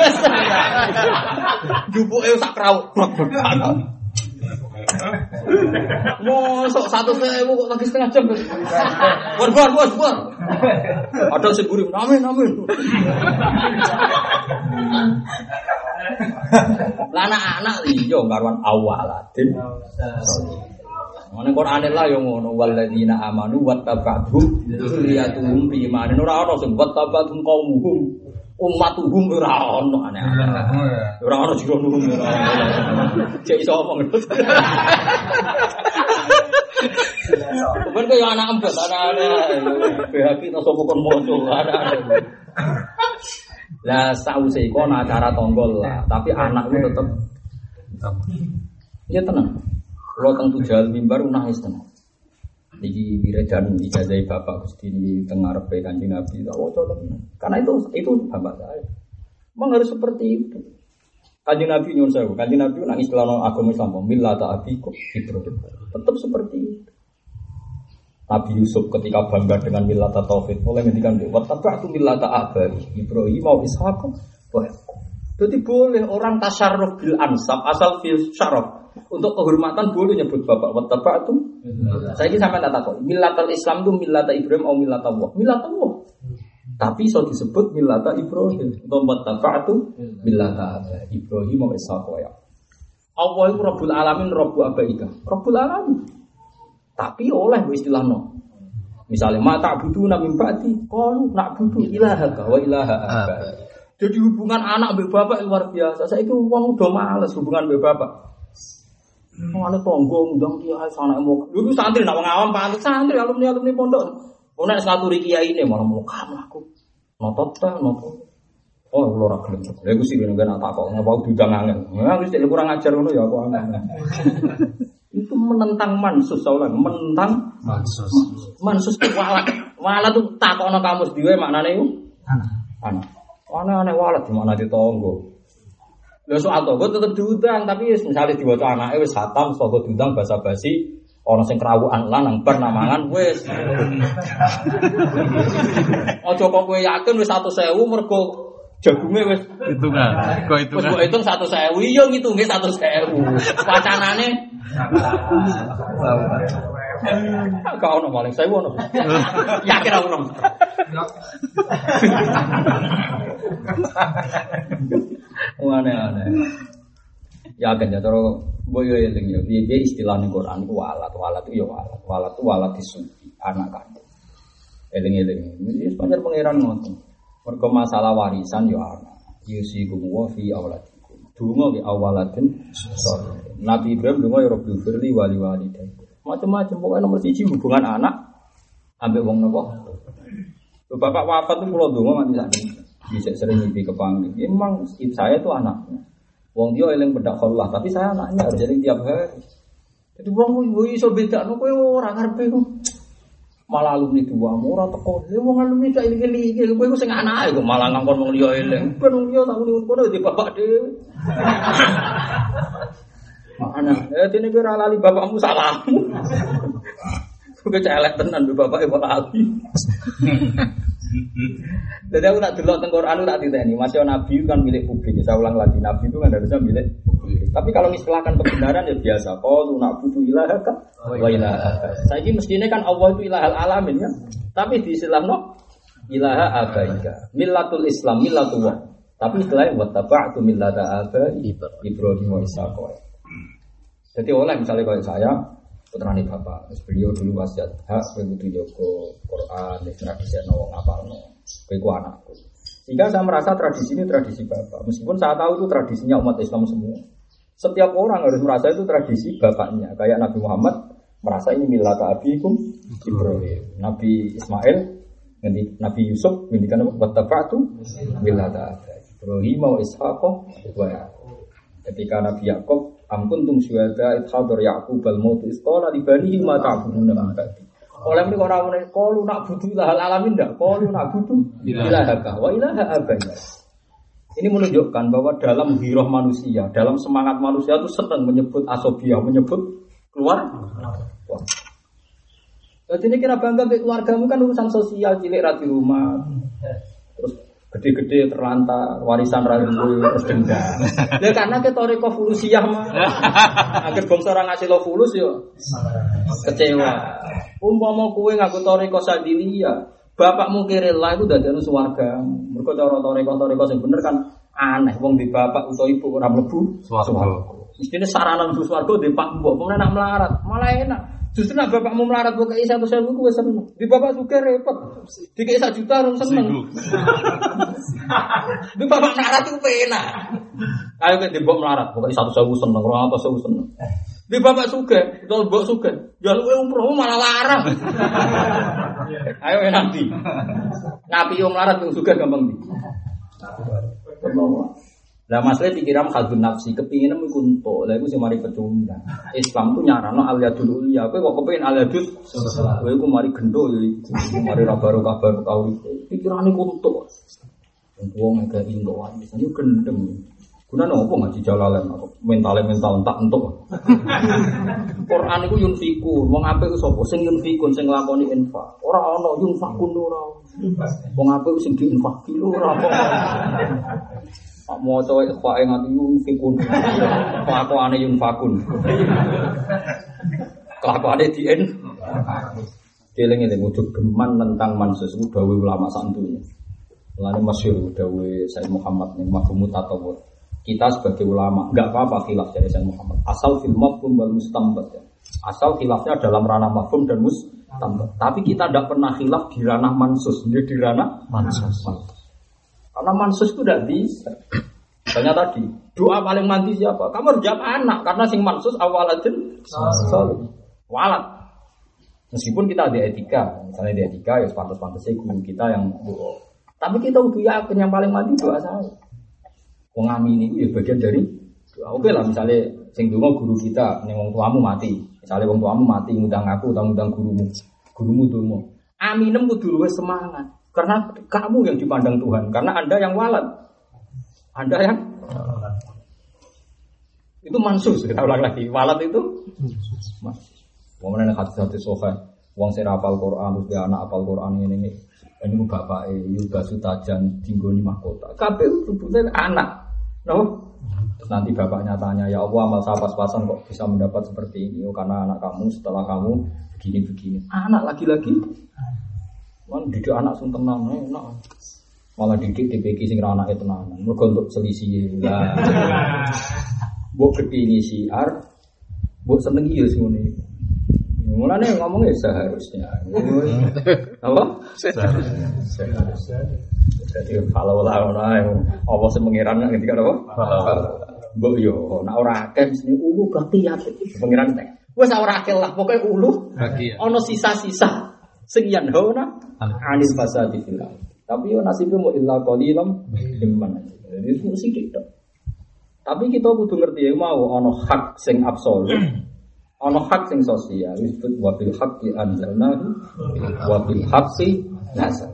Jupuke sak krauk. Mosok 100.000 kok lagi setengah jam. Bor. Ada sing gurih. Amin. Lah anak-anak iya karuan awaladin. Ngene Quran lah yo ngono walladzina amanu wattaba'hum dzurriyyatuhum bi imanin ora ono sing wattaba'hum qaumuhum ummatuhum ora ono aneh-aneh. Ora ono jero nuhum ora ono. Cek iso omong. Ben kaya anak empet anak-anak. BHP to sapa kon moco anak-anak. Lah sause iku ana acara tonggol lah, tapi anakku tetep ya tenang. Kalau teng tujal mimbar nangis tenang. Niki diredan ijazah bapak Gusti di tengah repe Kanjeng Nabi tak waca tenang. Karena itu bapak saya. Memang harus seperti itu. Kanjeng Nabi nyuwun sewu, Kanjeng Nabi nang istilah agama Islam millata abikum Ibrahim. Tetap seperti itu. Nabi Yusuf ketika bangga dengan millata tauhid mulai ngendikan wattaba'tu millata abai Ibrahim wa Ishaq wa Yaqub. Jadi boleh orang tasyarruf bil ansab asal fil syaraf untuk kehormatan boleh nyebut bapak wattaba'tu. Saya ini sampai tak tahu millatal Islam itu millata Ibrahim atau millata Allah. Millata Allah. Tapi so disebut millata Ibrahim atau wattaba'tu millata abai Ibrahim wa Ishaq wa Yaqub. Allah itu Rabbul Alamin, Rabbu Abaika. Rabbul Alamin. Tapi oleh istilah no. Misalnya mata butuh nabi ba'di, qalu na'budu ilahaka wa ilaha abai. Jadi hubungan anak mbek bapak luar biasa. Saiki wong udah males hubungan mbek bapak. Ana tonggo ndang kiai sanake mau. Lho santri nak wong awam pantes santri alumni pondok. Ono nek ngaturi kiai ne malah mau kamu aku. Notot ta nopo. Oh kula ora gelem. Lha iku sing ngene tak kok ngapa diundang angel. Ya wis kurang ajar ngono ya aku angel. Itu menentang mansus saulan, menentang mansus walat tuh takokno kamus dhewe maknane iku anak. Aneh-aneh walat di mana ditonggo. Lha soal tonggo tetep diundang tapi misale diwaca anake wis hatam saka diundang basa-basi ana sing krawukan lan nang bar namangan wis. Aja kok kowe yakin wis 100.000 mergo jagunge wis hitungan. Kok hitungan. Wis hitung 100.000 iya ngitunge 100.000. Wacanane kau ono paling saya ono. Yakin aku ono. Aneh-aneh. Yakin ya terus boyo eling ya piye istilahne Quran iku walat itu ya walat itu walat disuci anak kandung. Eling-eling. Iki panjer pangeran ngoten. Mergo masalah warisan ya ana. Yusikum wa fi auladikum. Donga ki awaladin saleh. Nabi Ibrahim donga ya Rabbil firli wali walidayya. Macam-macam pokoknya nomor 1 hubungan anak ambek wong napa. Bapak wafat itu kula donga mati sakit. Bisa sering mimpi kepanggil. Memang saya itu anaknya. Wong dia eling bedak Allah, tapi saya anaknya harus jadi tiap hari. Jadi wong iso bedakno kowe ora karepe kok. Malah alumni tuamu ora teko. Wong alumni gak iling-iling kowe sing anake kok malah ngangkon wong liya eling. Ben wong liya tak muni kono di bapak dhewe. Mana? Dene kira lali bapakmu salahmu. Kowe celek tenan mbek bapake kok lali. Jadi aku tak delok teng Quran tak diteni, masih nabi kan milik publik. Saya ulang lagi, nabi itu kan harusnya milik publik. Tapi kalau istilahkan kebenaran ya biasa. Qalu na'budu ilahaka wa ilaha. Saiki mestine kan Allah itu ilahal alamin ya. Tapi di istilahno ilaha abaika. Millatul Islam millatullah. Tapi istilahnya wattaba'tu millata abai Ibrahim wa Ishaq. Jadi oleh misalnya kalau saya putrane bapak, beliau dulu wasiat hak kudu jaga Quran, nek bisa wong apalno. Kowe ku anakku. Sehingga saya merasa tradisi ini tradisi bapak. Meskipun saya tahu itu tradisinya umat Islam semua. Setiap orang harus merasa itu tradisi bapaknya. Kayak Nabi Muhammad merasa ini millata abikum Ibrahim. Nabi Ismail, Nabi Yusuf ngendikan apa? Wattaba'tu millata Ibrahim wa Ishaq wa Yaqub. Ketika Nabi Yakub, am kuntum syuhada id hadar Yaqub al-maut is qala li banihi ma ta'buduna min ba'di. Oleh mereka orang-orang qalu na'budu ilahal alamin ndak? Qalu na'budu ilahaka wa ilaha abaina. Ini menunjukkan bahwa dalam hirah manusia, dalam semangat manusia itu senang menyebut asobiah, menyebut keluar. Jadi ini kira bangga dengan keluargamu kan urusan sosial, cilik ra di rumah. Terus gede-gede terlantar, warisan ra duwe, terus dendam. Ya karena ketoriko fulusiah mah. Akhir bangsa ora ngasih lo fulus yo kecewa. Umpama kowe ngaku toriko sadilia, bapakmu kirela itu dadekno swarga. Mergo cara toriko sing bener kan aneh wong di bapak utawa ibu ora mlebu swarga. Mestine sarana mlebu swarga di pak mbok, pemene nak melarat, malah enak. Justru nak bapakmu melarat kok kei 100.000 kuwi seneng. Di bapak sugih repot. Dikei 1 juta rong seneng. Di bapak melarat itu penak. Ayo ke di mbok melarat, pokoke 100.000 seneng, 200.000 seneng. Di bapak sugih, utawa mbok sugih, ya luwe umroh malah larang. Ayo nanti. Ngapi wong melarat wong sugih gampang ndi. Lah masalah pikiran khadun nafsi, kepingin iku entuk. Lah iku sing mari pecundang. Islam ku nyarano al-yadul ulya. Kowe kok kepengin al-yadul kowe iku mari gendho ya iku. Mari ra baru kabar pikirane ku entuk. Wong nek indo wae isane gendeng. Gunane opo ngaji jalalan mental entak entuk. Quran iku yunfiku, wong apik sapa sing yunfikun sing nglakoni infak. Ora ana yunfakun ora. Wong apik sing diinfaki ora apa. Mau coba ikhwae nganti yunfikun, kelakuane yunfakun, kelakuane dien. Dieling-eling ujuk geman tentang mansus dawe ulama santunya. Mulane masyhur dawe Sayyid Muhammad ning mafhum tatawur. Kita sebagai ulama enggak apa-apa khilaf dari Sayyid Muhammad. Asal fil mafhum wal mustambat. Asal khilafnya dalam ranah mafhum dan mustambat. Tapi kita tidak pernah khilaf di ranah mansus, di ranah mansus. Karena mansus itu tidak bisa. Misalnya tadi, doa paling mandi siapa? Kamu harus jawab anak, karena sing mansus awaladin walat. Meskipun kita ada etika, misalnya di etika ya pantas-pantasnya guru kita yang doa. Tapi kita udah yakin yang paling mandi doa saya. Mengamini itu ya bagian dari doa. Oke lah, misalnya sing donga guru kita, ning wong tuamu mati. Misalnya wong tuamu mati ngundang aku, ngundang gurumu donga. Aminem kudu luwih semangat. Karena kamu yang dipandang Tuhan, karena Anda yang walad, Anda yang itu mansus. Kita ulang lagi, walad itu mansus. Wong nek hati-hati sofa, wong sing hafal Quran terus dia anak hafal Quran ini bapake Yuda Sutajan dinggoni mahkota. Kabeh sebutnya anak. No? Terus nanti bapaknya tanya, ya Allah amal saya pas-pasan kok bisa mendapat seperti ini? Oh karena anak kamu setelah kamu begini-begini. Anak lagi-lagi. Man didik anak sing tenan enak. Malah didik DPK sing ra anake tenanan. Mergo untuk selisih lah. Mbok kepingin siar, mbok seneng iya sing ngene. Mulane ngomongnya seharusnya. Apa? Seharusnya. Jadi kalau lah apa sing mengiran ketika apa? Mbok yo nek ora akeh mesti ulu berarti ya pengiran tek. Wes ora akeh lah pokoke ulu. Ono sisa-sisa sing yen hauna anil fasadi fil. Tapi yo nasibe mu illa qalilam mimman. Jadi itu sithik tok. Tapi kita kudu ngerti ya mau ana hak sing absolut, ana hak sing sosial. Disebut wa bil haqqi anzalnahu wa bil haqqi nazal.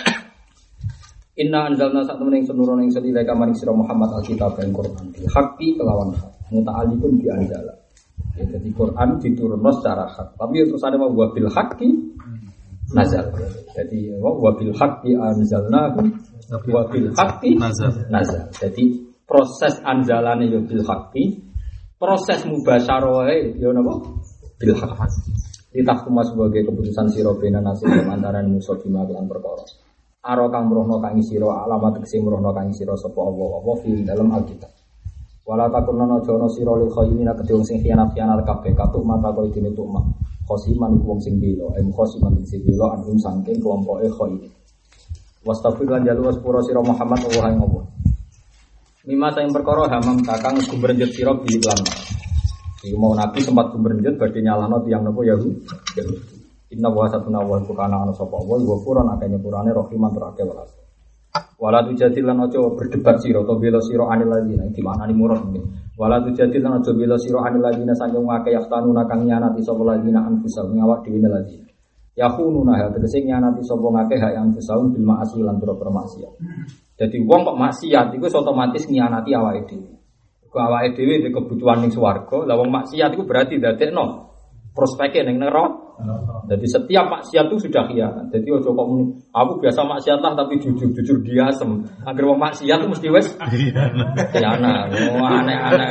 Inna anzalna sak temen ing senurono ing sedaya kamaring sira Muhammad alkitab dan Quran bil haqqi kelawan hak. Muta'alliqun bi anzala. Ya, jadi Quran diturunno secara hak. Tapi terus ada wa bil haqqi nazal. Jadi wa bil haqqi anzalnahu wa bil haqqi nazal. Jadi proses anzalane yo bil haqqi, proses mubasyarahe yo napa? Bil haqqi. Ditahkum sebagai keputusan sira bena nasib antarané musa bima lan perkara. Aro kang mrohno kang sira alamat tegese mrohno kang sira sapa apa fil dalam Alkitab. Wala takunna jono sira lil khaymina kedhe sing khianat-khianat kabeh katuk mata koyo dene tukma. Khosiman iku wong sing bela, khosiman sing bela anum saking kelompoke khoy. Wastafir lan jalu waspura sira Muhammad Allah ing Allah. Mimma sayang perkara hamam kakang gumrenjet sira bi iklan. Iku mau Nabi sempat gumrenjet badhe nyalahno tiyang napa Yahudi. Inna wa satuna wa kana ana sapa wa puran akeh nyepurane rahiman terake welas. Wala tujadilan aja berdebat sira to bela sira anil ladina di mana ni murad iki. Wala tujadilan aja bela sira anil ladina saking akeh yaftanuna kang nyanati sapa ladina anfusa ngawak dhewe ladina. Yakhununa ha tegese nyanati sapa ngakeh hak anfusahum bil ma'asi lan pira-pira maksiat. Dadi wong kok maksiat iku otomatis ngianati awake dhewe. Kok awake dhewe ndek kebutuhan ning swarga, lah wong maksiat iku berarti dadekno prospeke ning neraka. Jadi setiap maksiat itu sudah khianat. Jadi ojo kok muni, aku biasa maksiat lah tapi jujur diasem. Agar wong maksiat itu mesti wis khianat. Oh aneh-aneh.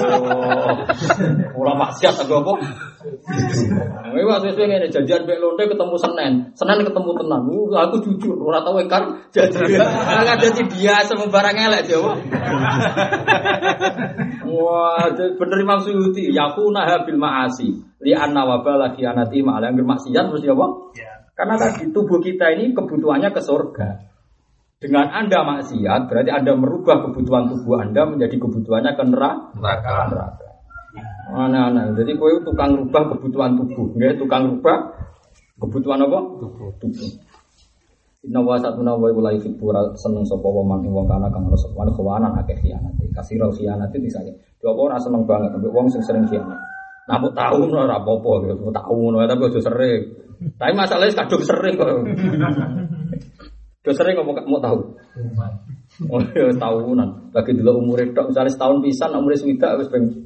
Ora maksiat aku apa? Wes wis ngene janjian mek lonte ketemu Senin ketemu tenan. Aku jujur ora tau ingkar janji. Enggak jadi biasa barang elek Jawa. Wah, bener Imam Suyuti, yakuna bil ma'asi. Li anna wabala khianati ma'ala angger maksiat mesti apa? Ya. Karena tadi tubuh kita ini kebutuhannya ke surga. Dengan Anda maksiat berarti Anda merubah kebutuhan tubuh Anda menjadi kebutuhannya ke neraka. Aneh-aneh. Jadi kowe tukang rubah kebutuhan tubuh, nggih, tukang rubah kebutuhan apa? Tubuh. Inna wa satuna wa ulai fibura seneng sapa wong wong kana kang ngrasa wani khawanan akeh khianat. Kasirul khianat itu disane. Yo apa ora seneng banget ambek wong sing sering khianat. Nampu tahu ora apa-apa gitu, tahu tapi aja sering. Tapi masalahnya kadung sering kok. Yo sering mau tahu. Oh ya tahunan. Bagi dulu umure tok misale setahun pisan umure swidak wis ben.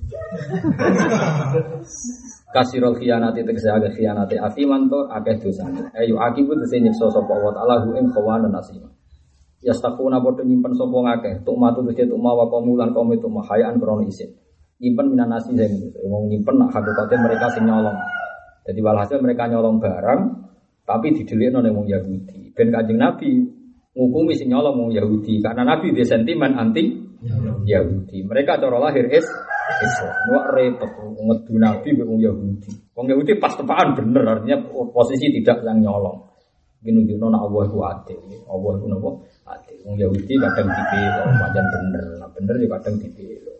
Kasirul khianati tegese agak khianati afiman to akeh dosane. Ayo akibu tegese nyiksa sapa wa ta'ala hu ing khawana nasima. Yastaquna padha nyimpen sapa ngakeh, tuk matu tegese tuk mawa kaumulan kaum itu mahayaan krono isin. Nyimpen minan nasi sing wong nyimpen nak hakikate mereka sing nyolong. Jadi walhasil mereka nyolong barang tapi didelikno ning wong Yahudi. Ben Kanjeng Nabi ngukumi sing nyolong wong Yahudi karena Nabi dia sentimen anti Yahudi. Mereka cara lahir Islam. Wah repot ngedu Nabi mbek wong Yahudi. Wong Yahudi pas tepaan bener artinya posisi tidak yang nyolong. Nunjukno nek Allah ku adil. Allah ku napa? Adil. Wong Yahudi kadang dipilih, pancen bener. Nah bener ya kadang dipilih.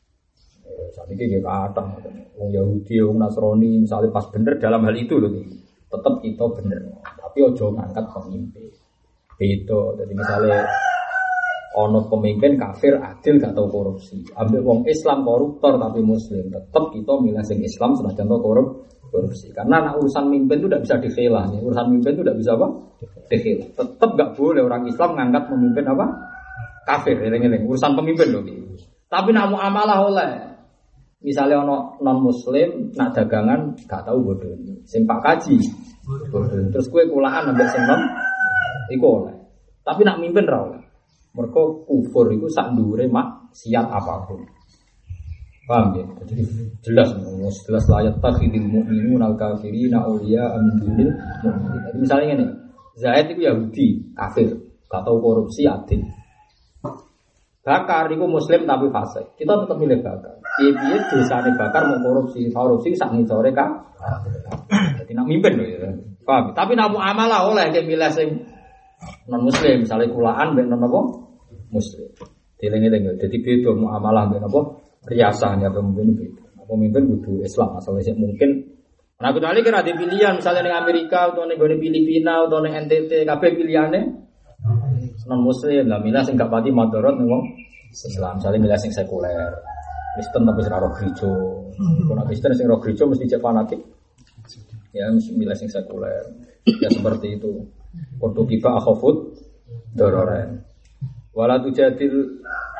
Saiki ge kathah wong Yahudi, wong Nasrani misalnya pas bener dalam hal itu loh. Tetap kita bener. Tapi ojo ngangkat pemimpin. Beda. Jadi misalnya ono pemimpin kafir adil gak tau korupsi. Ambek wong Islam koruptor tapi muslim, tetap kita milih sing Islam senajan to korupsi. Karena anak urusan mimpin itu tidak bisa dikhilah. Urusan mimpin itu tidak bisa apa? Dikhilah. Tetap gak boleh orang Islam ngangkat pemimpin apa? Kafir. Eling-eling urusan pemimpin loh. Tapi nak muamalah oleh. Misalnya ono non muslim nak dagangan gak tahu bodoh. Sing Pak Kaji bodoh. Terus kue kulaan ambek sing non iku oleh. Tapi nak mimpin ra oleh. Mereka kufur itu sak ndure maksiat apapun. Paham ya? Jadi jelas layat takhidil mu'minuna al-kafirina awliya min dunil mu'minin. Jadi misalnya ngene, Zaid itu Yahudi, kafir, gak tahu korupsi, adil. Bakar itu muslim tapi fasik. Kita tetap milih Bakar. Piye-piye dosane Bakar mau korupsi sak ngisore ka. Jadi nak mimpin lho ya. Paham? Tapi nak muamalah oleh ke milih sing non muslim, misalnya kulaan mbek non apa? Muslim. Dileng-eleng dadi beda muamalah mbek apa? Riasahnya pemimpin beda. Pemimpin kudu Islam asale mungkin. Nah kecuali kira ada pilihan misalnya ning Amerika atau ning Filipina atau ning NTT kabeh pilihane non muslim lah milih sing gak pati madharat ning wong Islam. Misalnya milih sing sekuler. Kristen tapi ora roh gereja. Kalau Kristen sing roh gereja mesti cek fanatik. Ya milih sing sekuler. Ya seperti itu. Untuk kiba akhafut dororen. Wala tujadil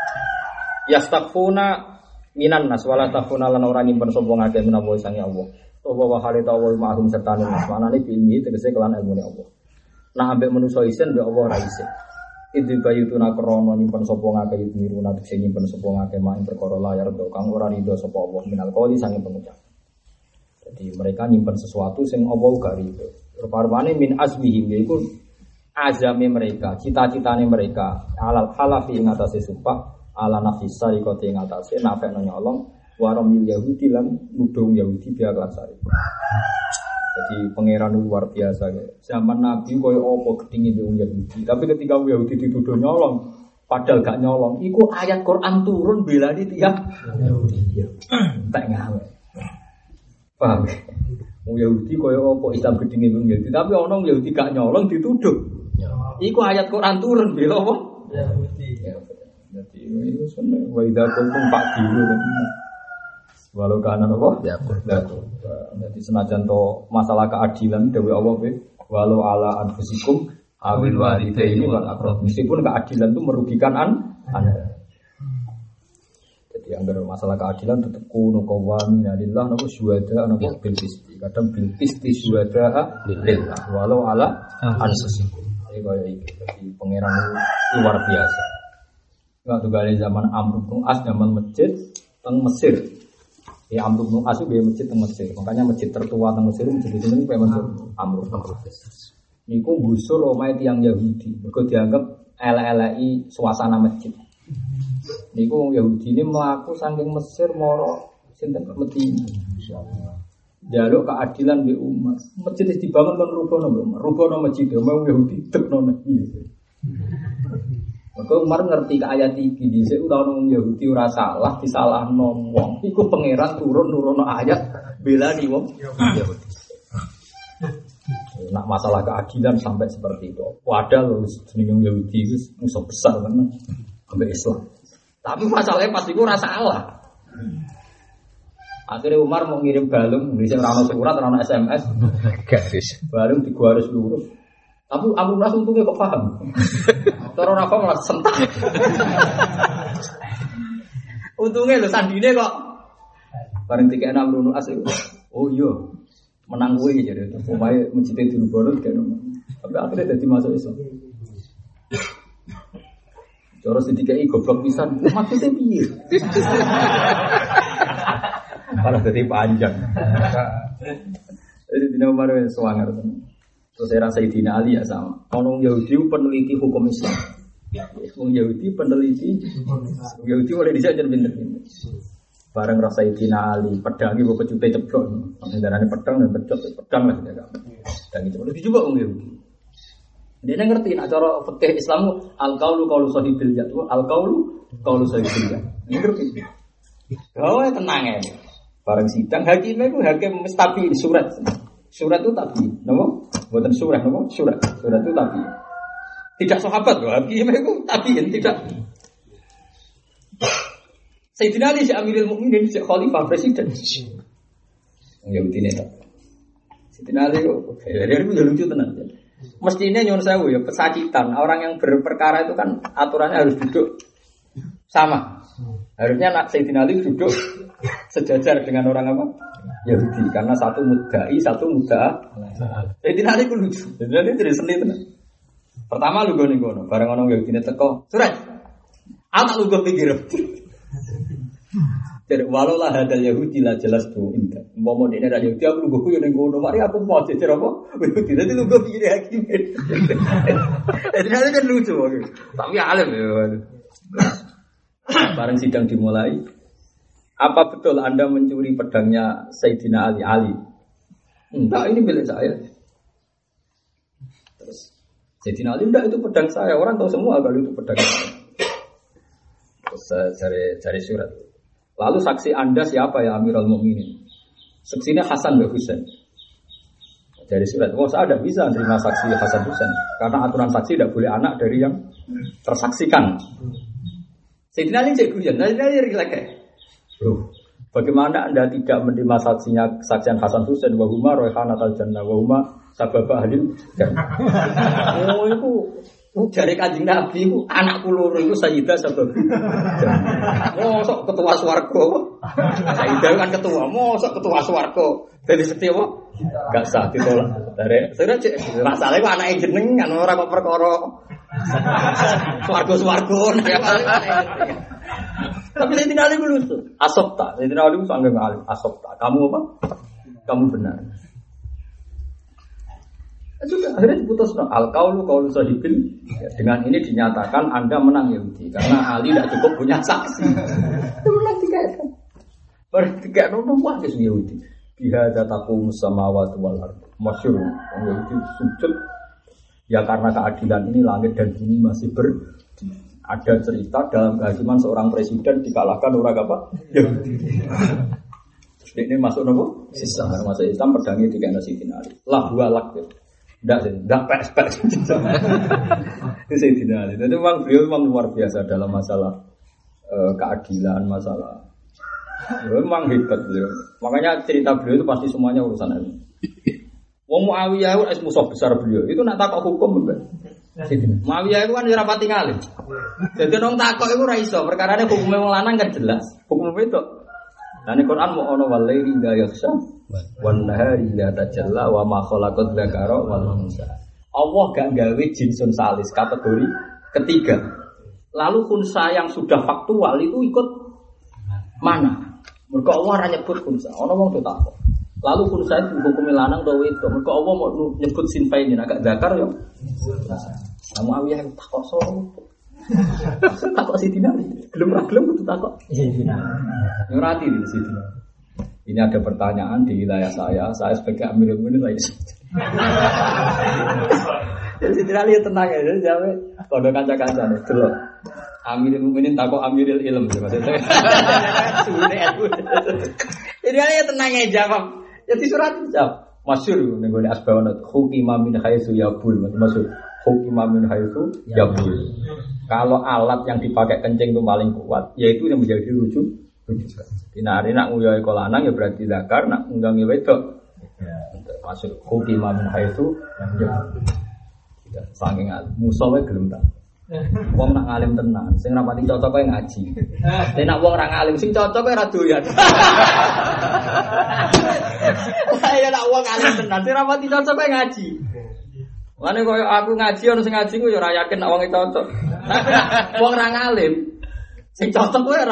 yastakfuna minan nas wala takfuna lan ora nyimpen sapa ngake menawa sange Allah. Toba wa halita wa ma'hum sertane nas manane ilmi tegese kelan ilmune Allah. Nah ambek manusa isen mbek Allah ra isin. Idzi bayutuna krana nyimpen sapa ngake miruna tegese nyimpen sapa ngake mak perkara layar do kang ora rido sapa Allah minal qauli sange pengucap. Jadi mereka nyimpen sesuatu sing Allah gak rido. Rupa-rupane min azmihim yaiku azame mereka, cita-citane mereka alal halafi ing atase sumpah ala nafis sarikati ing atase nafekno nyolong waramil Yahudi lan nudung Yahudi biya kelasari. Jadi pangeran luar biasa. Zaman Nabi koyo opo gedinge wong Yahudi. Tapi ketika wong Yahudi dituduh nyolong, padahal gak nyolong, iku ayat Quran turun belani tiap Yahudi. Tak ngawe. Paham? Wong Yahudi koyo opo Islam gedinge wong Yahudi. Tapi ana wong Yahudi gak nyolong dituduh. Iku ayat Quran turun bela apa? Yahudi. Jadi itu sebenarnya wa idza kuntum fa'dilu. Walau kana apa? Ya, jadi senajan to masalah keadilan dewe Allah be walau ala anfusikum awil walidaini wal aqrab. Meskipun keadilan itu merugikan Anda. Jadi anggar masalah keadilan tetap kuno qawamina lillah napa syuhada napa bil qisti. Kadang bil qisti syuhada lillah walau ala anfusikum. Iki kaya iki. Jadi pangeran luar biasa. Waktu kali zaman Amr bin As zaman masjid teng Mesir. Ya Amr bin As itu masjid teng Mesir. Makanya masjid tertua teng Mesir masjid itu memang Amr bin As. Niku gusur omahe tiyang Yahudi. Mergo dianggap elek-eleki suasana masjid. Niku Yahudi ini mlaku saking Mesir moro sinten ke Madinah. Jaluk keadilan be umat. Masjid dibangun kan rubono masjid. Omong Yahudi tekno iki. Maka Umar ngerti ke ayat iki dhisik ora ono Yahudi ora salah disalahno wong. Iku pangeran turun-nurono ayat belani wong Yahudi. Nak masalah keadilan sampai seperti itu. Padahal jenenge Yahudi itu musuh besar kan sampai Islam. Tapi masalahnya pasti iku ora salah. Akhirnya Umar mau ngirim balung, bisa ora ono surat, ora ono SMS. Garis. Balung digaris lurus. Tapi Amr bin As untungnya kok paham. Cara ora paham malah sentak. Untungnya lho sandine kok bareng dikene Amr bin As. Oh iya, menang kowe iki jare. Omahe masjid dirubono kene. Tapi akhirnya dadi masuk Islam. Cara sedikit goblok pisan. Maksudnya piye? Malah dadi panjang. Jadi dina Umar wis suwanger tenan. Terus saya rasa Sayyidina Ali ya sama. Orang Yahudi peneliti hukum Islam. Orang Yahudi peneliti Yahudi boleh disajar pinter-pinter. Bareng rasa Sayyidina Ali pedangi bawa pecute ceblok. Darahnya pedang dan pedang lah tidak. Dan itu boleh dicoba orang Yahudi. Dia ngerti nak cara fikih Islam al-qaulu qaulu sahibil jad. Al-qaulu qaulu sahibil jad. Ngerti. Oh tenang ya. Bareng sidang hakimnya itu hakim mesti surat. Surat itu tapi, nama? Bukan surat, nama? Surat itu tapi. Tidak sahabat loh, hakim itu tabiin tidak. Sayyidina Ali si Amirul Mukminin si Khalifah Presiden. Yahudi ini tak. Sayyidina Ali itu, dari itu lucu tenang. Mestinya nyon sewu ya pesakitan. Orang yang berperkara itu kan aturannya harus duduk sama. Harusnya nak Sayyidina Ali duduk sejajar dengan orang apa? Yahudi, karena satu mudda'i, satu mudda'a. Sayyidina Ali ku lucu. Sayyidina Ali dari seni tenan. Pertama lu gono, bareng orang Yahudi teko. Surat. Anak lu go pikir. Jadi walau lah hadal Yahudi lah jelas tuh indah. Mau dene ra Yahudi aku lu go yo ning gono. Mari aku mau jejer apa? Yahudi nanti lu go pikir hakim. Sayyidina Ali kan lucu. Tapi alim ya. Bareng sidang dimulai. Apa betul Anda mencuri pedangnya Sayyidina Ali? Enggak, ini milik saya. Terus Sayyidina Ali, enggak, itu pedang saya. Orang tahu semua kalau itu pedang saya. Terus cari surat. Lalu saksi Anda siapa ya Amirul Mukminin? Saksinya Hasan bin Husain. Dari surat. Oh, saya tidak bisa menerima saksi Hasan Husain. Karena aturan saksi tidak boleh anak dari yang tersaksikan. Sayyidina Ali cek guyon. Sayyidina Ali rileks. Bro, bagaimana Anda tidak menerima saksian Hasan Husain wa huma raihanatul jannah wa huma sababa ahlil jannah. Oh itu jare Kanjeng Nabi itu anak kula loro iku Sayyidah sabab. Mosok ketua swarga. Sayyidah kan ketua, mosok ketua swarga. Dadi sekti apa? Enggak sah ditolak. Dari masalahnya kok anake jenengan ora kok perkara swarga-swarga. Tapi Sayyidina Ali lucu. Asopta. Sayyidina Ali sangat alim. Asopta. Kamu apa? Kamu benar. Sudah akhirnya diputus. Al-qaulu qaulu sahibil. Dengan ini dinyatakan Anda menang Yahudi. Karena Ali tidak cukup punya saksi. Itu menang 3. Baru 3 nomor wah Yahudi. Biha taqum samawati wal ardh. Masyhur itu sujud ya karena keadilan ini langit dan bumi masih ada cerita dalam kehakiman seorang presiden dikalahkan orang apa? Yahudi. Ini masuk nopo? Islam. Masuk Islam pedangnya tiga nasi finali. Lah dua lak. Enggak pes. Itu saya dinali. Itu memang beliau memang luar biasa dalam masalah keadilan, masalah. Memang hebat beliau. Makanya cerita beliau itu pasti semuanya urusan ini. Wong Muawiyah itu musuh besar beliau. Itu nak takok hukum mbak. Muawiyah itu kan ora pati ngalim. Jadi nong takok itu ora iso. Perkarane hukume wong lanang kan jelas. Hukum itu. Nah ini Quran mau ono walaili la yakhsha wan nahari la tajalla wa ma khalaqat dzakara wal unsa. Allah gak gawe jinsun salis kategori ketiga. Lalu unsa yang sudah faktual itu ikut mana? Mergo Allah ora nyebut unsa. Ono wong takok. Lalu unsa itu hukum lanang to wedok. Mergo Allah mau nyebut sinfaini agak zakar yo. Nah, Muawiyah takok solo. Takok Sidina. Gelem kudu takok. Sidina. Nurati di Sidina. Ini ada pertanyaan di wilayah saya sebagai Amirul Mukminin lagi. Jadi Sidina lihat tenang ya, jadi jawab kondo kanca-kancane delok. Amirul Mukminin takok Amirul Ilm maksudnya. Jadi dia tenang ya jawab. Jadi surat jawab. Masyhur ning gone asbawanat hukima min haitsu yabul maksud hukima min haitsu yabul. Kalau alat yang dipakai kencing itu paling kuat, yaitu yang menjadi rujukan. Dinari nak nguyoi kolanang ya berarti zakar, nak ngundang wedok. Maksud hukima min haitsu yabul. Saking musuh wae gelem ta. Wong nak ngalim tenan, sing rapati cocok kowe ngaji. Nek nak wong ra ngalim sing cocok kowe ra doyan. Ayo nak wong ngalim tenan, sing rapati cocok kowe ngaji. Mane koyo aku ngaji ono sing ngaji ku yo ora yakin nak wong cocok. Wong ra ngalim sing cocok kowe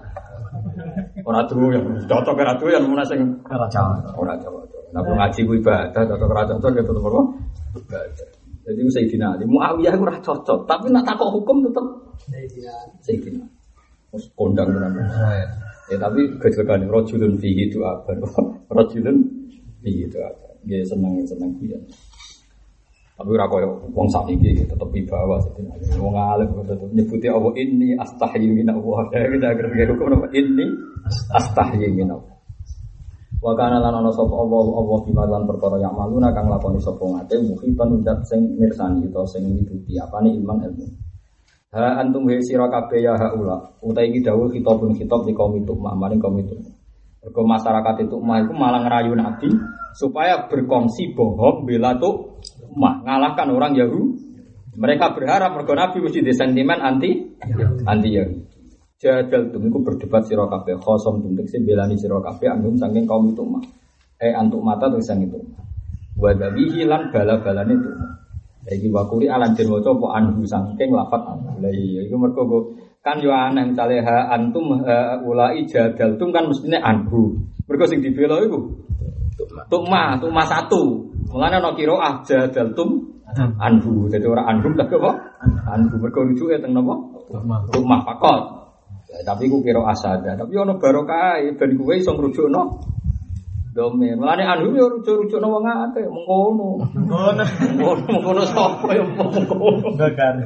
ora doyan. Cocok ora doyan mun sing ora cocok. Ora cocok. Nek ngaji ku ibadah, cocok ora cocok ya tetep apa? Ibadah. Jadi Sayyidina Ali, Muawiyah itu ora cocok, tapi nak takok hukum tetap Sayyidina. Mus kondang tenan. Ya tapi gejolakane rajulun fihi itu apa? Rajulun fihi itu apa? Nggih seneng kuwi. Tapi ora koyo wong sakniki tetep wibawa Sayyidina Ali. Wong alim tetep nyebuti Allah inni astahyi min Allah. Kita agar hukum apa? Inni astahyi min Allah. Wa kana lan ana sapa Allah bimalan perkara yang maluna kang lakoni sapa ngate muhitan udat sing mirsani utawa sing mituti apane ilmu. Ha antum wa sira kabeh ya haula utahe iki dawuh khitab di kaum itu maring kaum itu. Mergo masyarakat itu iku malah ngerayu Nabi supaya berkongsi bohong bela tuh ngalahkan orang Yahudi. Mereka berharap mergo Nabi mesti di sentimen anti Yahudi. Jadal tumiku berdebat sira kabeh khosom tuntek sing belani sira kabeh anggum saking kaum itu mah. Antuk mata tuh sang itu. Wa dabihi lan bala-balane itu. Iki wakuri alan den waca apa anhu saking lafat. Lah iya iku mergo kan yo aneh misale ha antum ulai jadal tum kan mestine anhu. Mergo sing dibela iku tukma satu. Mulane ana qiraah jadal tum anhu. Dadi ora anhum tak apa? Anhu mergo rujuke teng napa? Tukma fakot. Tapi ku kira asada, tapi ono barokah ben kuwe iso ngrujukno domen. Mulane anu yo rujuk-rujukno wong akeh mengkono. Mengkono sapa yo mengkono.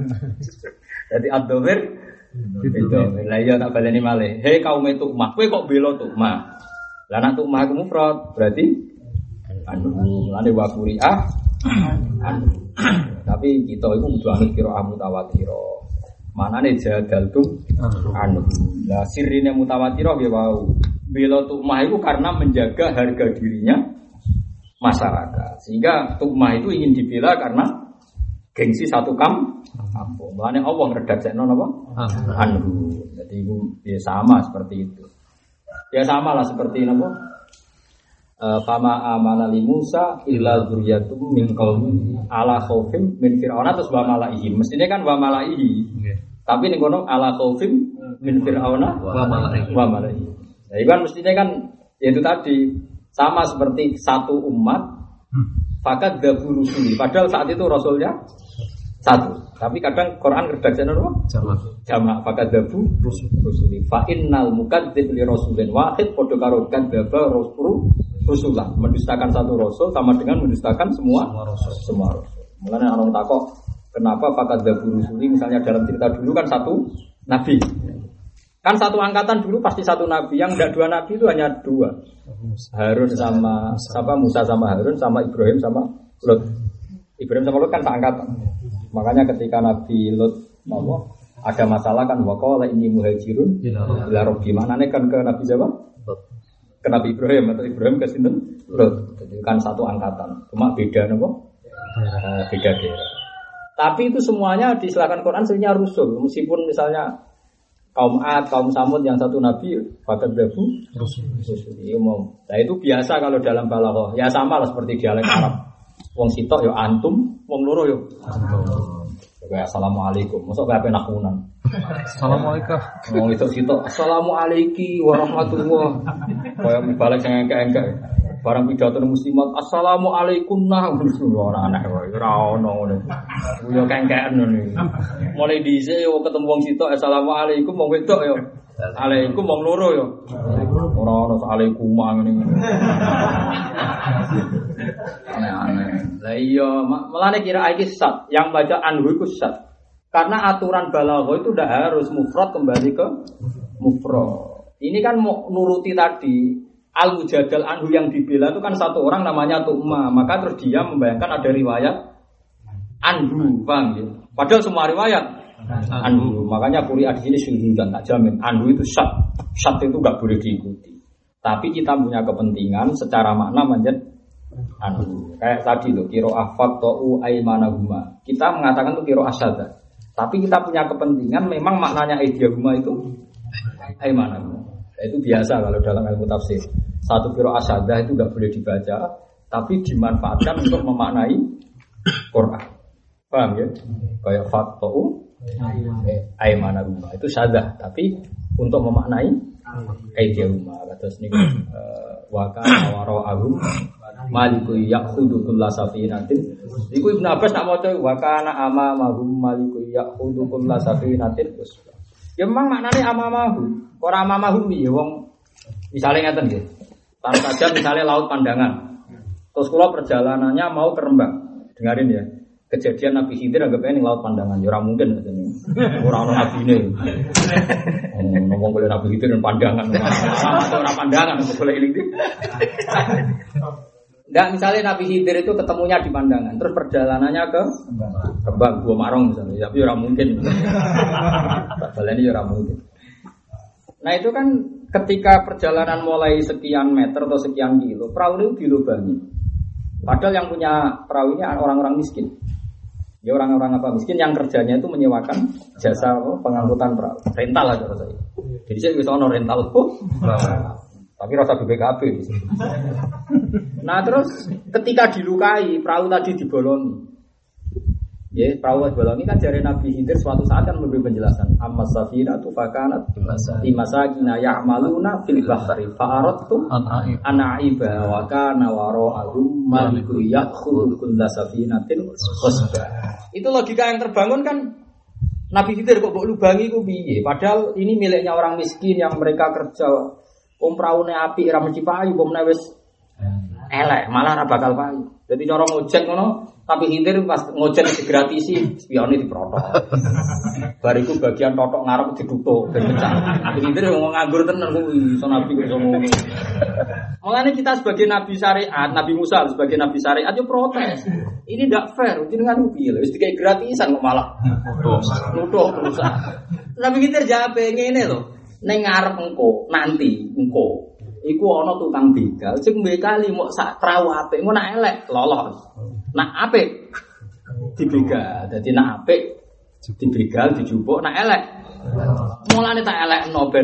Dadi ad-dhamir itu. Lah iya tak baleni malih. Hei kaum Tukmah, kowe kok bela Tukmah? Lah nek Tukmah ku mufrad berarti anu mulane wa quri'ah anu. Tapi kita iku kudu anut qiraah mutawatir. Manane jadal tum anu. Lah sirine mutawatirah ya wau. Bela Tukmah itu karena menjaga harga dirinya masyarakat. Sehingga Tukmah itu ingin dibela karena gengsi satu kampung. Mulane Allah ngredaksekno napa? Anu. Jadi itu ya sama seperti itu. Ya samalah seperti napa? Fama amana li Musa illa dzurriyyatum min qaumi ala khaufim min fir'auna terus wa malaihi. Mestine kan wa malaihi. Tapi ning kono ala khaufim min fir'auna wa malaihi. Nah, itu kan mestinya kan ya itu tadi sama seperti satu umat fakat dabu rusuli. Padahal saat itu rasulnya satu. Tapi kadang Quran redaksinya apa? Jamak fakat dabu rusuli. Fa innal mukadzdzib li rasulin wahid padha karo kadzdzaba rusulan. Mendustakan satu rasul sama dengan mendustakan semua rasul. Mulanya orang takok, kenapa fakat dabu rusuli misalnya dalam cerita dulu kan satu nabi. Kan satu angkatan dulu pasti satu nabi, yang enggak dua nabi itu hanya dua. Harun sama Musa sama Harun sama Ibrahim sama Lut. Ibrahim sama Lut kan seangkatan. Makanya ketika Nabi Lut ada masalah kan waqala inni muhajirun ila rabbi. Maknane kan ke Nabi siapa? Ke Nabi Ibrahim atau Ibrahim ke sinten? Lut. Jadi kan satu angkatan. Cuma beda napa? Beda daerah. Tapi itu semuanya diistilahkan Quran sebenarnya rusul. Meskipun misalnya kaum Ad, kaum Samud yang satu nabi fakat dabu rusul. Nah itu biasa kalau dalam balaghah. Ya sama lah seperti dialek Arab. Wong sitok yo antum, wong loro yo antum. Kayak assalamualaikum. Mosok kabeh nakunan. Assalamualaikum. Wong itu sitok assalamualaikum warahmatullah. Kayak balik sing engke-engke. Barang pidato muslimat assalamualaikum nah ora aneh wae ora ono ngono. Yo kengkean ngono. Mulai dhisik yo ketemu wong sitok assalamualaikum wong wedok yo. Alaikum wong loro yo. Ora ono alaikum ngene. Aneh-aneh. Lah iya, melane kira iki sat, yang baca anhu iku sat. Karena aturan balaghah itu udah harus mufrad kembali ke mufrad. Ini kan mau nuruti tadi. Al-Mujadal anhu yang dibela itu kan satu orang namanya Tu'ma. Maka terus dia membayangkan ada riwayat anhu, paham ya? Padahal semua riwayat anhu. Makanya Qur'an di sini syuhudan, tak jamin. Anhu itu syat. Syat itu gak boleh diikuti. Tapi kita punya kepentingan secara makna menjadi anhu. Kayak tadi loh, qira'ah faqta'u aymanahuma. Kita mengatakan itu qira'ah syaddah. Tapi kita punya kepentingan memang maknanya aidiyahuma itu aymanahuma. Itu biasa kalau dalam ilmu tafsir. Satu qira'ah syaddah itu enggak boleh dibaca, tapi dimanfaatkan untuk memaknai Quran. Paham ya? Kayak faqta'u aymanahuma. Itu syaddah, tapi untuk memaknai aidiyahuma. Terus niku wa kana wara'ahum maliku ya'khudhu kulla safinatin. Iku Ibnu Abbas nak maca wa kana amamahum maliku ya'khudhu kulla safinatin. Ya memang maknane amamahum. Ora amamahum ya wong misale ngeten nggih. Taruh saja misalnya laut pandangan. Terus kula perjalanannya mau ke Rembang. Dengarin ya. Kejadian Nabi Khidir anggapnya ini laut pandangan. Ya ora mungkin katene. Ora ono nabine. Ngomong boleh Nabi Khidir dan pandangan. Ora pandangan boleh ini. Enggak, misalnya Nabi Khidir itu ketemunya di pandangan, terus perjalanannya ke Rembang, Gua Marong misalnya, tapi ora mungkin. Baleni ora mungkin. Nah itu kan ketika perjalanan mulai sekian meter atau sekian kilo, perahu itu dilubangi. Padahal yang punya perahu ini orang-orang miskin. Ya orang-orang apa miskin yang kerjanya itu menyewakan jasa pengangkutan perahu, rental aja rasanya. Jadi saya bisa ono rental tapi rasa BPKB. Nah terus ketika dilukai perahu tadi dibolongi. Ya, perahu dibolongi kan dari Nabi Khidir suatu saat kan memberi penjelasan. Amma safinatu fakanat limasakina ya'maluna fil bahri fa'aradtu an a'iba wa kana wara'ahum malikun ya'khudhu kulla safinatin wasba. Itu logika yang terbangun kan. Nabi Khidir kok mbok lubangi ku piye? Padahal ini miliknya orang miskin yang mereka kerja. Praune apik ra mesti payu, pomne wis elek, malah ra bakal payu. Jadi cara ngojek ngono, tapi Khidir pas ngojek digratisi, spione diprotok. Bariku bagian totok ngarep ditutuk ben pecah. Khidir ngomong nganggur tenan kuwi, iso nabi kok ngomong. Mulane kita sebagai nabi syariat, Nabi Musa sebagai nabi syariat yo protes. Ini ndak fair, jenengan piye lho wis dikai gratisan kok malah nuduh perusahaan. Nabi Khidir jawab ngene lho. Neng ngarep engko nanti engko iku ana tukang begal sing bekali mok sak perahu apik engko nak elek lolos nak apik dibegal dadi nak apik dibegal dijupuk nak elek mulane tak elekno ben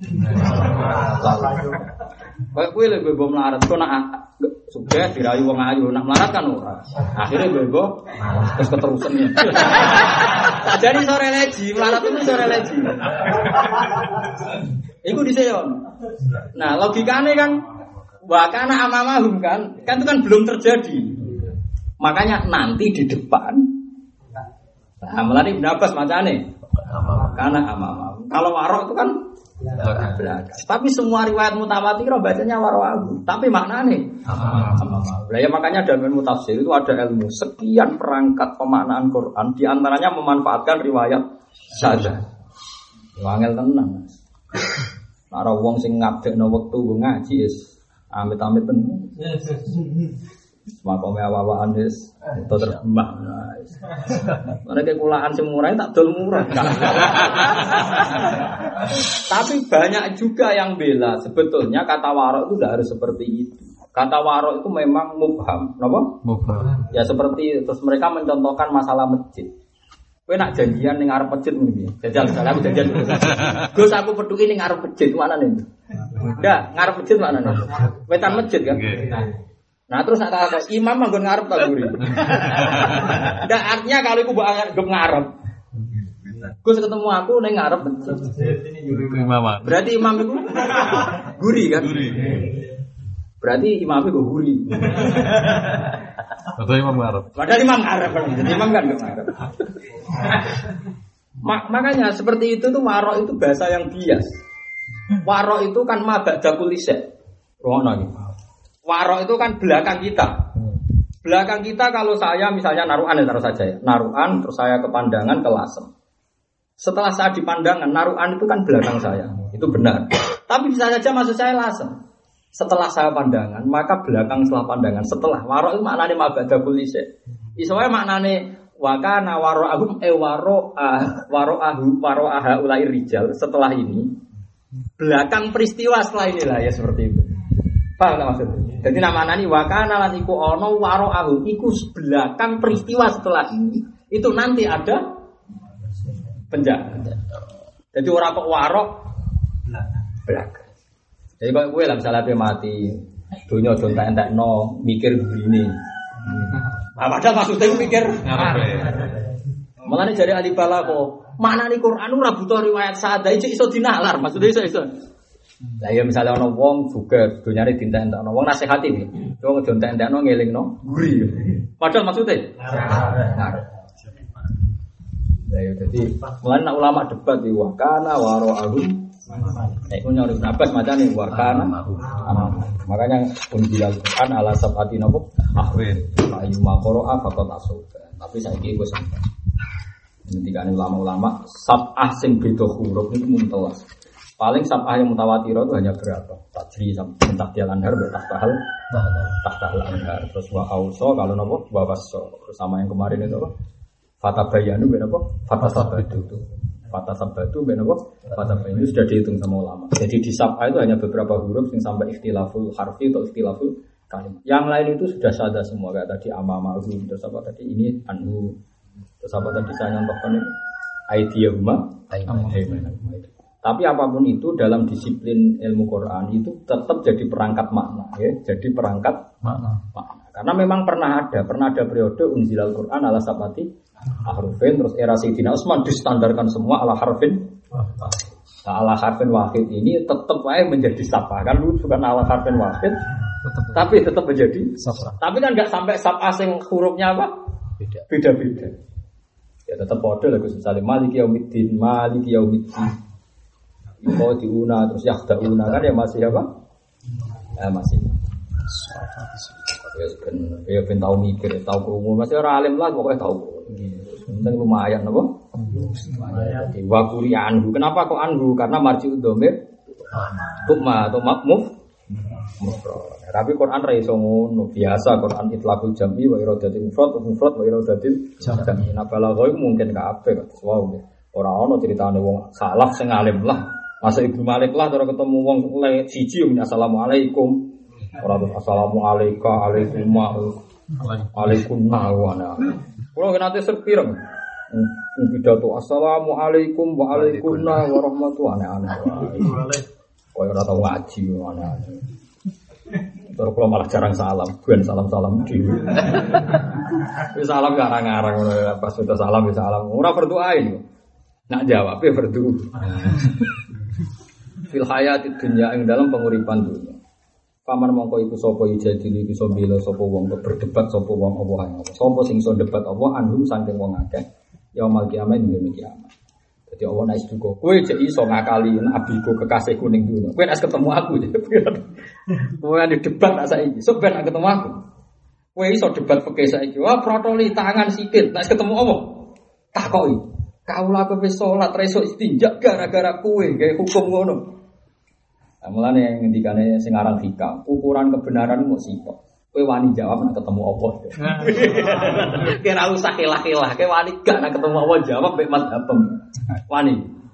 kaya kuwi lho bebo melarat kok nak sugih dirayu wong ayu nak melarat kan ora akhire bebo terus keterusan ya jadi sore leji melarat itu sore leji iku diseyon nah logikane kan wakana amamahum kan itu kan belum terjadi makanya nanti di depan nah melani Ibnu Abbas macane Karena amama. Kalau waro itu kan belakang. Tapi semua riwayat mutawatir bacanya waro. Tapi maknanya amama. Lah ya makanya dalam ilmu tafsir itu ada ilmu sekian perangkat pemaknaan Quran, di antaranya memanfaatkan riwayat saja. Wangel tenan. Nek wong sing ngabdekno wektu ngaji wis amit-amit tenan. Makome awak-awakan wis terbang. Mereka kulaan sing murah tak dol murah. Tapi banyak juga yang bela. Sebetulnya kata warok itu tidak harus seperti itu. Kata warok itu memang mubham. Kenapa? Mubham. Ya seperti terus mereka mencontohkan masalah masjid. Kowe nak janjian ning arep masjid ngene piye? Jajal salah aku janjian. Gus aku petuki ning arep masjid mana nih? Enggak, ngarep masjid mana nih? Wetan masjid kan? Nah terus nak kata imam manggon ngarep tak guri. Ndak artinya kalau iku mbok anggap ngarep. Gus ketemu aku ning ngarep masjid. Imam. Berarti imam itu guri kan? Berarti imam itu guri. Atau imam ngarep. Padahal imam ngarep. Imam kan enggak ngarep. Makanya seperti itu tuh warok itu bahasa yang bias. Warok itu kan mabada kulise. Rono iki. Warok itu kan belakang kita. Belakang kita kalau saya misalnya naruhan ya taruh saja ya. Naruhan terus saya ke pandangan ke lasem. Setelah saya di pandangan naruhan itu kan belakang saya. Itu benar. Tapi bisa saja maksud saya lasem. Setelah saya pandangan maka belakang setelah pandangan. Setelah warok itu maknanya mabada kulise. Isowe maknanya wakana waro'ahum waro'aha ulai rijal. Setelah ini belakang peristiwa setelah inilah ya seperti itu. Paham tak maksudnya? Jadi nama nani wakana lan iku ono waro'ahu iku belakang peristiwa setelah ini. Itu nanti ada penjahat. Jadi orang kok warok belakang. Jadi kalau gue lah misalnya mati dunia jontak entek no mikir begini. Padahal maksudnya mikir malah nih dari ahli balaghah mana nih Quran ora butuh riwayat sadha iso dinalar maksudnya iso. Lah ya misalnya ana wong juga dunyane dinten-entekno wong nasihati iki. Wong jontek-entekno ngelingno guri. Padahal maksudnya ngarep. Lah ya dadi mulane nek ulama debat iki wa kana waro'ahum. Nek punya Ibnu Abbas macane wa kana. Makanya unjilal Quran ala sab'ati napa? Ahwin. Ayu maqra'a faqat asuba. Tapi saiki wis sampai. Ngendikane ulama-ulama sab'ah sing beda huruf niku muntelas. Paling sab'ah yang mutawatir itu hanya berapa? Tajri sampai tahtial anhar bertahtal anhar. Terus wa auso kalau nopo wa waso. Terus sama yang kemarin itu apa? Fatabayanu ben apa? Fatasabatu itu. Fatasabatu ben apa? Fatabayanu sudah dihitung sama ulama. Jadi di sab'ah itu hanya beberapa huruf yang sampai ikhtilaful harfi atau ikhtilaful kalimat. Yang lain itu sudah sadar semua kayak tadi amama terus apa tadi ini anhu. Terus apa tadi saya nyontohkan ini aidiyahuma itu. Tapi apapun itu dalam disiplin ilmu Quran itu tetap jadi perangkat makna ya, jadi perangkat makna. Karena memang pernah ada periode unzilal Quran ala sabati ahrufin terus era Sayyidina Utsman distandarkan semua ala harfin. Nah, ala harfin wahid ini tetap aja menjadi sabah kan lu bukan ala harfin wahid tapi tetap menjadi sabah. Tapi kan enggak sampai sabah sing hurufnya apa? Beda-beda. Ya tetap bodoh lah misalnya maliki yaumiddin Yuko diuna terus yakdauna kan ya masih apa? Masih. Ya ben tahu mikir, tahu krungu, masih orang alim lah pokoknya tahu. Penting lumayan apa? Lumayan. Wa quri anhu. Kenapa kok anhu? Karena marji'ud dhamir tukma atau mafmuf. Tapi Quran ra iso ngono, biasa Quran itlaqul jam'i wa iradatil mufrad wa iradatil jam'i. Nah balagha iku mungkin kabeh kok wow. Ora ono critane wong salaf sing alim lah. Masa Ibnu Malik lah cara ketemu wong siji assalamualaikum. Ora terus assalamualaikum alaikumna. Kulo nate serpireng. Pidato assalamualaikum wa alaikumna warahmatullahi wabarakatuh. Koyo ora tau ngaji aneh-aneh. Terus kalau malah jarang salam, bukan salam-salam dhewe. Wis salam garang-garang ngono pas udah salam wis salam. Ora berdoain. Nak jawab ya berdoa. Fil hayatid dunya ing dalam penguripan dunia. Paman mongko iku sapa ijadili iso bela sapa wong berdebat sapa wong apa ae. Sapa sing iso debat apa anhum saking wong akeh. Ya mal kiamat dina kiamat. Jadi Allah naik juga. Kue jadi iso ngakali abiku kekasih kuning dulu. Kue nak ketemu aku jadi. Kue ada debat nak saya ini. So ben nak ketemu aku. Kue iso debat pakai saya ini. Wah protoli tangan sikit. Nak ketemu Allah. Takoi. Kau lah kau sholat reso istinjak gara-gara kue gaya hukum ngono. Nah, mulane ngendikane sing aran hikam. Ukuran kebenaran mau sifat. Kue wani jawab nak ketemu Allah. Kira usah kelah-kelah. Kue wani gak nak ketemu Allah jawab mek mazhabem. Wani.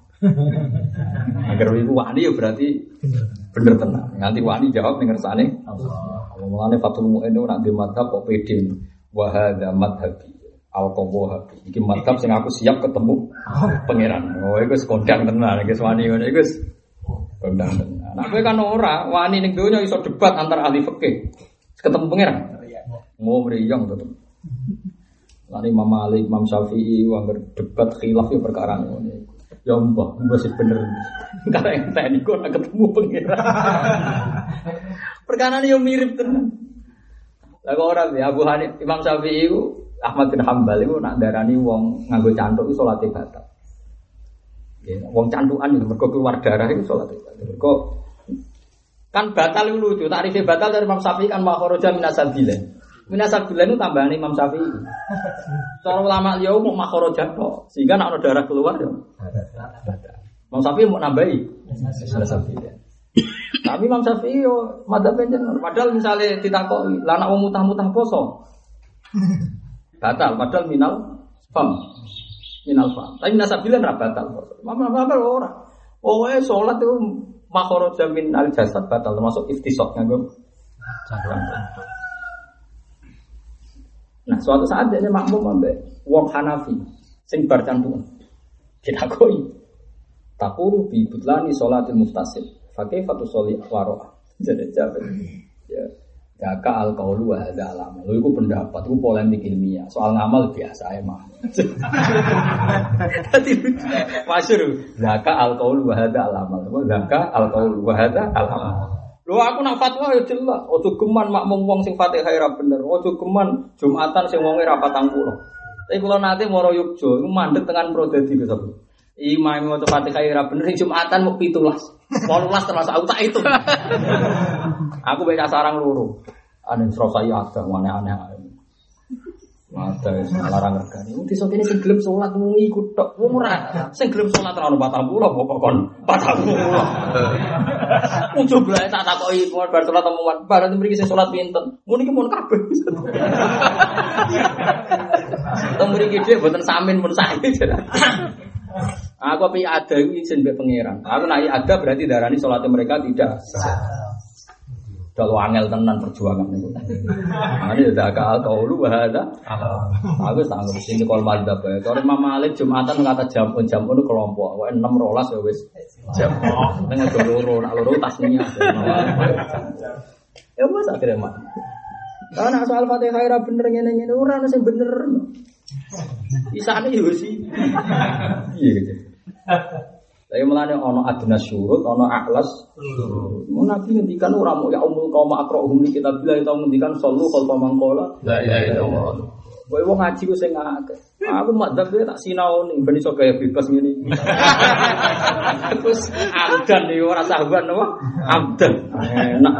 Agar ibu wani ya berarti bener tenan. Nanti wani jawab ning ngersane Allah. Mulane Fathul Mu'in nak di mazhab kok pede. Wa hadza madhabi. Al-Qaboh. Iki mazhab sing aku siap ketemu pangeran. Oh iku wis kondang tenan iki wani ngene iku wis kondang tenan. Nah kowe kan ora wani ning donya iso debat antar ahli fikih. Ketemu pangeran. Mau mriyang tetep. Lari Imam Malik, Imam Syafi'i wangger debat khilaf ya perkara ngene. Ya mbah sih bener. Karena yang tadi kok nak ketemu pangeran. Perkara yo mirip tenan. Lah kok ora ya Abu Hanifah, Imam Syafi'i Ahmad bin Hambal itu nak darani wong nganggo cantuk iku salate batal. Ya, wong cantukan itu mergo keluar darah itu salate batal. Mergo kan batal itu lucu, takrifnya batal dari Imam Syafi'i kan makharaja minasabilan. Minasabilan itu tambahan Imam Syafi'i. Cara ulama liya mau makharaja tok, sehingga nek ana darah keluar ya batal. Imam Syafi'i mau nambahi minasabilan. Tapi Imam Syafi'i yo madzhab jenengan, padahal misalnya ditakoki, lah nek wong mutah-mutah poso. Batal, padahal minal fam. Tapi minasabilan ra batal. Imam ora. Oh, salat itu makharaja min al jasad batal termasuk iftisaq nganggo cangkrang. Nah, suatu saat dia makmum ambek wong Hanafi sing bar cantuan. Ditakoni. Taqulu bi butlani sholatil muftasil. Fa kaifa tusolli wara. Jadi jawab. Ya. Jaka al-qaulu wa hadza alam. Lho iku pendapat, iku polemik ilmiah. Soal ngamal biasa emang. Dadi masyhur. Jaka al-qaulu wa hadza alam. Jaka al-qaulu wa hadza alam. Lho aku nak fatwa ya jelas. Ojo geman makmum wong sing Fatihah ra bener. Ojo geman Jumatan sing wonge ra 40. Tapi kula nate moro Yogya, iku mandeg tekan Prodadi ke sapa. Imam maca Fatihah ra bener sing Jumatan mung 17. 18 termasuk aku tak itu. Aku baca sarang loro. Ane serasa ya ada aneh-aneh. Ada larang regane. Wong desa kene sing gelem salat mung iku tok. Wong ora sing gelem salat ra ono 40 pokok kon 40. Wong coba tak takoki bar salat temuan. Bar mriki sing salat pinten? Mun iki mun kabeh. Teng mriki dhewe mboten samin mun sae. Aku pi ada iki izin mbek pangeran. Aku nek ada berarti darani salate mereka tidak sah. Kalau angel tenan perjuangan niku. Mane zakal qaulu wa hadza. Aku sanggup sing kol madzhab bae. Kalau Imam Malik Jumatan kata jam itu kelompok. Wae 6 12 ya wis jam. Tengah loro nak loro tasnya. Ya wis akhire mak. Karena soal Fatihah ra bener ngene-ngene ora ono sing bener. Isane yo sih. Iya gitu. Tapi mulane ono adna syurut, ono aklas. Mun Nabi ngendikan ora mau ya umul qaum aqra'uhum li kitabillah itu ngendikan sallu khalfa mangqala la ilaha illallah. Kowe wong ngaji ku sing akeh. Aku madzhab tak sinaoni ben iso gaya bebas ngene iki. Terus amdan yo ora sahabat napa? Amdan. Enak.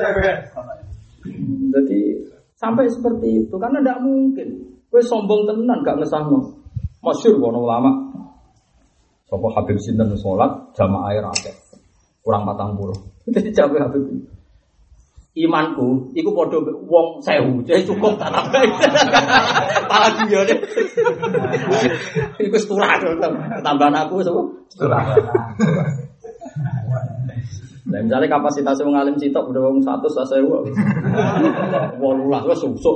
Jadi sampai seperti itu karena tidak mungkin. Kowe sombong tenan gak ngesahno. Masyhur ono ulama. Sapa Habib sinten salat jamaah air akeh. Kurang 40. Dadi jawe Habib. Imanku iku padha wong 1000. Jadi cukup tak tambah. Pala diyane. Iku seturah tambahan aku sapa? Seturah. Nah, misalnya kapasitas wong alim sitok udah wong 100 1000. 18 wis susuk.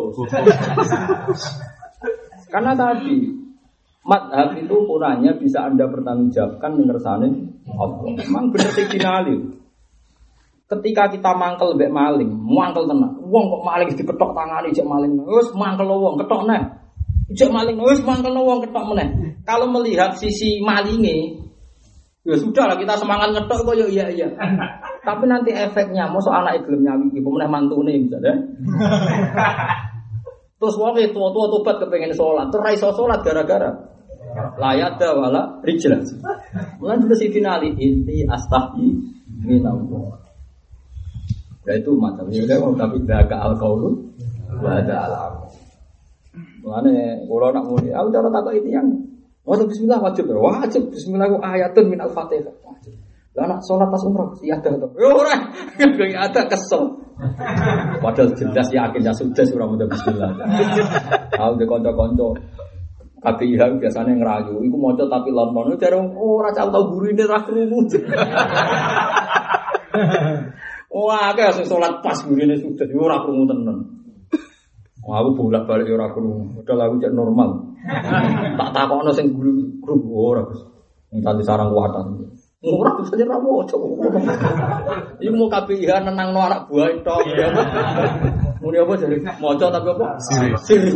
Karena tadi madhab itu ukurannya bisa Anda pertanggungjawabkan mengersane Allah. Memang bener sing dinali. Ketika kita mangkel mbek maling, mangkel tenan. Wong kok maling diketok tangane jek maling. Wis mangkel wong ketok neh. Jek maling wis mangkel wong ketok meneh. Kalau melihat sisi malinge, ya sudahlah kita semangat ngetok kok ya iya. Tapi nanti efeknya mosok anake gelem nyawi iki meneh mantune misalnya. Terus wong tua tobat kepengin salat, terus ra iso salat gara-gara layada wala rijla. Mulane terus finali inti astahi minallah. Ya itu macam ini kan tapi daga al-qaulu wa ada al-amal. Mulane kula nak muni, aku cara takok ini yang maca bismillah wajib. Wajib bismillah ku ayatun min al-Fatihah. Wajib. Lah nak salat pas umrah ya ada to. Yo ora, ada kesel. Padahal jelas yakin ya sudah ora maca bismillah. Aku de kanca-kanca KPIH biasanya ngerayu, iku maca tapi lon-lon jare ora tau gurine ra krungu. Wah, akeh sing salat pas gurine sudah ora krungu tenan. Aku bolak-balik ora krungu, padahal aku cek normal. Tak takokno sing guru ora Gus. Nganti sarang kuwatan. Ora bisa ora maca. Iku mau KPIH nenangno anak buah tok. Muni apa jare maca tapi apa? Siri.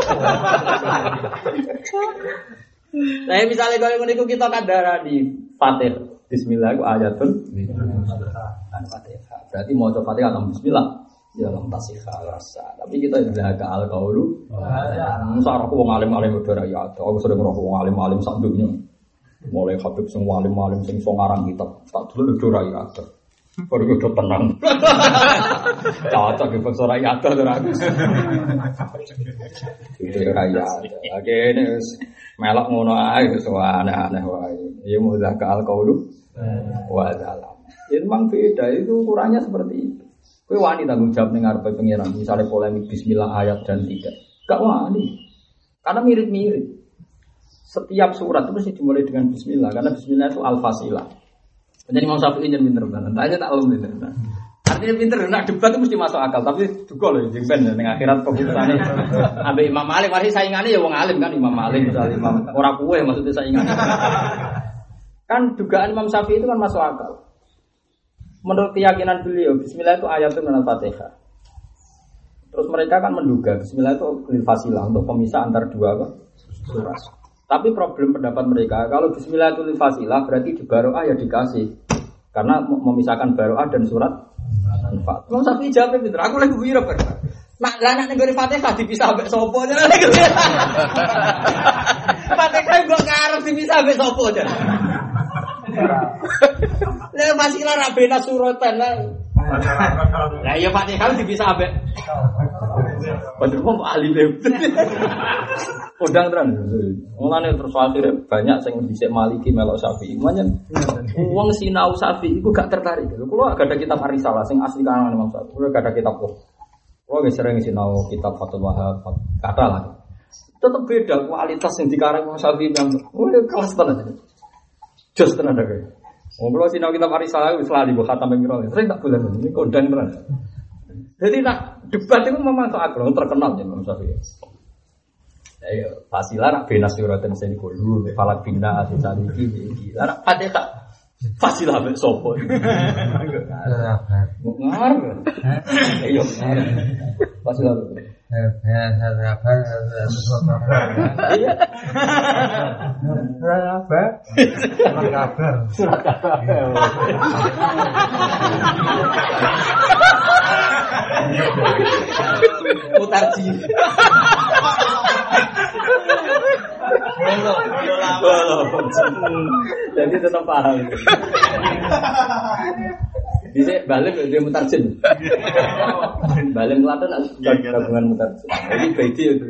Nah, misalnya kalau niku kita kadarani Fatihah. Bismillah iku ayatun Fatihah. Berarti maca Fatihah atau bismillah ya lam tasihha rasa. Tapi kita sudah ke al-qaulu. Masa aku wong alim-alim udah ya. Aku sering roh wong alim-alim sak dunya. Mulai Habib sing alim-alim sing iso ngarang kitab. Tak dulu udah ya. Baru udah tenang. Cocok di bangsa rakyat tuh ragus. Itu rakyat. Oke ini melok ngono ae wis aneh-aneh wae. Ya mudah ke al-qaulu wa zalam. Itu memang beda, itu ukurannya seperti itu. Kowe wani tanggung jawab ning ngarepe pangeran, misalnya polemik bismillah ayat dan tidak. Gak wani. Karena mirip-mirip. Setiap surat itu mesti dimulai dengan bismillah karena bismillah itu al-fasilah. Jadi Imam Syafi'i yang pinter banget. Tanya tak alum pinter. Artinya pinter, nak debat itu mesti masuk akal. Tapi juga loh, jengben dengan akhirat keputusannya. Ambil Imam Malik, masih saingannya ya wong alim kan Imam Malik, misalnya Imam orang kue maksudnya saingannya. Kan dugaan Imam Syafi'i itu kan masuk akal. Menurut keyakinan beliau, Bismillah itu ayatun min al-Fatihah. Terus mereka kan menduga Bismillah itu fasilah untuk pemisah antar dua surat. Tapi problem pendapat mereka, kalau bismillah itu fasilah berarti di baro'ah ya dikasih. Karena memisahkan baro'ah dan surat Al-Fatihah. Mau Syafi'i jawab pinter, aku lagi wira ber. Mak lah nek nggone Fatihah dipisah mbek sapa jenenge lagi. Fatihah kok ngarep dipisah mbek sapa jenenge. Lah fasilah ra bena suratan lah. Lah ya Fatihah dipisah mbek. Padahal kok ahli Kodang tenan. Mulane terus akhirnya banyak sing dhisik Maliki melok Syafi'i. Manyen wong sinau Syafi'i iku gak tertarik. Kulo gak ada kitab Ar-Risalah sing asli karangan Imam Syafi'i. Kulo gak ada kitab kok. Kulo wis sering sinau kitab Fathul Wahhab kata lah. Tetep beda kualitas sing dikarang Imam Syafi'i yang kelas tenan. Jos tenan dhewe. Wong kulo sinau kitab Ar-Risalah wis lali kok khatam ping pira. Sering tak bulan ini kodang tenan. Jadi nak debat itu memang soal terkenal ya Imam Syafi'i. Ayo, fasilah nak bina suratan seni kulu, falak bina asal iki. Lah nak Fatihah fasilah mek sopo. Ngar. Ayo. Fasilah. Surat kabar. Mutarji. Jadi tetap paham. Bisa balik dia mutarjin. Balik Klaten gabungan mutarjin. Jadi beda itu.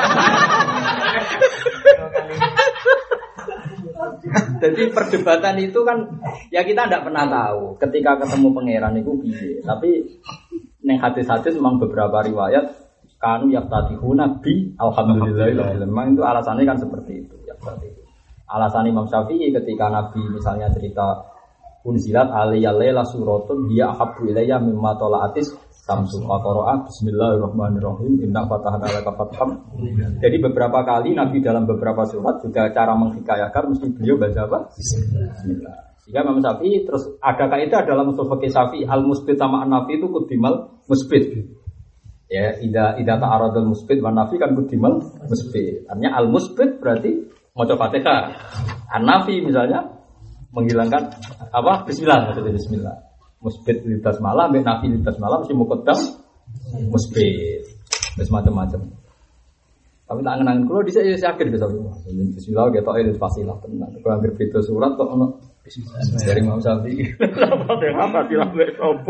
Jadi perdebatan itu kan ya kita tidak pernah tahu ketika ketemu pangeran itu piye. Tapi neng hadis-hadis memang beberapa riwayat kanu yaftatihuna bi alhamdulillah. Memang itu alasannya kan seperti itu. Ya seperti itu. Alasan Imam Syafi'i ketika Nabi misalnya cerita unzilat alaiya laila suratun hiya ahabbu ilayya mimma tala'atis samsu qara'a bismillahirrahmanirrahim inna fatahna laka fatham. Jadi beberapa kali Nabi dalam beberapa surat juga cara menghikayatkan mesti beliau baca apa? Bismillah. Sehingga Imam Syafi'i terus ada kaidah dalam usul fikih Syafi'i al-musbit sama an-nafi itu kudimal musbit. Ya, idza ta'aradul musbit wa nafi kan kudimal musbit. Artinya al-musbit berarti maca Fatihah. An-nafi misalnya menghilangkan apa? Bismillah, maksudnya bismillah. Musbit litas malam, nafi litas malam mesti muqaddam musbit. Terus macam-macam. Tapi tak ngenangin kulo dhisik ya yakin Gus Abi. Bismillah ketok itu fasilah tenan. Kok anggere beda surat kok ono dari Imam Syafi'i. Apa sih lah wis opo.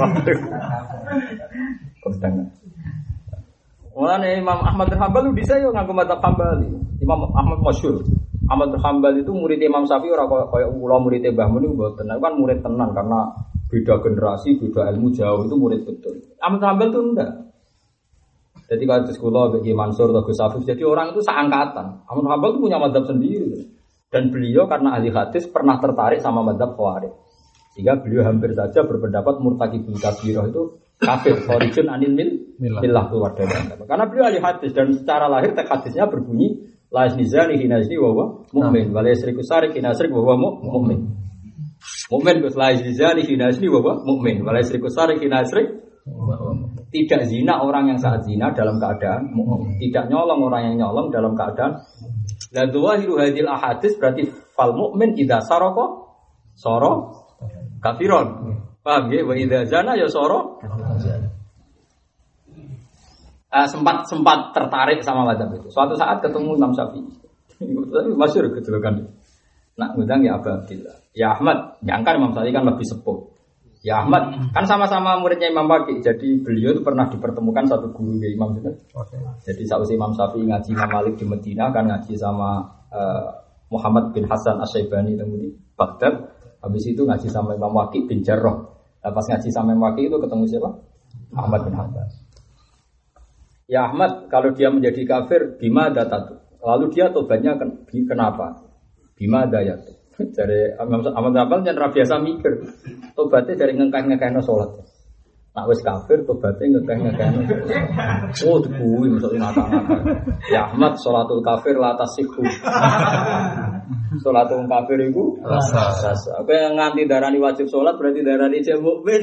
Kodang. Mulane Imam Ahmad bin Hanbal dhisik yo nganggo madzhab Hambali. Imam Ahmad masyhur. Ahmad bin Hanbal itu murid Imam Syafi'i ora kaya kula murid Mbah Mun niku mboten. Kan murid tenan karena beda generasi, beda ilmu jauh itu murid betul. Ahmad bin Hanbal itu enggak. Jadi kalau di sekolah bagi Mansur atau Gus Afif, jadi orang itu seangkatan. Ahmad bin Hanbal itu punya madzhab sendiri. Dan beliau karena ahli hadis pernah tertarik sama madzhab Khawarij. Sehingga beliau hampir saja berpendapat murtakibul kabirah itu kafir, kharijun anil millah keluar dari agama. Karena beliau ahli hadis dan secara lahir teks hadisnya berbunyi la yazni hina yazni wa huwa mu'min, wa la yasriku sarik hina yasrik wa huwa mu'min. Mu'min Gus la yazni hina yazni wa huwa mu'min, wa la yasriku sarik hina yasrik. Tidak zina orang yang saat zina dalam keadaan mu'min. Tidak nyolong orang yang nyolong dalam keadaan. La dhawahiru hadil ahadits berarti fal mu'min idza saraka sara kafiron. Paham ya? Wa idza zana ya sara. Sempat tertarik sama madzhab itu. Suatu saat ketemu Imam Syafi'i. Tapi masyhur kejelekan. Nak ngundang ya Abu Abdillah. Ya Ahmad, nyangka Imam Syafi'i kan lebih sepuh. Ya Ahmad, kan sama-sama muridnya Imam Waqi. Jadi beliau itu pernah dipertemukan satu guru ya Imam itu. Jadi sausi Imam Syafi'i ngaji Imam Malik di Medina kan ngaji sama Muhammad bin Hasan Asy-Syaibani di Baghdad. Habis itu ngaji sama Imam Waqi bin Jarrah. Pas ngaji sama Imam Waqi itu ketemu siapa? Ahmad bin Hanbal. Ya Ahmad, kalau dia menjadi kafir, bimada tatu. Lalu dia tobatnya kenapa? Bimada ya. Dari Ahmad bin Hanbal jangan biasa mikir. Tobatnya dari ngekeh-ngekehno salat. Nak wis kafir tobatnya ngekeh-ngekehno. Oh, kuwi maksudnya ngata-ngata. Ya Ahmad, salatul kafir la tasihhu. Salatul kafir iku rasa. Apa yang nganti darani wajib salat berarti darani jek mukmin.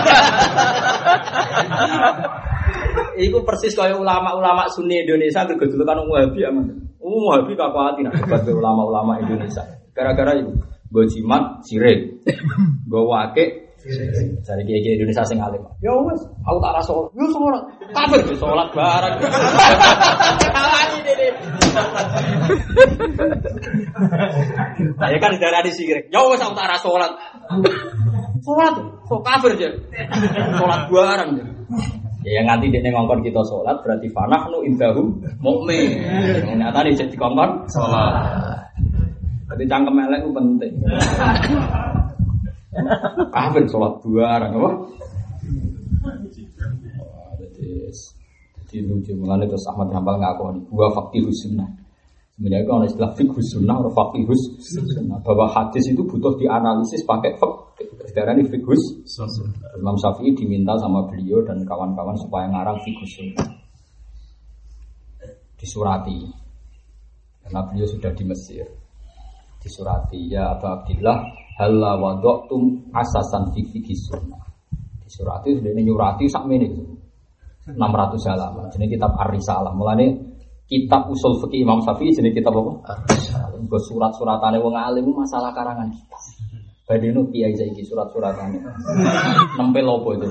Iku persis kaya ulama-ulama Sunni Indonesia gegedulukan Wahabi aman. Wahabi kakuati nak debat ulama-ulama Indonesia. Gara-gara itu gue jimat sirik, gue wakil cari kiai Indonesia sing alim. Ya wes, aku tak rasa sholat. Yo sholat, kafir di sholat barang. Saya kan darah di sirik. Ya wes, aku tak rasa sholat. Sholat, so kafir aja. Sholat barang. Ya yang nanti dia ngongkon kita sholat berarti fanahnu indahum mukmin. Nyata nih jadi ngongkon sholat. Jadi cangkem elek itu penting. Kafir sholat barang apa? Jadi lucu mengenai terus Ahmad bin Hanbal ngaku gua faqihus sunnah. Sebenarnya kalau istilah fiqhus sunnah atau faqihus sunnah bahwa hadis itu butuh dianalisis pakai fiqh. Sekarang ini fiqhus sunnah. Imam Syafi'i diminta sama beliau dan kawan-kawan supaya ngarang fiqhus sunnah. Disurati. Karena beliau sudah di Mesir. Disurati ya Abu Abdillah halla wada'tum asasan fi fiqhis sunnah. Disurati sudah nyurati sakmene itu 600 halaman. Jenenge kitab Ar-Risalah. Mulane kitab usul fikih Imam Syafi'i jenenge kitab apa? Ar-Risalah. Nggo surat-suratane wong alim masalah karangan kita. Badeno kiai saiki surat-suratane. Nempel opo itu?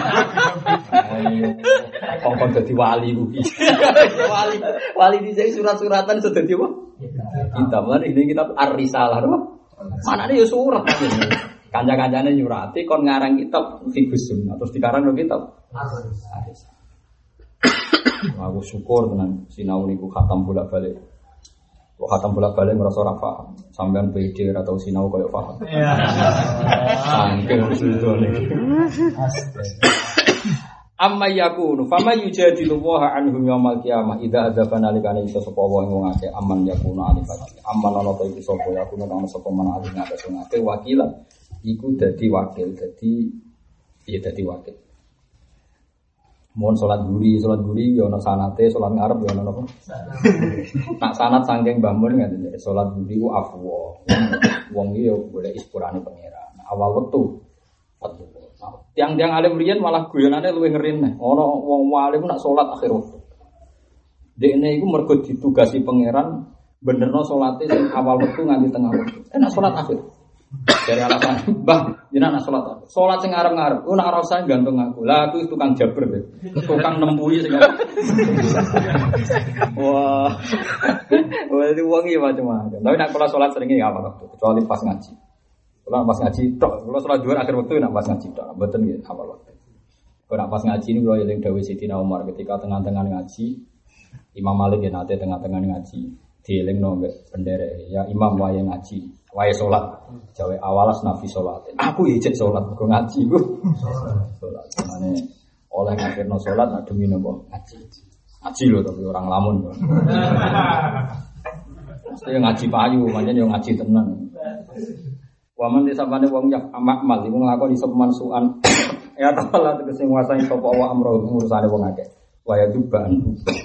Kongkon dadi wali kuwi. Wali dhisik surat-suratan sudah dadi apa? Kita mulane ini kitab Ar-Risalah apa? Manane ya surat. Kanca-kancane nyurati kon ngarang kitab Fiqhus Sunnah terus dikarang kitab Ar-Risalah. Aku syukur dengan sinau niku khatam bolak-balik. Kok khatam bolak-balik merasa ora paham. Sampean PD atau sinau koyo paham. Iya. Sangkel sudone. Amma yakunu fama yujadilu wa anhum yaumil qiyamah idza adzabana likane iso sapa wong ngake aman yakunu alifati. Aman ana ta iku sapa yakunu ana sapa man alif ngatas ngake wakilan. Iku dadi wakil dadi wakil. Mohon sholat guri ya ana sanate, sholat ngarep ya ana apa? Nak sanat saking Mbah Mun ngene sholat guri ku afwa. Wong iki ya boleh ispurane pangeran. Awal wektu tiang-tiang alim riyen malah guyonane luwih ngeri neh. Ana wong alim nak sholat akhir waktu. Dekne iku mergo ditugasi pangeran benerno salate sing awal wektu nganti tengah wektu. Nak sholat akhir. Dari alasan, "Mbah, jenengan salat apa? Salat sing ngarep-ngarep. Ku nak ora usah gantung aku. Lah aku tukang jabber, tukang nempui sing." Wah. Wah, itu wong iki macam-macam. Tapi nak kula salat sering iki apa waktu, kecuali pas ngaji. Kula pas ngaji tok, kula salat dhuwur akhir waktu nak pas ngaji tok. Mboten nggih apa waktu. Kula pas ngaji ini kula eling dawuh Sidina Umar ketika tengah-tengah ngaji, Imam Malik ya nate tengah-tengah ngaji, dielingno mbek penderek, ya Imam wae ngaji. Wae salat, jawe awalas nabi salat. Aku ijek salat, kok ngaji ku. Salat. Mane oleh ngakhirno salat nak demi nopo ngaji. Ngaji lho tapi orang lamun. Mesti ngaji payu, pancen yo ngaji tenan. Waman disapane wong yak amal iku nglakoni sepeman suan. Ya ta'ala tegese nguasani sapa wa amro urusane wong akeh. Waya duban.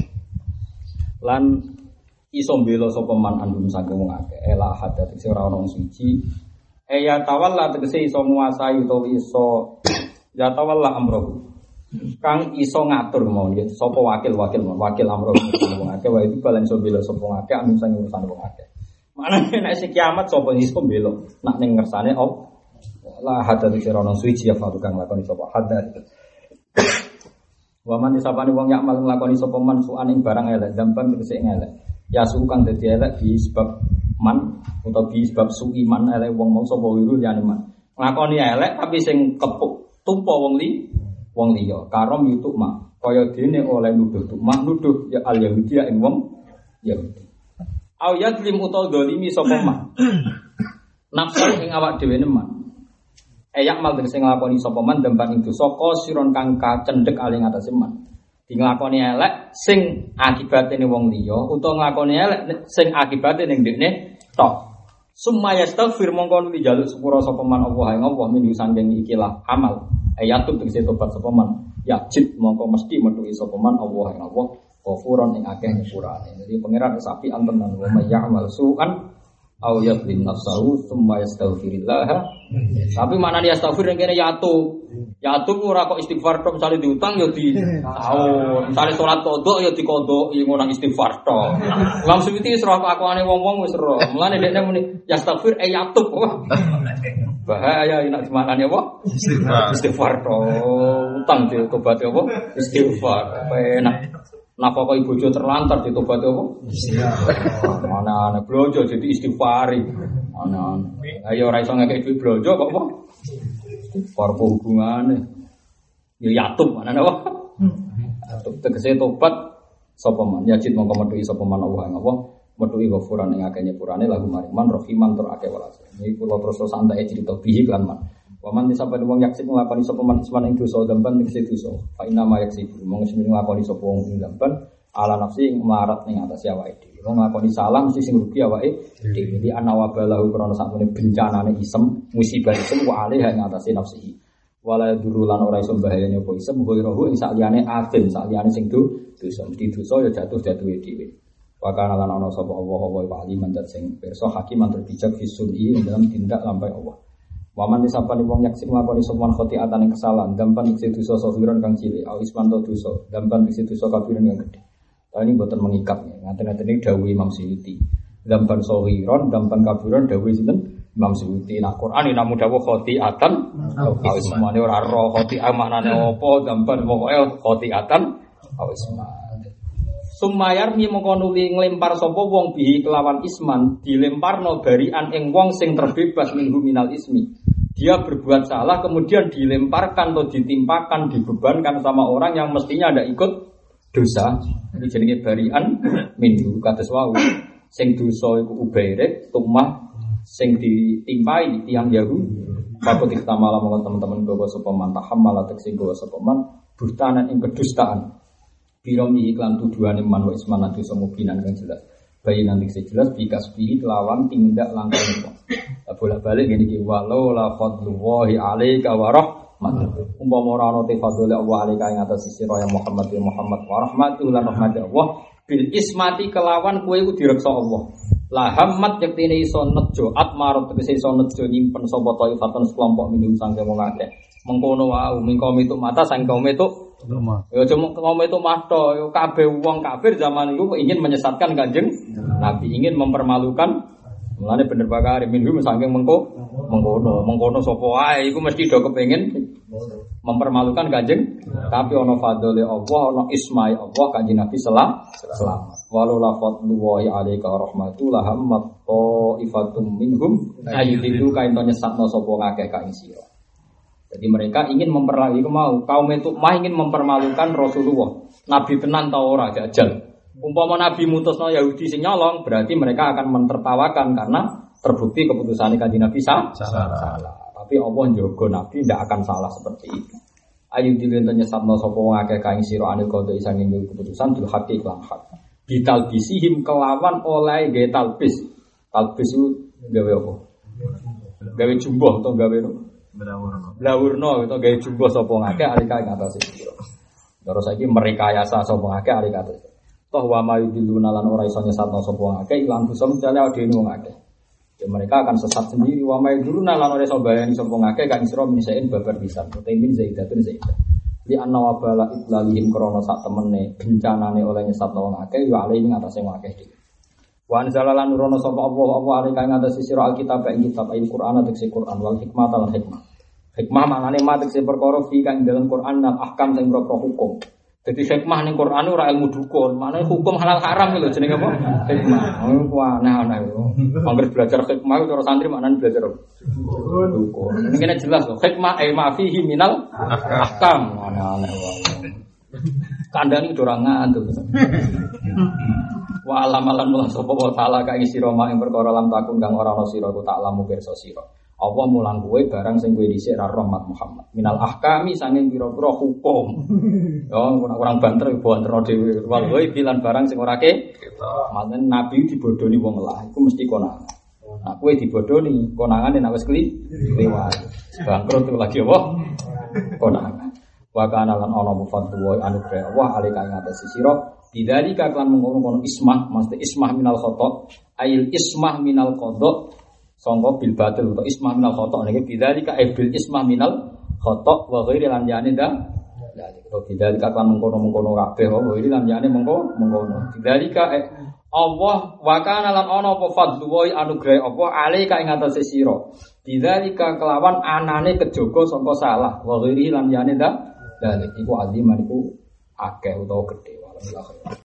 Lan iso mbela sapa man andum saking wong akeh ela hadat sing ora ono suci ya tawalla tegese iso nguasai utawa iso ya tawalla amroh kang iso ngatur mau nggih sapa wakil amroh wong akeh wae itu balen iso mbela sapa wong akeh andum saking urusan wong akeh manane nek sing kiamat sapa iso mbela nak ning ngersane la hadat sing ora ono suci ya kang lakoni sapa hadat waman disapane wong yak mal nglakoni sapa man suan ing barang elek dampan tegese elek ya sukan dadi elek bi sebab man utawa bi sebab suiman elek wong mau sapa wiru liyane man nglakoni elek tapi sing kepuk tumpa wong liya karom yutuk mak kaya dene oleh nuduh tukmak nuduh ya al yahudi ing wong Yahudi au yadlim utawa dolimi sapa man nafsu ing awak dhewe man yak mal sing nglakoni sapa man demban ing dosa siron kang kacendhek aling atase man di nglakoni elek sing akibate ning wong liya utawa nglakoni elek sing akibate ning ndekne tok summa yastaghfir mongko nuli jaluk sepura sapa man Allah ing Allah min sanging ikilah amal ayatun tegese tobat sapa man yajid mongko mesti metuhi sapa man Allah ing Allah ghafuron ing akeh nyepurane jadi pangeran sapi antenan wa may ya'mal su'an au yadlim nafsahu tsumma yastaghfirillah. Tapi maknane yastaghfir ning kene yatu ora kok istighfar tok misale diutang ya di tahun. Misale salat qodho ya diqodhoki ngono istighfar tok. Imam Suyuti wis roh akwane wong-wong wis roh. Mulane dekne muni yastaghfir yatu. Bahaya nek maknane apa? Istighfar tok. Utang ditobat apa? Istighfar. Enak. Napa kok ibojo terlantar ditobati apa? Mana-ana blojo jadi istighfari. Ana-ana. Ayo ora iso ngekek duit blojo kok apa? Istighfar hubungane. Ya yatum mana apa? Tegese tobat sapa man yajid mongko metuhi sapa man Allah ing Allah metuhi ghafuran ing akeh nyepurane lagu mariman rahiman tur akeh welas. Iki kula terus santai cerita bihi lan man. Waman disapa wong yaksib nglakoni sapa man isman ing dosa dampan tegese dosa. Fa inna ma yaksib mung sing nglakoni sapa wong ing dampan ala nafsi ing marat ning atas awake dhewe. Wong nglakoni salah mesti sing rugi awake dhewe. Jadi ana wabalahu krana sakmene bencanane isem, musibah isem wa alih ing atase nafsihi. Wala durulan ora iso bahayane apa isem ghairuhu ing saliyane afim, saliyane sing dosa. Mesti dosa ya jatuh-jatuhe dhewe. Wa kana lan ana sapa Allah wa aliman dat sing pirsa hakiman terbijak fisuli ing dalam tindak lampahe Allah. Waman disapani wong yaksib nglakoni semua khotiatan ing kesalahan, dampan tegese dosa safiran kang cilik, au isman to dosa, dampan tegese dosa kabiran kang gedhe. Ini mboten mengikat ya. Ngaten-ngaten iki dawuh Imam Suyuti. Dampan safiran, dampan kabiran dawuh sinten? Imam Suyuti. Nah Quran iki namung dawuh khotiatan, au ismane ora ro khotiah maknane apa, dampan pokoke khotiatan, au isman. Sumayar mi mongko nuli nglempar sapa wong bihi kelawan isman dilemparno barian ing wong sing terbebas minhu minal ismi. Dia berbuat salah kemudian dilemparkan atau ditimpakan dibebankan sama orang yang mestinya ada ikut dosa. Iki jenenge barian minhu kados wau. Sing dosa iku ubairek tumah sing ditimpai tiyang Yahudi. Pakut iktamala mongko teman-teman gawa sapa man tahammala sing gawa sapa man buhtanan ing kedustaan. Biromi iklan tuduhane man wa isman adu semubinan kang jelas. Bayi nanti sejelas bikasbihi kelawan tindak langkah itu. Bolak-balik ngene iki walau la fadlullahi alaika wa rahmatuh. Umpama ora ana te fadlul Allah alaika ing atas sira ya Muhammad wa rahmatuh lan rahmat Allah bil ismati kelawan kowe iku direksa Allah. La hammat yektine iso nejo atmarut tegese iso nejo nyimpen sapa taifatan sekelompok minum sangke wong akeh. Mengkono wae mingkom itu mata sang kaum itu ya cuma kaum itu mato yo kabeh wong kafir zaman itu ingin menyesatkan Kanjeng Nabi, ingin mempermalukan Mulane bener bakare minhum saking mengkono sapa wae iku mesti do kepengin mempermalukan Kanjeng, tapi ana fadhole Allah, ana ismai Allah Kanjeng Nabi selamat. Walau la fadlullahi alaika rahmatu la hammat ifatum minhum ayyidhu kain to nyesatno sapa ngakeh ka ing sira. Jadi mereka ingin kaum itu ingin mempermalukan Rasulullah. Nabi tenan ta ora jajal. Umpama Nabi mutusno Yahudi sing nyolong, berarti mereka akan mentertawakan karena terbukti keputusannya Kanjeng Nabi salah. Tapi Allah njogo Nabi tidak akan salah seperti itu. Ayu dilentenya sabna sapa wong akeh kaing sira anil qada isang ing keputusan bil haqqi lan hak. Bitalbisihim kelawan oleh gawe talbis. Talbis itu gawe apa? Gawe jumboh atau gawe blawurno atau gawe jumboh sapa ngakeh alika ing atase sira. Terus saiki merekayasa sapa ngakeh alika atase. Toh wa mayudiluna lan ora iso nyesatno sapa akeh ilang bisa mencale dene wong akeh. Ya mereka akan sesat sendiri wa mayudiluna lan ora iso bayani sapa akeh kan isra misain babar bisa. Utamin zaidatun zaidah. Li anna wa bala idlalihim krana sak temene bencanane oleh nyesatno wong akeh ya ale ing atase wong akeh. Wa anzalalan nurono sapa apa alika ing atase sira alkitab ing kitab Al-Qur'an atase Qur'an wal hikmah lan hikmah. Hikmah maknane matek perkara fi kang dalam Qur'an lan ahkam sing propro hukum. Jadi hikmah ning Quran ora ilmu dukun, maknane hukum halal haram lho jenenge apa? Hikmah. Oh, aneh-aneh. Mangger belajar hikmah cara santri maknane belajar dukun. Ini kene jelas lho, hikmah ma fihi minal ahkam. Aneh-aneh wae. Kandhane ora ngantuk. Wa alamalan mulah sapa wa taala ka sira mak ing perkara lam takun kang ora ana sira ku tak lamu pirsa sira. Allah mulang kowe barang sing kowe dhisik ra rahmat Muhammad. Minal ahkami sanging pira-pira hukum. Ya kurang banter banterno dhewe. Wae bilan barang sing ora ke. Manen nabi dibodoni wong lah iku mesti konangan. Nah kowe dibodoni konangane nek wis kliwat. Bangkrut lagi apa? Konangan. Wa kana lan ana mufaddu wa anugrah wa alika ing atase sira. Bidzalika kan mengkono ismah, mesti ismah minal khata. Ail ismah minal qada. Sangka bil batil atau ismah minal khata niki bidzalika bil ismah minal khata wa ghairi lan yani da to bidzalika kan mengkono kabeh wa ghairi lan yani mengkono bidzalika Allah wa kana lan ana apa fadlu wa anugrah apa alika ing atase sira bidzalika kelawan anane kejaga sangka salah wa ghairi lan yani da iku aziman iku akeh utawa gedhe